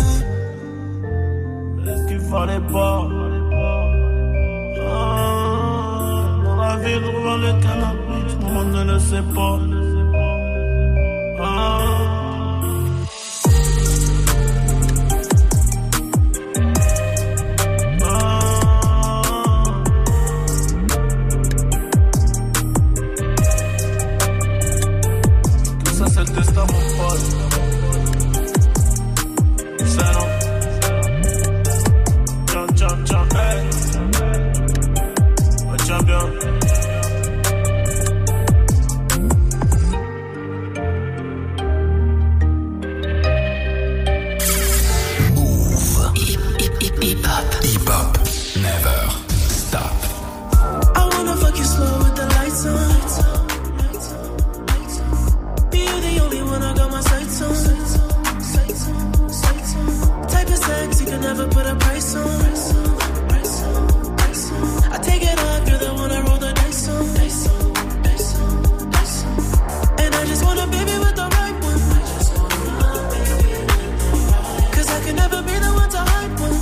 Ce qu'il fallait pas. Ah, dans la vie, je revends le cannabis. le monde ne le sait pas. Ah. Tout ça c'est le destin mon pote. C'est non. Tiens, tiens, tiens, hey. Oh, tiens bien. Hip-hop, never stop. I wanna fuck you slow with the lights on. Be you the only one I got my sights on. Type of sex you can never put a price on. I take it off, you're the one I roll the dice on. And I just want a baby with the right one. Cause I can never be the one to hide one.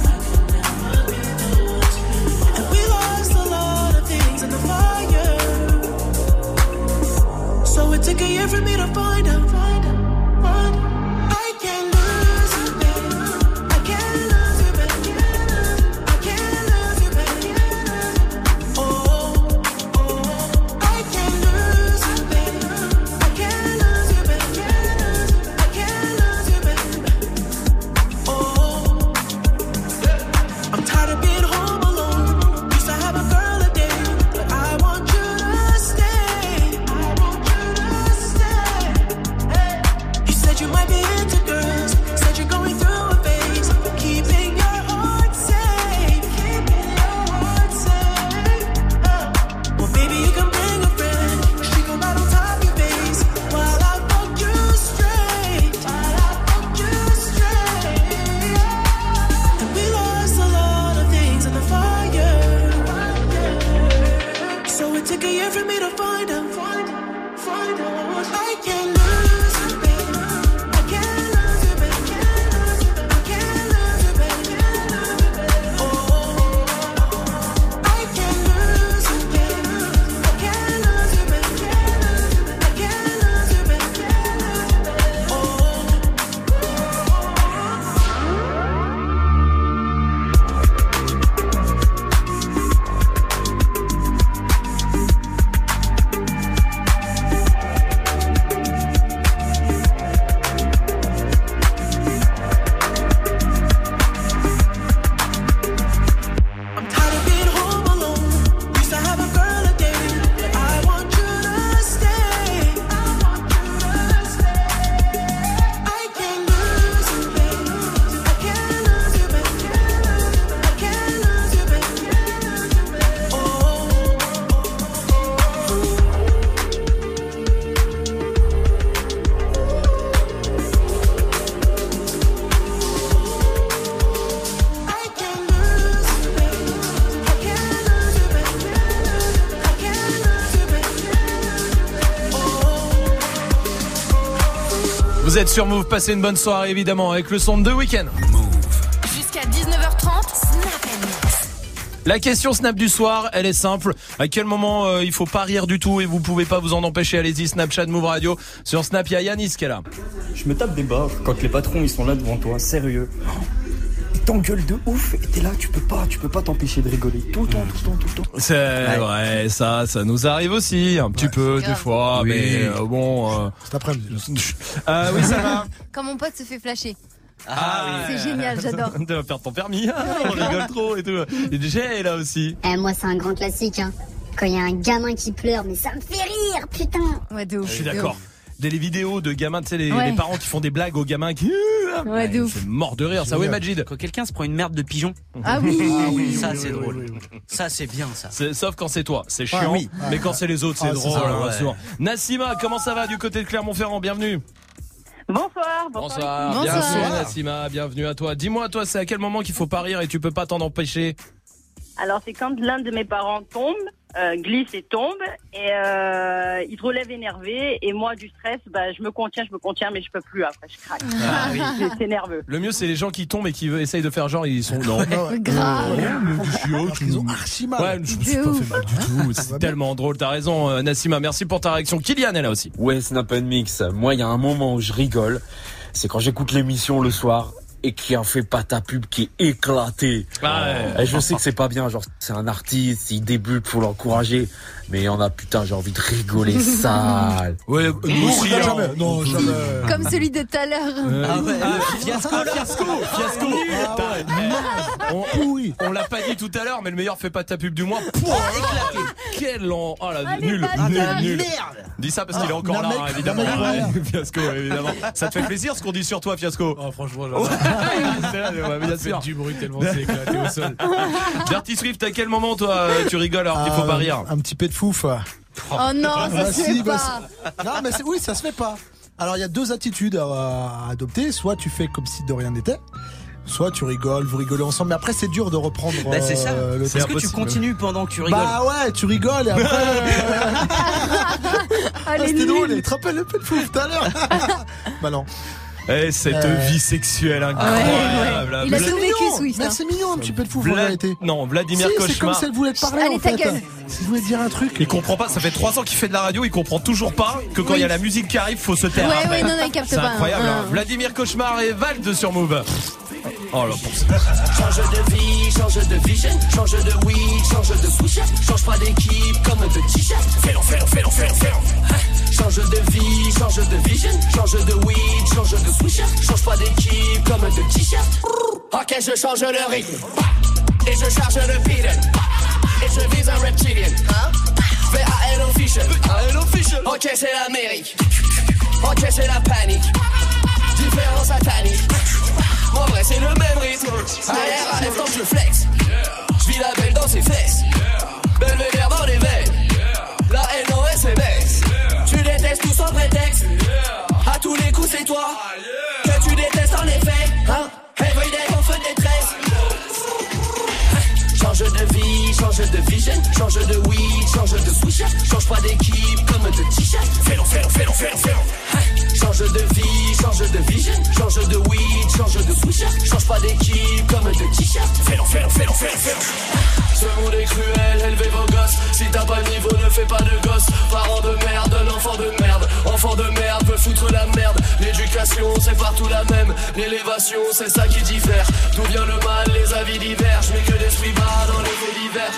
So it took a year for me to find out. I can't lose you, baby. I can't lose you, baby. I can't lose you, baby. Oh, oh. I can't lose you, baby. I can't lose you, baby. I can't lose you, baby. Oh, I'm tired of being home alone. Used to have a girl a day, but I want you to stay. You might be into girls, said you're going through a phase, keeping your heart safe, keeping your heart safe. Oh. Well, baby, you can bring a friend, she can ride on top of your face, while I fuck you straight, while I fuck you straight. And we lost a lot of things in the fire, so it took a year for me to find out, find out, find out. I can't lose you, baby. Vous êtes sur Move, passez une bonne soirée évidemment avec le son de The Weeknd. Jusqu'à dix-neuf heures trente, Snap and Mix. La question Snap du soir, elle est simple. À quel moment euh, il faut pas rire du tout et vous pouvez pas vous en empêcher? Allez-y, Snapchat Move Radio. Sur Snap, il y a Yanis qui est là. Je me tape des barres quand les patrons ils sont là devant toi, sérieux. Ils t'engueulent de ouf et t'es là, tu peux pas, tu peux pas t'empêcher de rigoler tout le temps, tout le temps, tout le temps. C'est ouais, ouais ça, ça nous arrive aussi un petit ouais, peu des fois, oui. mais euh, bon. Euh... Cet après-midi. Euh, oui, ça va. Quand mon pote se fait flasher. Ah, oui. C'est génial, j'adore. Tu vas perdre ton permis, on rigole trop et tout. Et Jay est là aussi. Eh, moi, c'est un grand classique, hein. Quand il y a un gamin qui pleure, mais ça me fait rire, putain. Ouais, de ouf. Je suis d'accord. Des les vidéos de gamins, tu sais, les, ouais. les parents qui font des blagues aux gamins qui. Ouais, de ouf. C'est mort de rire, ça, oui, Majid. Quand quelqu'un se prend une merde de pigeon. Ah oui. Ah oui, ça, oui, c'est oui, drôle. oui, oui, oui. Ça, c'est bien, ça. C'est, sauf quand c'est toi, c'est chiant. Ah, oui. Mais quand c'est les autres, c'est ah, drôle. c'est ça, hein, ouais. souvent. Nassima, comment ça va du côté de Clermont-Ferrand? Bienvenue. Bonsoir, bonsoir. Bonsoir. Bienvenue, Nassima, bienvenue à toi. Dis-moi, toi, c'est à quel moment qu'il faut pas rire et tu peux pas t'en empêcher? Alors, c'est quand l'un de mes parents tombe euh, glisse et tombe. Et euh, il te relève énervé. Et moi, du stress, bah, je me contiens, je me contiens, mais je peux plus après, je craque. Ah, oui. C'est, c'est nerveux. Le mieux, c'est les gens qui tombent et qui essayent de faire genre, ils sont non. Grave. Ils ont archi mal. Ouais, je me suis pas fait mal du tout. C'est tellement drôle. T'as raison, euh, Nassima. Merci pour ta réaction. Kylian est là aussi. Ouais, Snap and Mix. Moi, il y a un moment où je rigole. C'est quand j'écoute l'émission le soir et qui en fait pas ta pub qui est éclatée. Ah ouais. Et je sais que c'est pas bien, genre c'est un artiste, il débute, faut l'encourager, mais il y en a putain, j'ai envie de rigoler sale. Ouais, nous aussi, hein. Jamais, non, jamais. Comme celui de tout à l'heure. Euh, Ah ouais, ah, le fiasco, là. fiasco, fiasco. Ah ouais, T'as- on, oui. on l'a pas dit tout à l'heure, mais le meilleur fait pas ta pub du mois. Pouah, éclaté. Quel an. Oh là, Ah, les nul, bâtards. nul, nul. Merde. Dis ça parce qu'il est Ah, encore là, Namek, hein, évidemment. Namek, Ouais, Fiasco, évidemment. Ça te fait plaisir ce qu'on dit sur toi, Fiasco? Oh, franchement, C'est là, ouais, bien sûr. du bruit tellement c'est éclaté au sol. Dirty Swift, à quel moment toi tu rigoles alors qu'il faut pas rire? Un petit peu de fouf. Oh non, ça Bah, se si, fait bah, pas. c'est- Non, mais c'est- oui, ça se fait pas. Alors, il y a deux attitudes à, à adopter. Soit tu fais comme si de rien n'était, soit tu rigoles, vous rigolez ensemble. Mais après, c'est dur de reprendre. Bah, c'est ça. euh, le Est-ce truc. que tu continues pendant que tu rigoles? Bah ouais, tu rigoles et après. euh, Ah, ah, les c'était drôle. nuls. Tu te rappelles le peu de fouf tout à l'heure? Bah non. Eh, cette Euh, vie sexuelle Ouais, incroyable. ouais. Il a Vla- tout vécu, Swift. Mais hein. c'est mignon, un petit peu de fouf en Vla- vérité. Non, Vladimir Si, c'est comme Cauchemar. si elle voulait te parler Allez, en ta fait. gueule. Si vous voulez dire un truc. Il comprend pas, ça fait trois ans qu'il fait de la radio, il comprend toujours pas que quand il y a la musique qui arrive, faut se taire. Ouais, après. ouais, non, non, il capte C'est pas. incroyable. hein. Hein. Vladimir Cauchemar et Vald sur Move. Oh là, pour ça. Change de vie, change de vision, change de weed, change de switch, change pas d'équipe comme de t-shirt. Fais-le, fais-le, fais-le, fais-le, fais-le. Change de vie, change de vision, change de weed, change de switch, change pas d'équipe comme de t-shirt. Ok, je change le rythme et je charge le beat et je vise un reptilien. V A L official. Ok, c'est l'Amérique. Ok, c'est la panique. Différent satanique. En vrai c'est le même rythme. Arrière à lèvres tant que je flex. J'vis la belle dans ses fesses. Belvédère dans les veines. La haine en S M S. Tu détestes tout sans prétexte. À tous les coups c'est toi que tu détestes en effet. Hein? Everyday en feu de détresse. Change de vie, change de vision, change de weed, change de switch, change pas d'équipe comme de t-shirt. Fais-le, fais-le, fais-le, fais-le, fais-le. Change de vie, change de vision, change de weed, change de switch, change pas d'équipe comme de t-shirt. Fais-le, fais-le, fais-le, fais-le, fais-le. Ce monde est cruel, élevez vos gosses. Si t'as pas le niveau, ne fais pas de gosse. Parents de merde, l'enfant de merde. Enfant de merde, peut foutre la merde. L'éducation, c'est partout la même. L'élévation, c'est ça qui diffère. D'où vient le mal, les avis divergent. Mais que l'esprit bat dans les faits divers.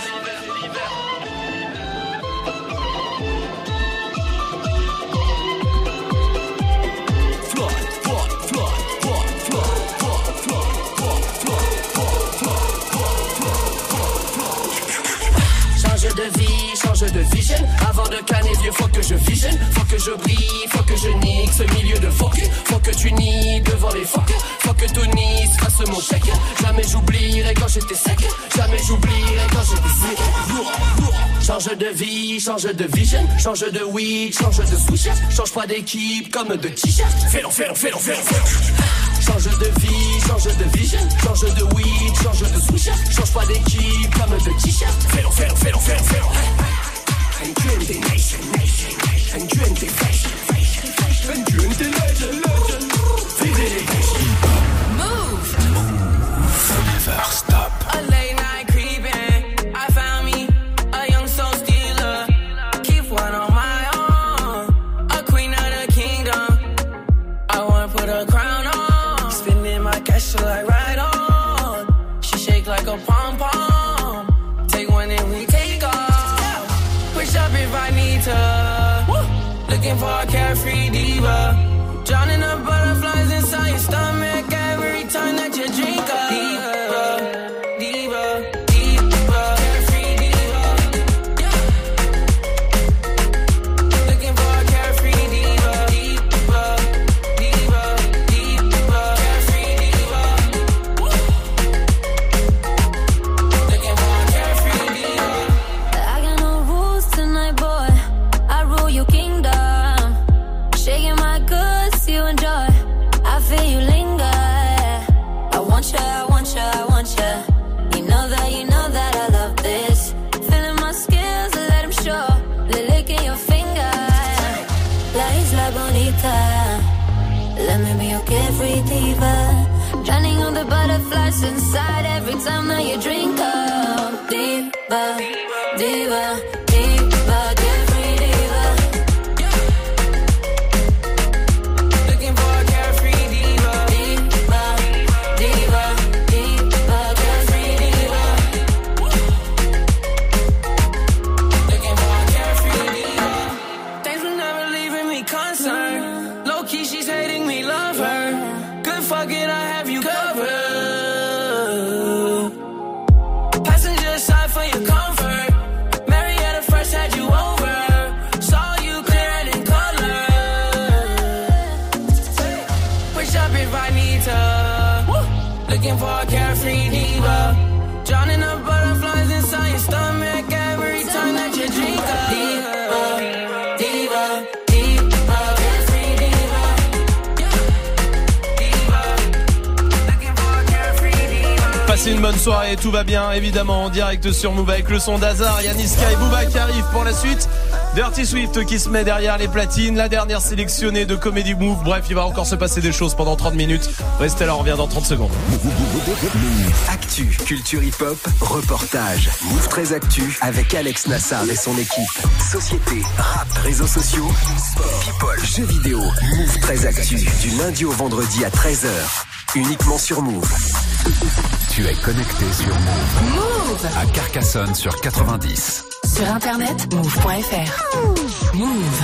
Change de vie, change de vision. Avant de canner vieux, faut que je visionne. Faut que je brille, faut que je nique ce milieu de focus. Faut que tu nies devant les phoques. Faut que tout Nice fasse mon chèque. Jamais j'oublierai quand j'étais sec. Jamais j'oublierai quand j'étais sec. Change de vie, change de vision. Change de weed, change de switch. Change pas d'équipe comme de t-shirt. Fais-le, fais-le, fais-le, fais-le, fais-le. Change de vie, change de vision. Change de weed, change de switch. Change pas d'équipe comme de t-shirt. Fais-le, fais-le, fais-le, fais-le, fais-le. And you and the nation, nation, nation. And you and the fashion, fashion, fashion. And you and the legend, legend. Vivez les passions. Move. Move. Never stop. A late night creeping. I found me a young soul stealer. Keep one on my own. A queen of the kingdom. I wanna put a crown on. Spending my cash till I ride on. She shake like a pom pom. Take one and we take off. Push up if I need to. Woo. Looking for a carefree diva. Drowning the butterflies inside your stomach every time that you drink up. Diva, diva, diva, carefree diva. Yeah. Looking for a carefree diva. Diva, diva, diva, carefree diva. Woo. Looking for a carefree diva. I got no rules tonight, boy. I rule your kingdom. Shaking my good. maybe you're carefree diva. Drowning all the butterflies inside every time that you drink up. Diva, diva, diva, carefree diva. Looking for a carefree diva. Diva, diva, diva, carefree diva. Looking for a carefree diva. Thanks for never leaving me concerned. Low key, she's hating me, love her. Good fuck it, I have you covered. Passenger side for your comfort. Marietta first had you over. Saw you clear and in color. Push up if I need to. Looking for a carefree diva. Drowning the butterflies inside your stomach every time that you drink up. Diva, diva, diva, carefree diva. Passez une bonne soirée, tout va bien évidemment en direct sur Move avec le son d'Hazard, Yanniska et Booba qui arrivent pour la suite. Dirty Swift qui se met derrière les platines, la dernière sélectionnée de Comedy Move. Bref, il va encore se passer des choses pendant trente minutes. Restez là, on revient dans trente secondes. Actu, culture hip-hop, reportage. Move très Actu avec Alex Nassar et son équipe. Société, rap, réseaux sociaux, sport, people, jeux vidéo. Move très Actu, du lundi au vendredi à treize heures. Uniquement sur Move. Tu es connecté sur Move. Move À Carcassonne sur quatre-vingt-dix. Sur internet, move point f r. Move.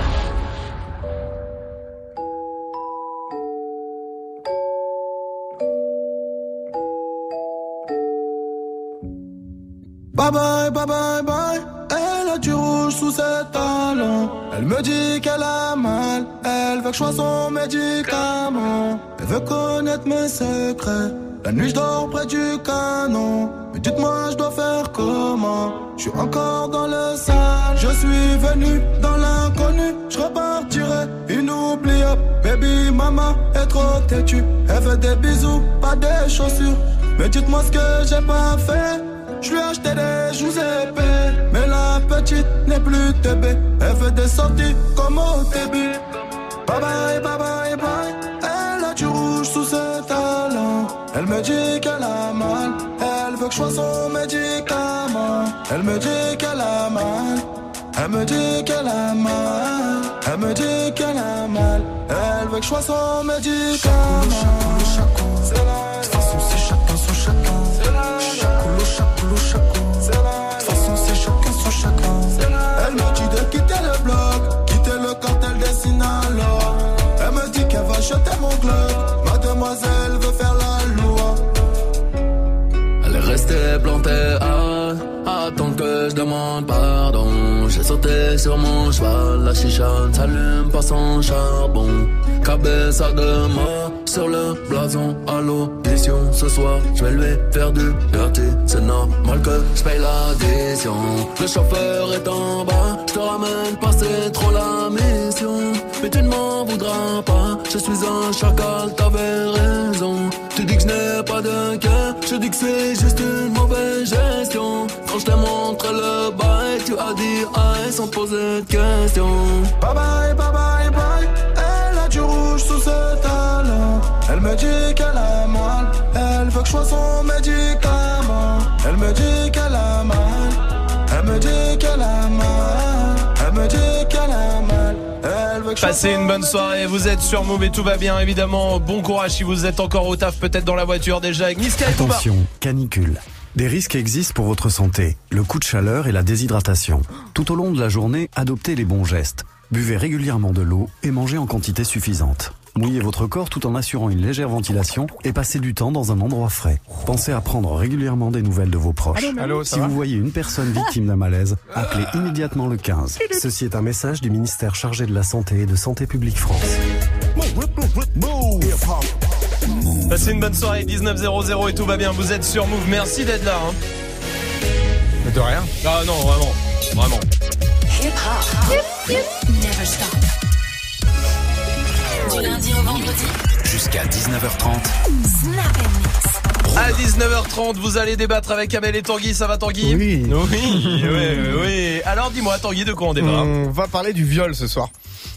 Bye bye, bye bye, bye. Elle a du rouge sous ses talons. Elle me dit qu'elle a mal. Elle veut que je sois son médicament. Elle veut connaître mes secrets. La nuit je dors près du canon. Mais dites-moi je dois faire comment. Je suis encore dans le sale. Je suis venu dans l'inconnu. Je repartirai inoubliable. Baby mama est trop têtue. Elle veut des bisous, pas des chaussures. Mais dites-moi ce que j'ai pas fait. Je lui ai acheté des joues épais. Mais la petite n'est plus tébé. Elle veut des sorties comme au début. Bye bye, bye bye, bye. Elle a du rouge sous ses talons. Elle me dit qu'elle a mal. Elle veut que je sois son médicament. Elle me dit qu'elle a mal. Elle me dit qu'elle a mal. Elle me dit qu'elle a mal. Elle veut que je sois son médicament. C'est la de toute façon c'est chacun son chacun. C'est la chacoulou, chacoulou, chacoulou. C'est la de toute façon c'est chacun son chacun. Elle me dit de quitter le bloc, quitter le cartel des Sinaloa. Elle me dit qu'elle va jeter mon club. Mademoiselle veut faire la loi. Elle est restée plantée à attendre que je demande pardon. J'ai sauté sur mon cheval, la chicha ne s'allume pas sans charbon. Cabeza de mort sur le blason à l'audition. Ce soir, je vais lui faire du dirty. C'est normal que je paye l'addition. Le chauffeur est en bas, je te ramène pas, c'est trop la mission. Mais tu ne m'en voudras pas, je suis un chacal, t'avais raison. Tu dis que je n'ai pas de cœur, je dis que c'est juste une mauvaise gestion. Quand je t'ai montré le bail, tu as dit aïe sans poser de questions. Bye bye, bye bye, bye. Elle a du rouge sous ses talons. Elle me dit qu'elle a mal. Elle veut que je sois son médicament. Elle me dit qu'elle a mal. Elle me dit qu'elle a mal. Elle me dit qu'elle a mal. Elle veut que je Passez une bonne soirée, vous êtes sur Move et tout va bien évidemment. Bon courage si vous êtes encore au taf, peut-être dans la voiture déjà avec Niska et Booba. Attention, canicule. Des risques existent pour votre santé. Le coup de chaleur et la déshydratation. Tout au long de la journée, adoptez les bons gestes. Buvez régulièrement de l'eau et mangez en quantité suffisante. Mouillez votre corps tout en assurant une légère ventilation et passez du temps dans un endroit frais. Pensez à prendre régulièrement des nouvelles de vos proches. Allô, Allô, ça si va vous voyez une personne victime d'un malaise, appelez immédiatement le quinze. Ceci est un message du ministère chargé de la Santé et de Santé publique France. Passez une bonne soirée, dix-neuf zéro zéro et tout va bien, vous êtes sur Move, merci d'être là hein. De rien. Ah non, vraiment, vraiment. Hip hop. Never stop. Du lundi au vendredi. Jusqu'à dix-neuf heures trente. Snap and mix. À dix-neuf heures trente, vous allez débattre avec Amel et Tanguy, ça va Tanguy? Oui. Oui, oui, oui. Alors dis-moi Tanguy, de quoi on débat? On va parler du viol ce soir.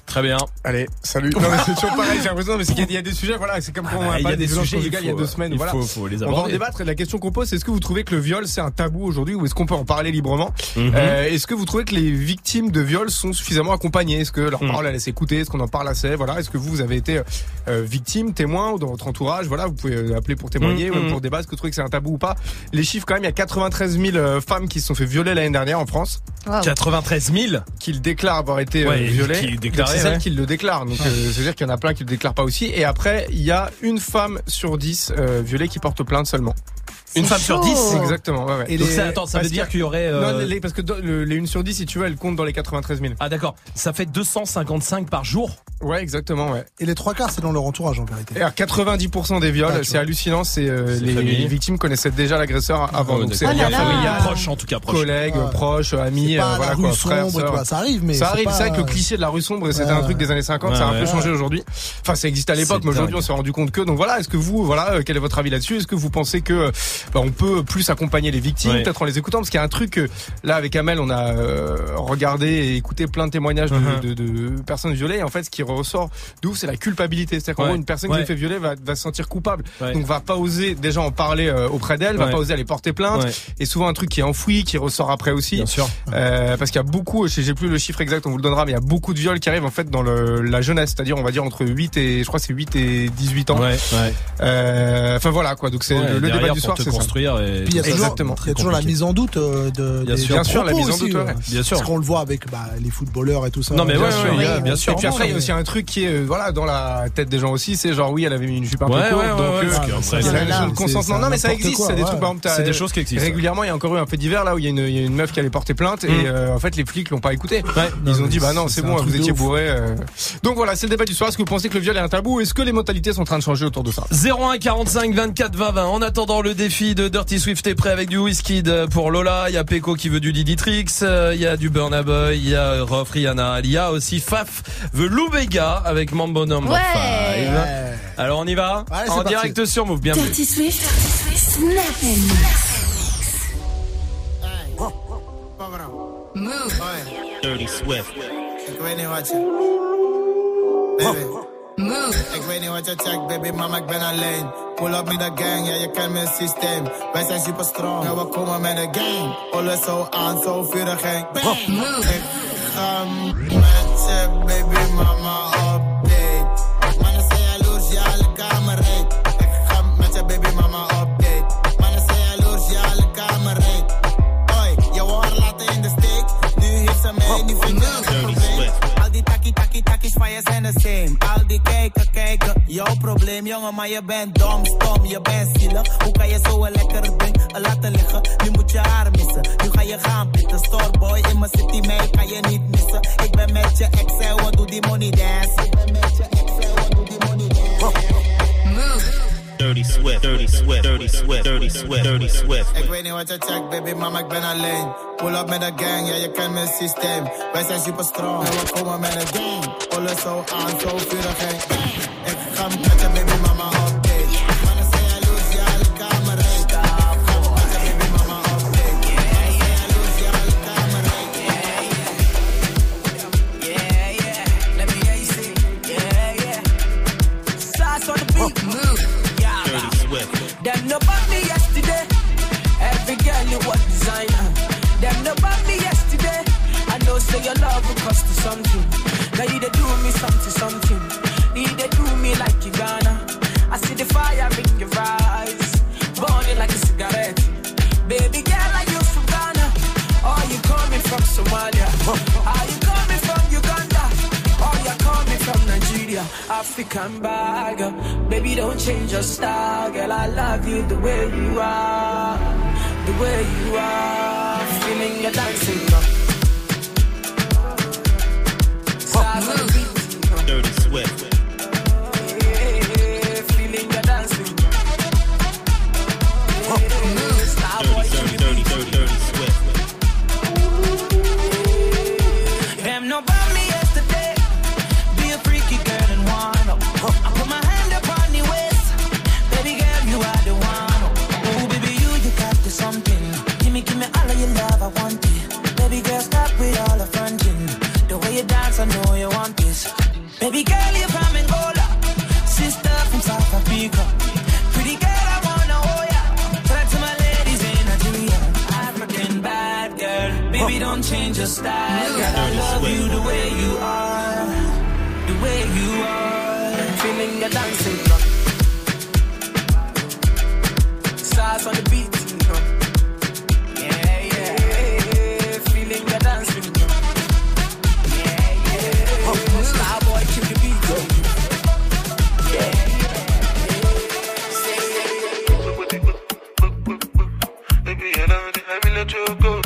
Très bien. Allez, salut. Non, mais c'est toujours pareil, j'ai l'impression, mais c'est qu'il y a des sujets, voilà, c'est comme quand on a pas des violences conjugales il y a deux semaines, il voilà. faut, faut les on aborder. va en débattre et la question qu'on pose, c'est est-ce que vous trouvez que le viol c'est un tabou aujourd'hui ou est-ce qu'on peut en parler librement? Mm-hmm. euh, Est-ce que vous trouvez que les victimes de viol sont suffisamment accompagnées? Est-ce que leur Mm. parole elle laisse écouter? Est-ce qu'on en parle assez? Voilà. Est-ce que vous, vous avez été euh, victime, témoin ou dans votre entourage? Voilà, vous pouvez appeler pour témoigner Mm, ou même mm. pour débattre. Est-ce que vous trouvez que c'est un tabou ou pas? Les chiffres quand même, il y a quatre-vingt-treize mille euh, femmes qui se sont fait violer l'année dernière en France. Wow. quatre-vingt-treize mille Qui le déclarent avoir été ouais, euh, violées. Qui déclarent, c'est celles ouais. qui le déclarent. Donc, euh, c'est-à-dire qu'il y en a plein qui le déclarent pas aussi. Et après, il y a une femme sur dix euh, violée qui porte plainte seulement. Une femme sur dix? Exactement, ouais, ouais. Et donc ça, attends, ça veut dire qu'il y aurait... Euh... Non, les, parce que dans, le, les une sur dix, si tu veux, elles comptent dans les quatre-vingt-treize mille. Ah d'accord, ça fait deux cent cinquante-cinq par jour? Ouais, exactement, ouais. Et les trois quarts, c'est dans leur entourage, en vérité. Et alors, quatre-vingt-dix pour cent des viols, Ah, c'est vois. hallucinant, c'est euh, C'est les, famille. les victimes connaissaient déjà l'agresseur avant. Oh, donc c'est d'accord. lien Oh là là. familial, Proche en tout cas, proche. collègues, Ouais. proches, amis, C'est pas euh, la voilà rue quoi, sombre, frères, tu sœurs. vois, ça arrive, mais ça c'est arrive, pas- c'est vrai que le cliché de la rue sombre, c'était Ouais. un truc des années cinquante, Ouais, ça a un ouais. peu changé aujourd'hui. Enfin, ça existe à l'époque, C'est mais aujourd'hui, dingue. on s'est rendu compte que. Donc voilà, est-ce que vous, voilà, euh, quel est votre avis là-dessus? Est-ce que vous pensez que bah, on peut plus accompagner les victimes, Ouais. peut-être en les écoutant, parce qu'il y a un truc euh, là avec Amel, on a euh, regardé et écouté plein de témoignages de, Uh-huh. de, de personnes violées. Et en fait, ce qui ressort d'où, c'est la culpabilité. C'est-à-dire qu'en Ouais. gros, une personne Ouais. qui se fait violer va, va se sentir coupable, Ouais. donc va pas oser déjà en parler euh, auprès d'elle, va Ouais. pas oser aller porter plainte. Ouais. Et souvent un truc qui est enfoui, qui ressort après aussi. Bien sûr. Euh, parce qu'il y a beaucoup, je j'ai plus le chiffre exact, on vous le donnera, mais il y a beaucoup de viols qui arrivent en fait dans le, la jeunesse, c'est-à-dire on va dire entre huit et je crois que c'est huit et dix-huit ans. Ouais, ouais. Euh, enfin voilà quoi, donc c'est Ouais, le, le derrière, débat du pour soir, te c'est ça. construire et Puis il y a tout ça. toujours, Exactement. il y a toujours la compliqué. mise en doute euh, de, Bien des, sûr. des Bien sûr, la propos mise en aussi, doute, ouais. euh. Bien sûr. Parce qu'on le voit avec bah, les footballeurs et tout ça. Non, mais Bien ouais, sûr, ouais, il y a- ouais, bien sûr. Et puis après, il y a mais- aussi un truc qui est, euh, voilà, dans la tête des gens aussi, c'est genre, oui, elle avait mis une jupe un Ouais, peu courte, ouais, ouais, donc, ouais, euh, parce que il après, y a la c'est- notion de c'est- consentement. c'est Non, mais ça n'importe existe, quoi, c'est des ouais. trucs, par exemple, t'as- C'est des choses qui existent. Régulièrement, il y a encore eu un fait divers là où il y a une, il y a une meuf qui allait porter plainte et, Mm. euh, en fait, les flics l'ont pas écouté. Ouais. Ils ont mais dit, bah non, c'est- c'est c'est bon, un vous truc de étiez ouf. bourré. euh. Donc voilà, c'est le débat du soir. Est-ce que vous pensez que le viol est un tabou? Est-ce que les mentalités sont en train de changer autour de ça? zéro un quarante-cinq vingt-quatre vingt vingt. En attendant, le défi de Dirty Swift est prêt avec du Wizkid pour Lola. Il y a Peko qui veut du Didi Trix. euh, Il y a du Burna Boy. Il y a Rof Rihanna. Il y a aussi Faf veut Lou Vega avec Mambo Number Ouais. five. Ouais. Alors on y va Ouais, c'est en parti. direct sur Move. Bienvenue. Dirty Swift, Dirty Swift, Snap and Move. Dirty Swift. Ik weet niet wat je... Baby. Move. Ik weet niet wat je checkt, baby, mama, ik ben alleen. Pull up met de gang, ja, je kent mijn systeem. Wij zijn super strong, ja, we komen met de gang. Alles zo aan, zo vurig en bang. Move. Ik ga met je, baby, mama, op date. Mannen zijn jaloers, ja, alle kamer reed. Ik ga met je, baby, mama, op date. Mannen zijn jaloers, ja, alle kamer reed. Oi, je wou laten in de steek. Nu heeft ze mij, nu vind je het een probleem. Al die takkie, takkie, takkies van je zijn de same. Al die kijken, kijken, jouw probleem, jongen, maar je bent dom, stom, je bent zielig. Hoe kan je zo een lekker ding laten liggen? Nu moet je haar missen, nu ga je gaan pitten. Storeboy in mijn city, mij kan je niet missen. Ik ben met je ex en we doen die money dance. Ik ben met je ex en we doen die money dance. Move. Dirty Swift. Dirty Swift. Dirty Swift. Dirty Swift. Dirty Swift. Ik weet niet wat je checkt, baby, mama, ik ben alleen. Pull up met de gang, ja, je kent mijn systeem. Wij zijn super strong, en we komen met de gang. Alles zo aan, zo vurig en bang. Ik ga met je, baby, mama, op date. Mannen zijn jaloers, ja, alle kamer reed. Ik ga met je, baby, mama, op date. Mannen zijn jaloers, ja, alle kamer reed. Yeah, yeah. Let me hear you sing. Yeah, yeah. Sauce on the beat. Move. Yeah. Dirty Swift. Them no bought me yesterday. Every girl you was designer. Them no bought me yesterday. I know say your love will cost you something. Now you they do me something, something. You they do me like you gonna. I see the fire in your eyes, burning like a cigarette. Baby girl, are you from Ghana? Or you coming from Somalia? Are you coming from Uganda? Or you coming from Nigeria? African bagger. Baby, don't change your style, girl. I love you the way you are, the way you are. Feeling your dancing, girl. Stars on the beat, Dirty Swift. yeah, feeling your dancing. Yeah, Starboy, Dirty, dirty, dirty, dirty Swift. them no bought me yesterday. Be a freaky girl and wind up. I put my hand upon the waist. Baby girl, you are the one. Oh, baby, you, you got the something. Give me, give me all of your love, I want it. Baby girl, stop with all the fronting. The way you dance, I know you want this. change your style. Girl, I love you the way you are, the way you are. Feeling your dancing, you know. Stars on the beat, you know. Yeah, yeah, yeah. Feeling your dancing, you know. Yeah, yeah. Oh, Starboy, kill the beat, you know. Yeah, yeah. Baby, I love it, I will let you go.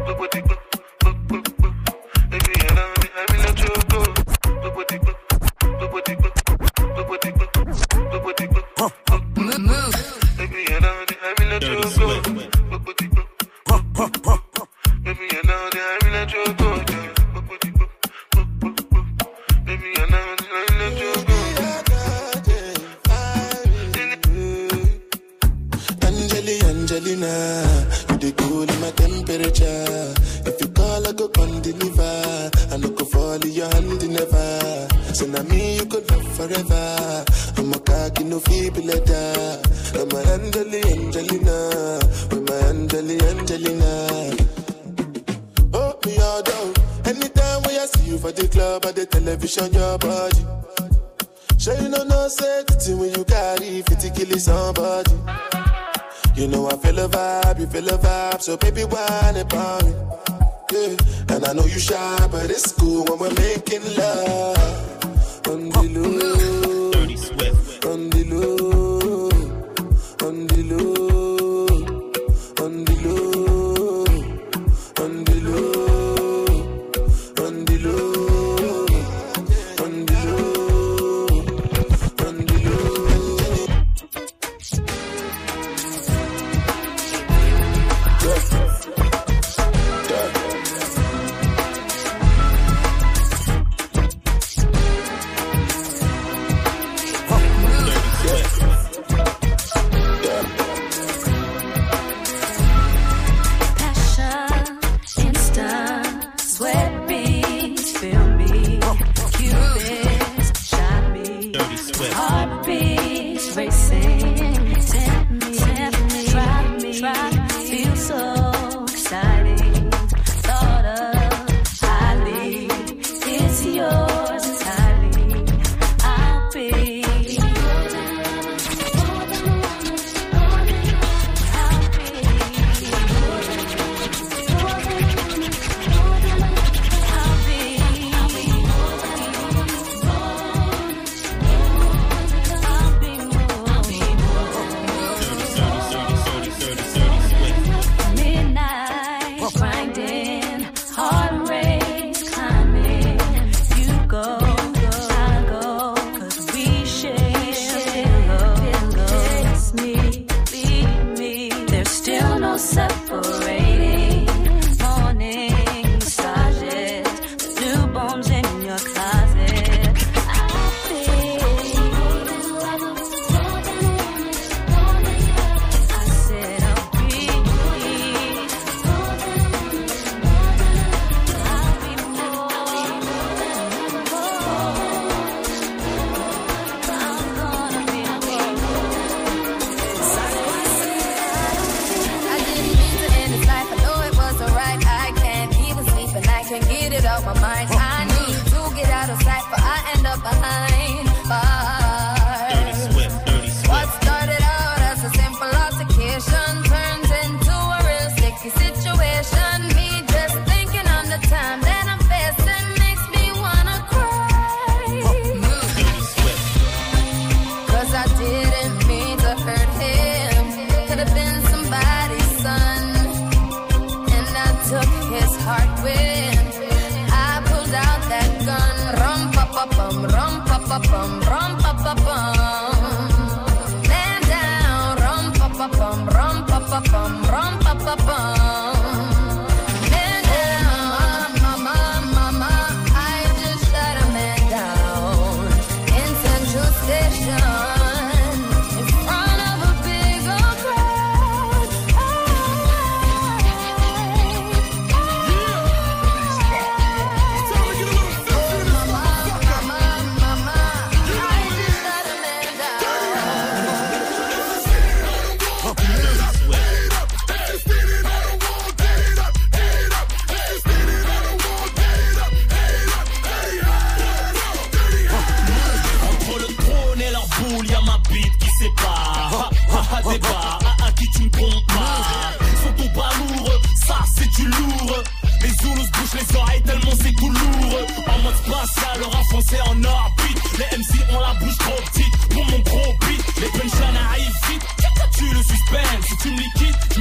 Your body, sure you know no safety when you carry fifty kill somebody. You know I feel a vibe, you feel a vibe, so baby whine about me. Yeah, and I know you shy, but it's cool when we're making love on the low, Dirty Swift, on the low, on the low, on the low, on the low, on the low.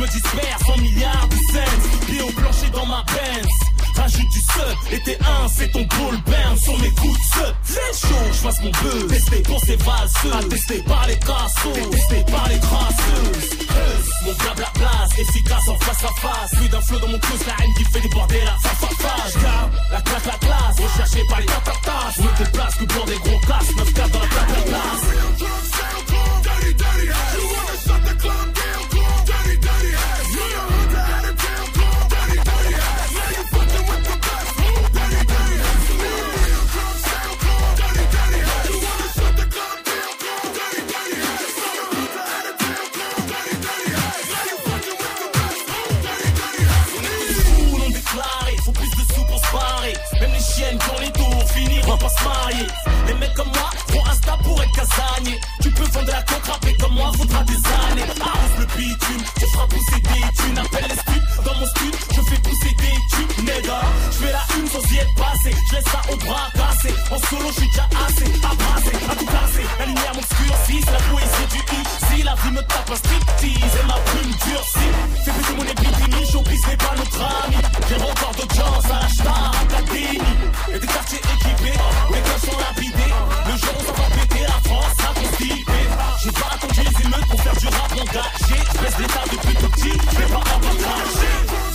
disperse en milliards de cents. Pieds au plancher dans ma Benz. Rajoute du sub, et t'es un, c'est ton ball burn sur mes coups de sub. C'est chaud, j'fasse mon buzz. Testé pour ces valseuses, attesté par les cassos, testé par les crasseuses. Buzz, mon blabla place, efficace en face à face. Plus d'un flow dans mon cruise, la haine qui fait déborder la face à face. Car la classe, la classe, recherché par les tatatas. Je me déplace que pour des gros casses, neuf quatre dans la classe, la classe. Dirty, dirty, you wanna shut the club down, dirty, dirty, you know who got it down, dirty, dirty, now you fucking with the best, dirty, dirty, real drum sound, dirty, dirty, you wanna shut the club down, dirty, dirty, you know who got it down, dirty, dirty, now you fucking with the best, dirty, dirty. On est tous fous non déclarés, faut plus de sous pour se barrer. Même les chiennes quand les tours finiront par se marier. Les mecs comme moi font Insta pour être casanier. Tu peux vendre la coque, rapper comme moi, faudra des années. Arrose le bitume, tu feras pousser des thunes. Appelle les studs, dans mon stud, je fais pousser des tubes, nègre. Je fais la une sans y être passé, je laisse ça au bras cassé. En solo, je suis déjà assez, abrasé, à tout casser. La lumière m'obscurcit, c'est la poésie du i. Si la vie me tape un striptease et ma plume durcit. Fais péter mon épidémie, showbiz n'est pas notre ami. J'ai encore d'audience à la star académie. Et des quartiers équipés, les gars sont lapidés. Le jour où ça va péter, la France sera constipée. J'ai pas attendu les émeutes pour faire du rap engagé. Je baisse l'état depuis tout petit, je vais pas avoir craché.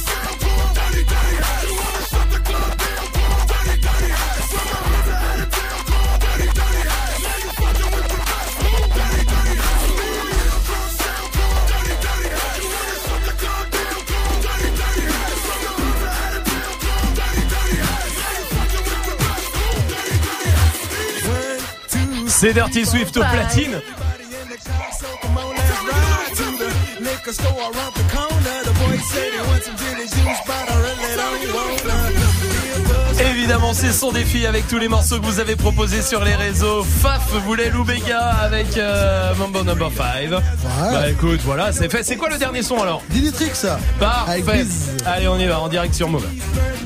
C'est Dirty Swift au platine. Évidemment, c'est son défi avec tous les morceaux que vous avez proposés sur les réseaux. Faf voulait Loubega avec euh, Mambo Number five. Ouais. Bah écoute, voilà, c'est fait. C'est quoi le dernier son alors? Dinitrix. Parfait. Allez, on y va, en direct sur Move.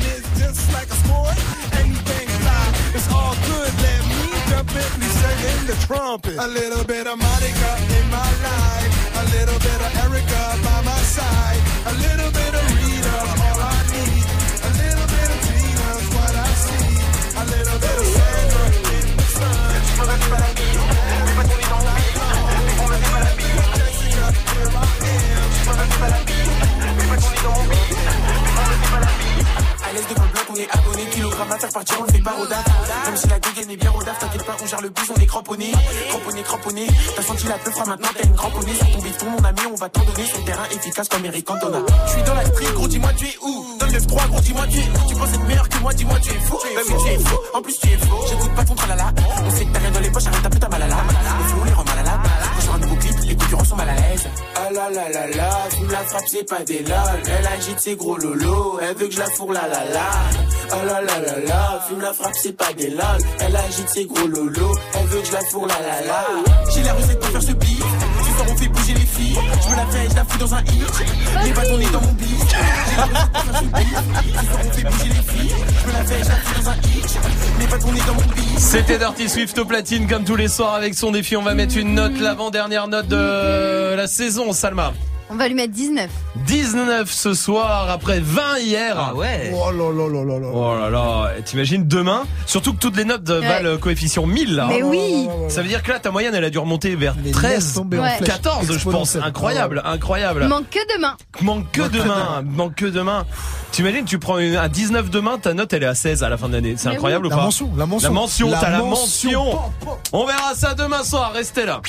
The trumpet. A little bit of Monica in my life, a little bit of Erica by my side, a little bit of Rita, all I need, a little bit of Tina's what I see, a little bit of Sandra in the sun. Je me reste pas la bille, mais pas tourner dans la bille, mais on me dit pas la bille. Jessica, here I am. Je me reste pas la bille, mais pas tourner dans mon bille, mais on me dit pas la bille. À l'aise devant le bloc, on est abonné, kilogramme à faire partir, on le fait pas au date. Même si la dégaine est bien au daf, t'inquiète pas, on gère le bus, on est cramponné. Cramponné, cramponné, t'as senti la peu fera maintenant, t'as une cramponnée. Sur ton béton, mon ami, on va t'en donner. Sur le terrain efficace comme Eric Cantona. Je suis dans la street, gros, dis-moi tu es où? Dans le neuf trois, gros, dis-moi tu es où? Tu penses être meilleur que moi, dis-moi tu es fou. Bah oui, tu es fou, en plus tu es fou. J'écoute pas ton tralala. On sait que t'as rien dans les poches, arrête un peu ta malala. Les flots, les rend mal à la. Quand je sors un nouveau clip, les concurrents sont mal à l'aise. Ah la la la la, tu me la frappes, c'est pas des lol. Elle agite ses gros lolos, elle veut que je la fourre la la la. Ah la la la la, fume la frappe, c'est pas des lol. Elle agite ses gros lolos, elle veut que je la fourre la la la. J'ai la recette pour faire ce beat. Ce soir on fait bouger les filles. Je me la fais, je la fous dans un hit. Les bâtons nés dans mon beat. J'ai la recette pour faire ce beat. Ce soir on fait bouger les filles. Je me la fais, je la fous dans un hit. Les bâtons nés dans mon beat. C'était Dirty Swift au platine comme tous les soirs avec son défi. On va mettre une note, l'avant-dernière note de la saison, Salma. On va lui mettre dix-neuf. dix-neuf ce soir après vingt hier. Ah ouais. Oh là là là là là. Oh là là. Et t'imagines demain, surtout que toutes les notes ouais. valent coefficient mille là. Mais oui. Ça veut dire que là ta moyenne elle a dû remonter vers les treize, ouais. quatorze je pense. Incroyable, incroyable. Manque que demain. Manque que demain. Manque que demain. T'imagines, tu prends une, un dix-neuf demain, ta note elle est à seize à la fin de l'année. C'est mais incroyable oui. ou pas? La mention, la mention. La mention, la t'as mention. la mention. On verra ça demain soir, restez là.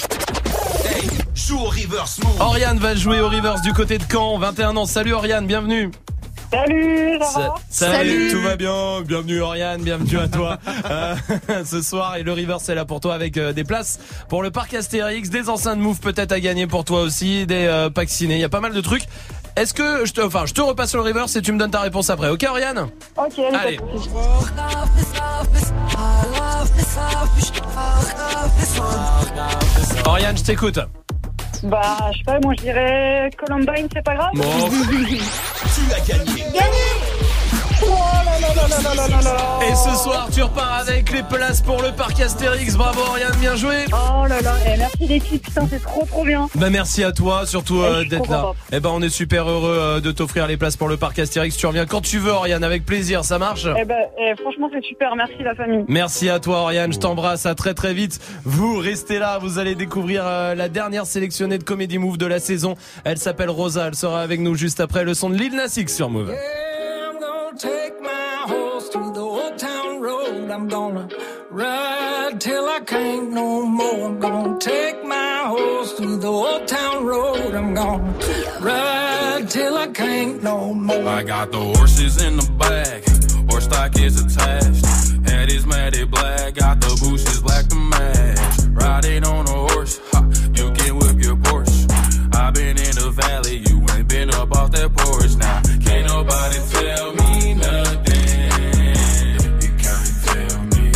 Hey, joue au reverse move. Oriane va jouer au reverse du côté de Caen, vingt et un ans. Salut Oriane, bienvenue. Salut, ça va? Salut, Salut, tout va bien. Bienvenue Oriane, bienvenue à toi. euh, ce soir, et le reverse est là pour toi avec euh, des places pour le parc Astérix, des enceintes Move peut-être à gagner pour toi aussi, des euh, packs ciné. Il y a pas mal de trucs. Est-ce que je te, enfin, je te repasse sur le reverse et tu me donnes ta réponse après. Ok Oriane? Ok, allez. Oriane, je t'écoute. Bah, je sais pas, moi je dirais Columbine, c'est pas grave. Bon. Tu as gagné. Gagné. Et ce soir, tu repars avec les places pour le parc Astérix. Bravo, Oriane, bien joué. Oh là là, eh, merci l'équipe, putain, c'est trop trop bien. Bah merci à toi, surtout euh, d'être là. content. Eh ben on est super heureux euh, de t'offrir les places pour le parc Astérix. Tu reviens quand tu veux, Oriane, avec plaisir, ça marche? Eh ben, eh, franchement, c'est super, merci la famille. Merci à toi, Oriane, je t'embrasse, à très très vite. Vous restez là, vous allez découvrir euh, la dernière sélectionnée de Comedy Move de la saison. Elle s'appelle Rosa, elle sera avec nous juste après le son de Lil Nas X sur Move. Take my horse to the old town road. I'm gonna ride till I can't no more. I'm gonna take my horse to the old town road. I'm gonna ride till I can't no more. I got the horses in the back, horse stock is attached. Head is matted black, got the bushes black to match. Riding on a horse, ha, you can whip your Porsche. I've been in the valley, you ain't been up off that porch. Now, can't nobody tell me nothing. You can't tell me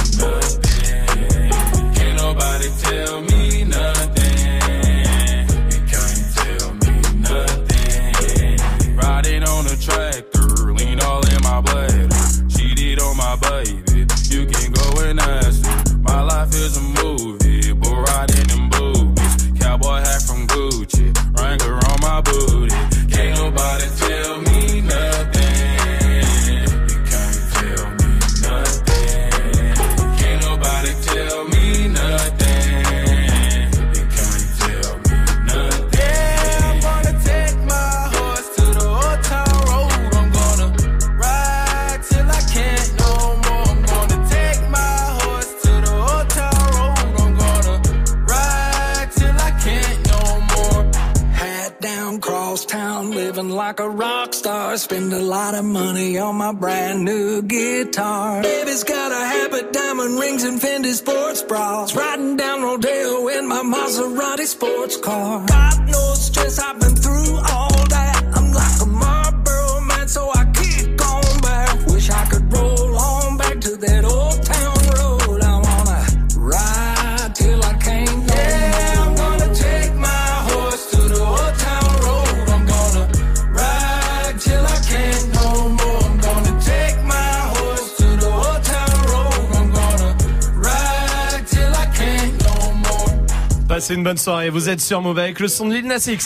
nothing. Can't nobody tell me nothing. You can't tell me nothing. Riding on a tractor, lean all in my bladder. Cheated on my baby, you can go and ask her. My life is a movie, but riding in boobies. Cowboy hat from Gucci, Wrangler on my booty. Can't nobody tell me nothing. You can't tell me nothing. Can't nobody tell me nothing. You can't tell me nothing. Yeah, I'm gonna take my horse to the old town road. I'm gonna ride till I can't no more. I'm gonna take my horse to the old town road. I'm gonna ride till I can't no more. Hat down, cross town, living like a rock star. Spend a lot of money on my brand new guitar. Baby's got a habit, diamond rings and Fendi sports bras. Riding down Rodeo in my Maserati sports car. Got no stress, I've been through all that. I'm like a Marlboro man, so I kick on back. Wish I could roll on back to that old town road. I wanna ride till I can't no Yeah, I'm gonna take my horse to the old town road. I'm gonna ride till I can't no more. I'm gonna take my horse to the old town road. I'm gonna ride till I can't no more. Passez une bonne soirée, vous êtes sur Move avec le son de Lil Nas X.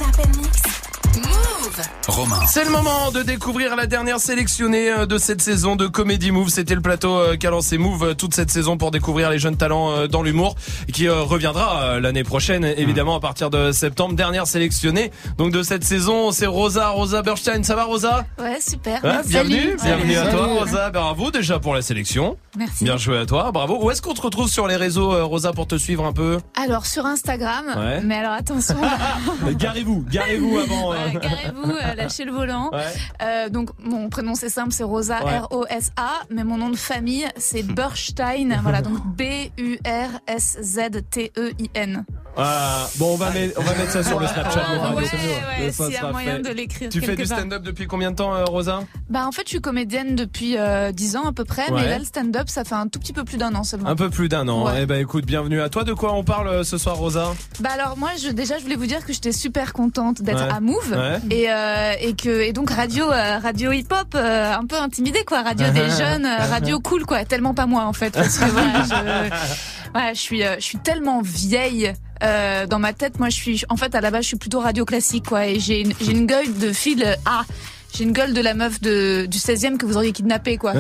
Romain. C'est le moment de découvrir la dernière sélectionnée de cette saison de Comedy Move. C'était le plateau qu'a lancé Move toute cette saison pour découvrir les jeunes talents dans l'humour, qui reviendra l'année prochaine, évidemment, à partir de septembre. Dernière sélectionnée donc de cette saison, c'est Rosa, Rosa Bernstein. Ça va, Rosa? Ouais, super. Ouais, bienvenue, Salut. bienvenue à Salut. toi, Rosa. Bravo déjà pour la sélection. Merci. Bien joué à toi, bravo. Où est-ce qu'on te retrouve sur les réseaux, Rosa, pour te suivre un peu? Alors sur Instagram, Ouais. mais alors attention. Garez-vous, garez-vous avant. Ouais, euh. garez-vous, euh, lâchez le volant. Ouais. Euh, donc mon prénom c'est simple, c'est Rosa, Ouais. R O S A, mais mon nom de famille c'est Bernstein. Voilà, donc B U R S Z T E I N. Ah, bon, on va, mettre, on va mettre ça sur le Snapchat. Ah, Move Radio, ouais, c'est mieux. ouais, Ça s'il y a sera moyen fait. de l'écrire Tu fais quelque du part. stand-up depuis combien de temps, euh, Rosa? Bah en fait je suis comédienne depuis euh, dix ans à peu près, Ouais. mais là le stand-up ça fait un tout petit peu plus d'un an seulement. Un peu plus d'un an. Ouais. Eh ben écoute, bienvenue à toi. De quoi on parle euh, ce soir, Rosa? Bah alors moi je, déjà je voulais vous dire que j'étais super contente d'être Ouais. à Move Ouais. et euh, et que et donc radio euh, radio hip hop euh, un peu intimidée quoi, radio des jeunes, euh, radio cool quoi, tellement pas moi en fait parce que voilà, je voilà, je suis euh, je suis tellement vieille. Euh, dans ma tête, moi, je suis, en fait, à la base, je suis plutôt radio classique, quoi, et j'ai une, j'ai une gueule de fille, euh, ah, j'ai une gueule de la meuf de, du seizième que vous auriez kidnappé, quoi.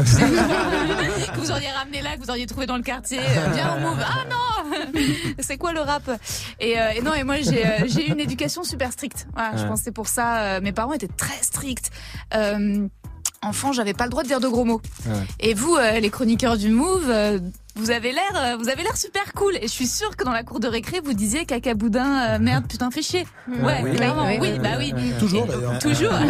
Que vous auriez ramené là, que vous auriez trouvé dans le quartier. Euh, viens, on move. Ah non! C'est quoi le rap? Et, euh, et non, et moi, j'ai, euh, j'ai eu une éducation super stricte. Voilà, Ouais. je pense que c'est pour ça, euh, mes parents étaient très stricts. Euh, enfant, j'avais pas le droit de dire de gros mots. Ouais. Et vous, euh, les chroniqueurs du Move, euh, vous avez l'air, euh, vous avez l'air super cool. Et je suis sûre que dans la cour de récré, vous disiez caca boudin, euh, merde, putain, fais chier. Ouais, Oui. clairement, oui, Oui, oui, bah oui, oui. oui. Toujours, d'ailleurs. Toujours. Ça,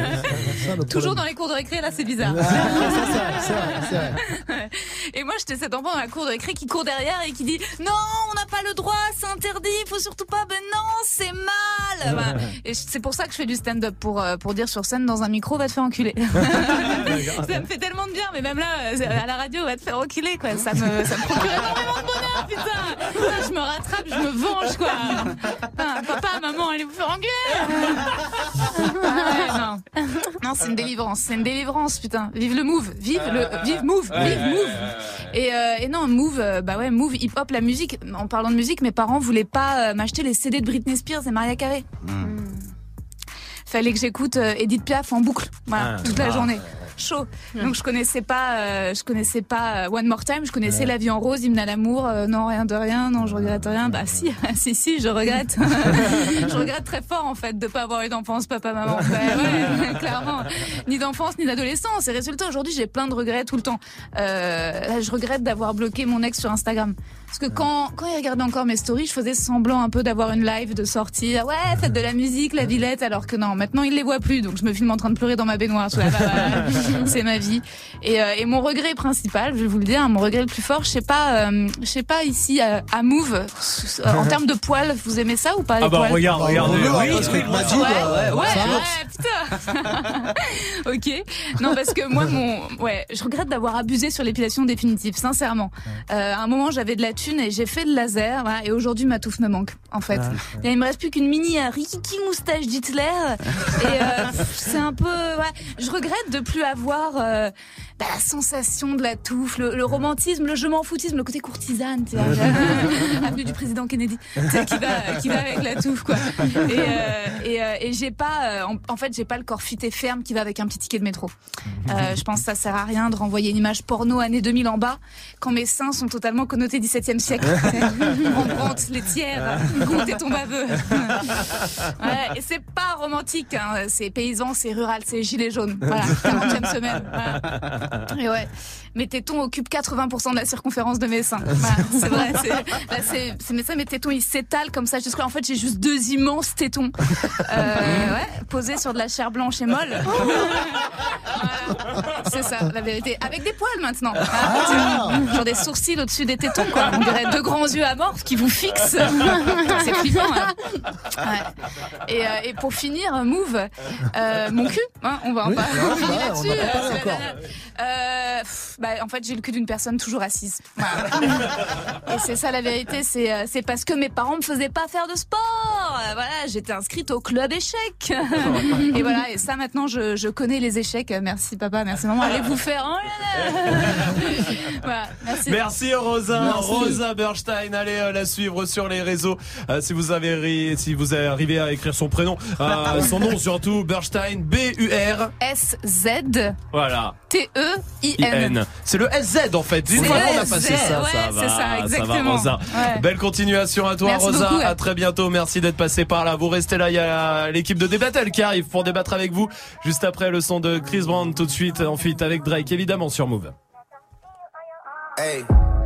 le problème. Toujours dans les cours de récré, là, c'est bizarre. Ah, c'est ça, c'est vrai, c'est vrai. Ouais. Et moi, j'étais cet enfant dans la cour de récré qui court derrière et qui dit non, on n'a pas le droit, c'est interdit, faut surtout pas. Ben non, c'est mal. Voilà. Et c'est pour ça que je fais du stand-up pour euh, pour dire sur scène dans un micro, va te faire enculer. Ça me fait tellement de bien, mais même là, euh, à la radio, va te faire enculer, quoi. Ça me ça me procure énormément de bonheur, putain. Putain, je me rattrape, je me venge, quoi. Putain, papa, maman, allez vous faire engueuler. Ah ouais, non. Non, c'est une délivrance, c'est une délivrance, putain. Vive le move, vive le, vive move, vive move. Et, euh, et non, move, euh, bah ouais, move, hip hop, la musique. En parlant de musique, mes parents voulaient pas euh, m'acheter les C D de Britney Spears et Mariah Carey. Mm. Fallait que j'écoute euh, Edith Piaf en boucle, voilà, ah, toute la ah, journée. Chaud. Donc je connaissais pas, euh, je connaissais pas euh, One More Time, je connaissais ouais. La vie en rose, Hymne à l'amour, euh, non rien de rien, non je regrette rien. Bah si, si si, je regrette. Je regrette très fort en fait de pas avoir eu d'enfance, papa, maman. Ouais, ouais, clairement, ni d'enfance ni d'adolescence. Et résultat, aujourd'hui j'ai plein de regrets tout le temps. Euh, je regrette d'avoir bloqué mon ex sur Instagram. Parce que quand quand il regardait encore mes stories, je faisais semblant un peu d'avoir une live, de sortir, ouais, faites de la musique, la Villette, alors que non, maintenant il les voit plus, donc je me filme en train de pleurer dans ma baignoire. Bah, bah, c'est ma vie. Et, euh, et mon regret principal, je vais vous le dire, mon regret le plus fort, je sais pas, euh, je sais pas ici à, à Move, euh, en termes de poils, vous aimez ça ou pas? Ah bah poils regarde, regardez. Oui, oui, oui, oui, ouais, ouais, ouais, ouais, putain. Ok. Non parce que moi mon, ouais, je regrette d'avoir abusé sur l'épilation définitive, sincèrement. Euh, à un moment j'avais de la thune et j'ai fait le laser, voilà, et aujourd'hui ma touffe me manque, en fait. Ah, et il me reste plus qu'une mini euh, rikiki moustache d'Hitler. Et euh, c'est un peu, ouais, je regrette de plus avoir euh, bah, la sensation de la touffe, le, le romantisme, le je m'en foutisme, le côté courtisane, tu vois, avenue du président Kennedy, tu sais, qui va, qui va avec la touffe, quoi. Et, euh, et, euh, et j'ai pas, euh, en, en fait, j'ai pas le corps fit et ferme qui va avec un petit ticket de métro. Euh, je pense que ça sert à rien de renvoyer une image porno années deux mille en bas quand mes seins sont totalement connotés dix-septième siècle. Rembrandt, les tiers, comptez ton baveux. Ouais, et c'est pas romantique, hein, c'est paysan, c'est rural, c'est gilet jaune. Voilà, quarantième semaine. Voilà. Et ouais, mes tétons occupent quatre-vingts pour cent de la circonférence de mes seins. Voilà, c'est vrai, c'est, là, c'est, c'est mes seins, mes tétons, ils s'étalent comme ça jusqu'à, en fait, j'ai juste deux immenses tétons, euh, ouais, posés sur de la chair blanche et molle. Voilà. C'est ça, la vérité. Avec des poils maintenant. Ah. Genre des sourcils au-dessus des tétons, quoi. On dirait deux grands yeux amorphes qui vous fixent. C'est flippant, hein. Ouais. Et, euh, et pour finir, Move, euh, mon cul, hein, on va en oui, parler. On finit là-dessus. Euh, c'est euh, pff, bah, en fait, j'ai le cul d'une personne toujours assise. Voilà. Et c'est ça la vérité, c'est, c'est parce que mes parents me faisaient pas faire de sport. Voilà, j'étais inscrite au club échecs. Et voilà, et ça maintenant, je, je connais les échecs. Merci papa, merci maman. Allez vous faire. Oh là là. Voilà, merci. Merci Rosa, merci. Rosa Bernstein. Allez euh, la suivre sur les réseaux. Euh, si vous avez ri, si vous avez arrivé à écrire son prénom, euh, son nom surtout, Bernstein, B U R S Z. Voilà. T E I N. C'est le S Z en fait. Une fois qu'on a passé ça, ouais, ça va. C'est ça, exactement. Ça va, Rosa. Ouais. Belle continuation à toi, merci Rosa. Beaucoup, ouais. À très bientôt. Merci d'être passé par là. Vous restez là. Il y a l'équipe de Débattle qui arrive pour débattre avec vous. Juste après le son de Chris Brown, tout de suite en feat avec Drake, évidemment sur Move. Hey.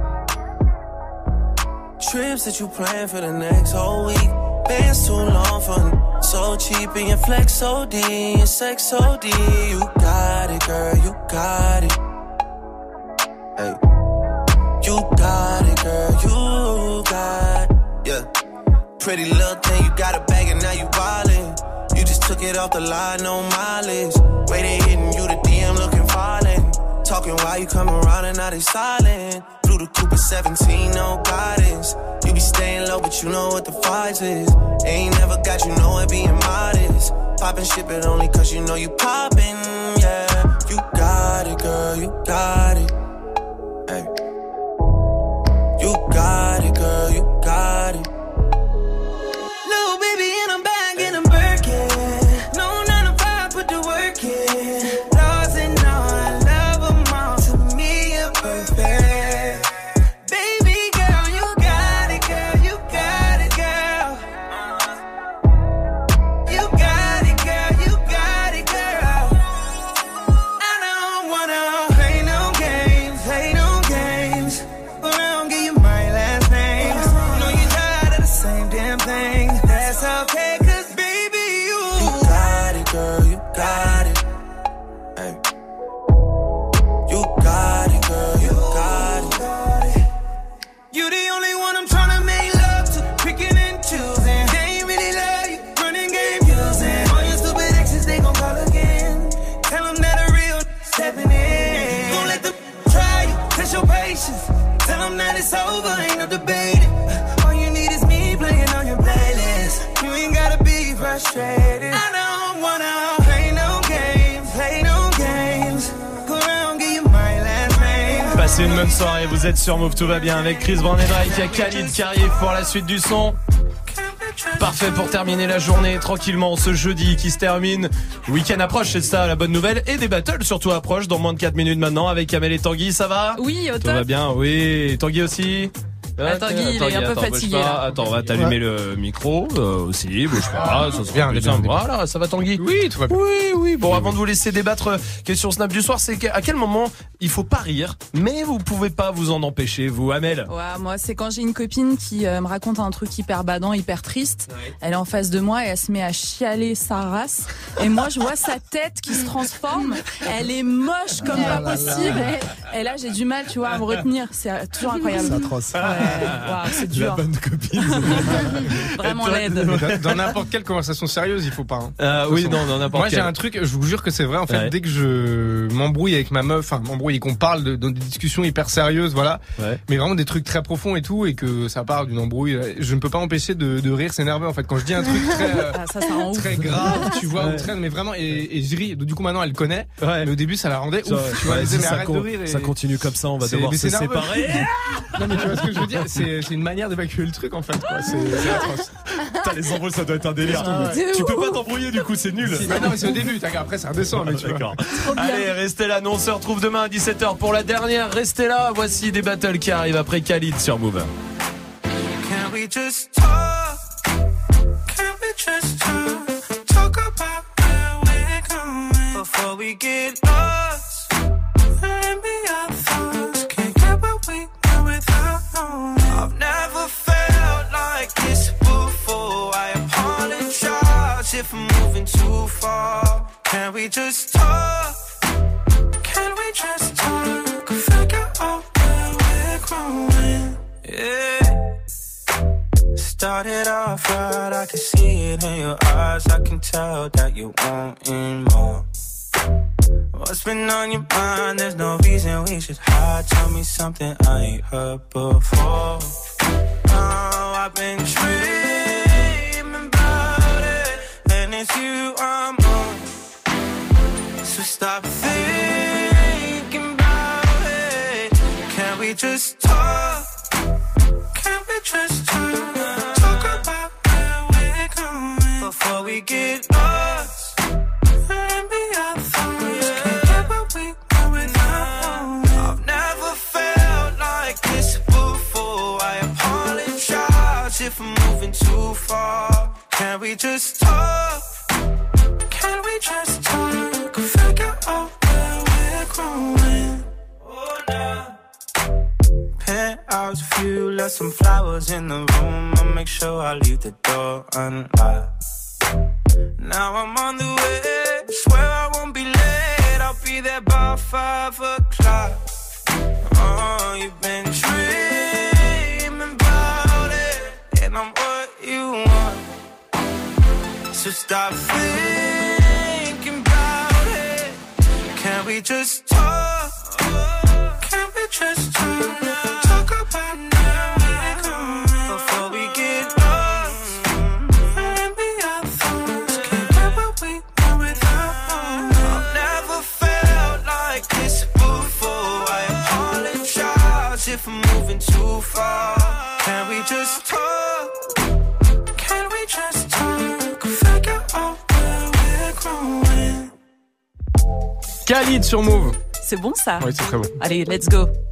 Trips that you plan for the next whole week. Been too long for so cheap and your flex so D, your sex so D. You got it, girl, you got it. Hey, you got it, girl, you got it. Yeah, pretty little thing, you got a bag and now you wildin'. You just took it off the line, no mileage. Way they hitting you, the D M looking violent. Talking while you come around and now they silent. Blue the Cooper seventeen, no guidance. You be staying low, but you know what the fight is. Ain't never got you know it being modest. Poppin' shit, but only cause you know you poppin', yeah. You got it, girl, you got it. Hey. You got it, girl, you got it. Little baby, and I'm back in a Birkin. No nine to five, put the work in. Lost and all, I love them all. To me, you're perfect. It's over, ain't no debating. All you need is me playing on your playlist. You ain't gotta be frustrated. I don't wanna play no games, play Passez une bonne soirée, vous êtes sur Move, tout va bien avec Chris Brown et Drake, il y a Khalid qui arrive pour la suite du son. Parfait pour terminer la journée tranquillement ce jeudi qui se termine. Le week-end approche, c'est ça la bonne nouvelle. Et des battles surtout approchent dans moins de quatre minutes maintenant avec Amel et Tanguy, ça va? Oui, au top. Tout va bien, oui. Tanguy aussi? Ah, Tanguy, il est un peu attends, fatigué là. Attends, on va t'allumer le micro euh, aussi, bouge pas, ça se bien, bien. Voilà, ça va Tanguy? Oui, tout va bien. Oui, oui. Bon, avant de vous laisser débattre, question Snap du soir, c'est à quel moment il faut pas rire, mais vous pouvez pas vous en empêcher, vous, Amel? Ouais, moi, c'est quand j'ai une copine qui euh, me raconte un truc hyper badant, hyper triste. Ouais. Elle est en face de moi et elle se met à chialer sa race. Et moi, je vois sa tête qui se transforme. Elle est moche comme ah, pas là, possible. Là. Et, et là, j'ai du mal, tu vois, à me retenir. C'est toujours incroyable. C'est atroce. Ouais, wow, c'est dur. La bonne copine. Vraiment laide. Dans, dans n'importe quelle conversation sérieuse, il faut pas. Hein. Euh, oui, non, dans n'importe Moi, quelle. j'ai un truc, je vous jure que c'est vrai. En fait, ouais. Dès que je m'embrouille avec ma meuf, enfin, m'embrouille et qu'on parle de, dans des discussions hyper sérieuses, voilà. Ouais. Mais vraiment des trucs très profonds et tout, et que ça part d'une embrouille, je ne peux pas empêcher de, de rire, c'est nerveux en fait. Quand je dis un truc très, ah, ça, ça très grave, tu vois, ouais. ou très, mais vraiment, et, et je ris. Du coup, maintenant, elle connaît. Ouais. Mais au début, ça la rendait ça, ouf. Tu vois, ouais, elle disait, mais ça, arrête con, de rire. Et... ça continue comme ça, on va devoir se séparer. Non, mais tu vois ce que je veux dire? C'est, c'est une manière d'évacuer le truc en fait, quoi. C'est, c'est atroce. Putain, les embrouilles, ça doit être un délire. Ah, ouais. Tu peux pas t'embrouiller, du coup, c'est nul. Si, bah non, mais c'est au début, après, ça redescend, mais tu vois. Allez, restez là, nous on se retrouve demain à dix-sept heures pour la dernière. Restez là, voici des battles qui arrivent après Khalid sur Move. Can we just talk? Can we just talk? Talk about where we're going before we get lost. Let me our thoughts. Can't get what we want without knowing. I've never felt like this before. I apologize if I'm moving too far. Can we just talk? Can we just talk? Figure out where we're growing. Yeah. Started off right, I can see it in your eyes. I can tell that you wanting more. What's been on your mind? There's no reason we should hide. Tell me something I ain't heard before. Oh, I've been dreaming about it, and it's you I'm on. So stop thinking about it. Can we just talk? Can we just talk? Talk about where we're going before we get lost. Let me our thoughts. Can't get what we want without. I've never felt like this before. I apologize if I'm moving too far. Can we just talk? Can we just talk? Figure out where we're growing. Oh, now. Penthouse view, left some flowers in the room. I'll make sure I leave the door unlocked. Now I'm on the way, swear I won't be late. I'll be there by five o'clock. Oh, you've been dreaming about it, and I'm what you want. So stop thinking about it. Can we just talk? Can we just talk? Talk about where we're going before we get lost. Let me our thoughts. Can't get what we want without. I've never felt like this before. I apologize if I'm moving too far. Can we just talk? Can we just talk? Figure out where we're growing. Khalid sur Move. C'est bon ça? Oui, c'est très bon. Allez, let's go.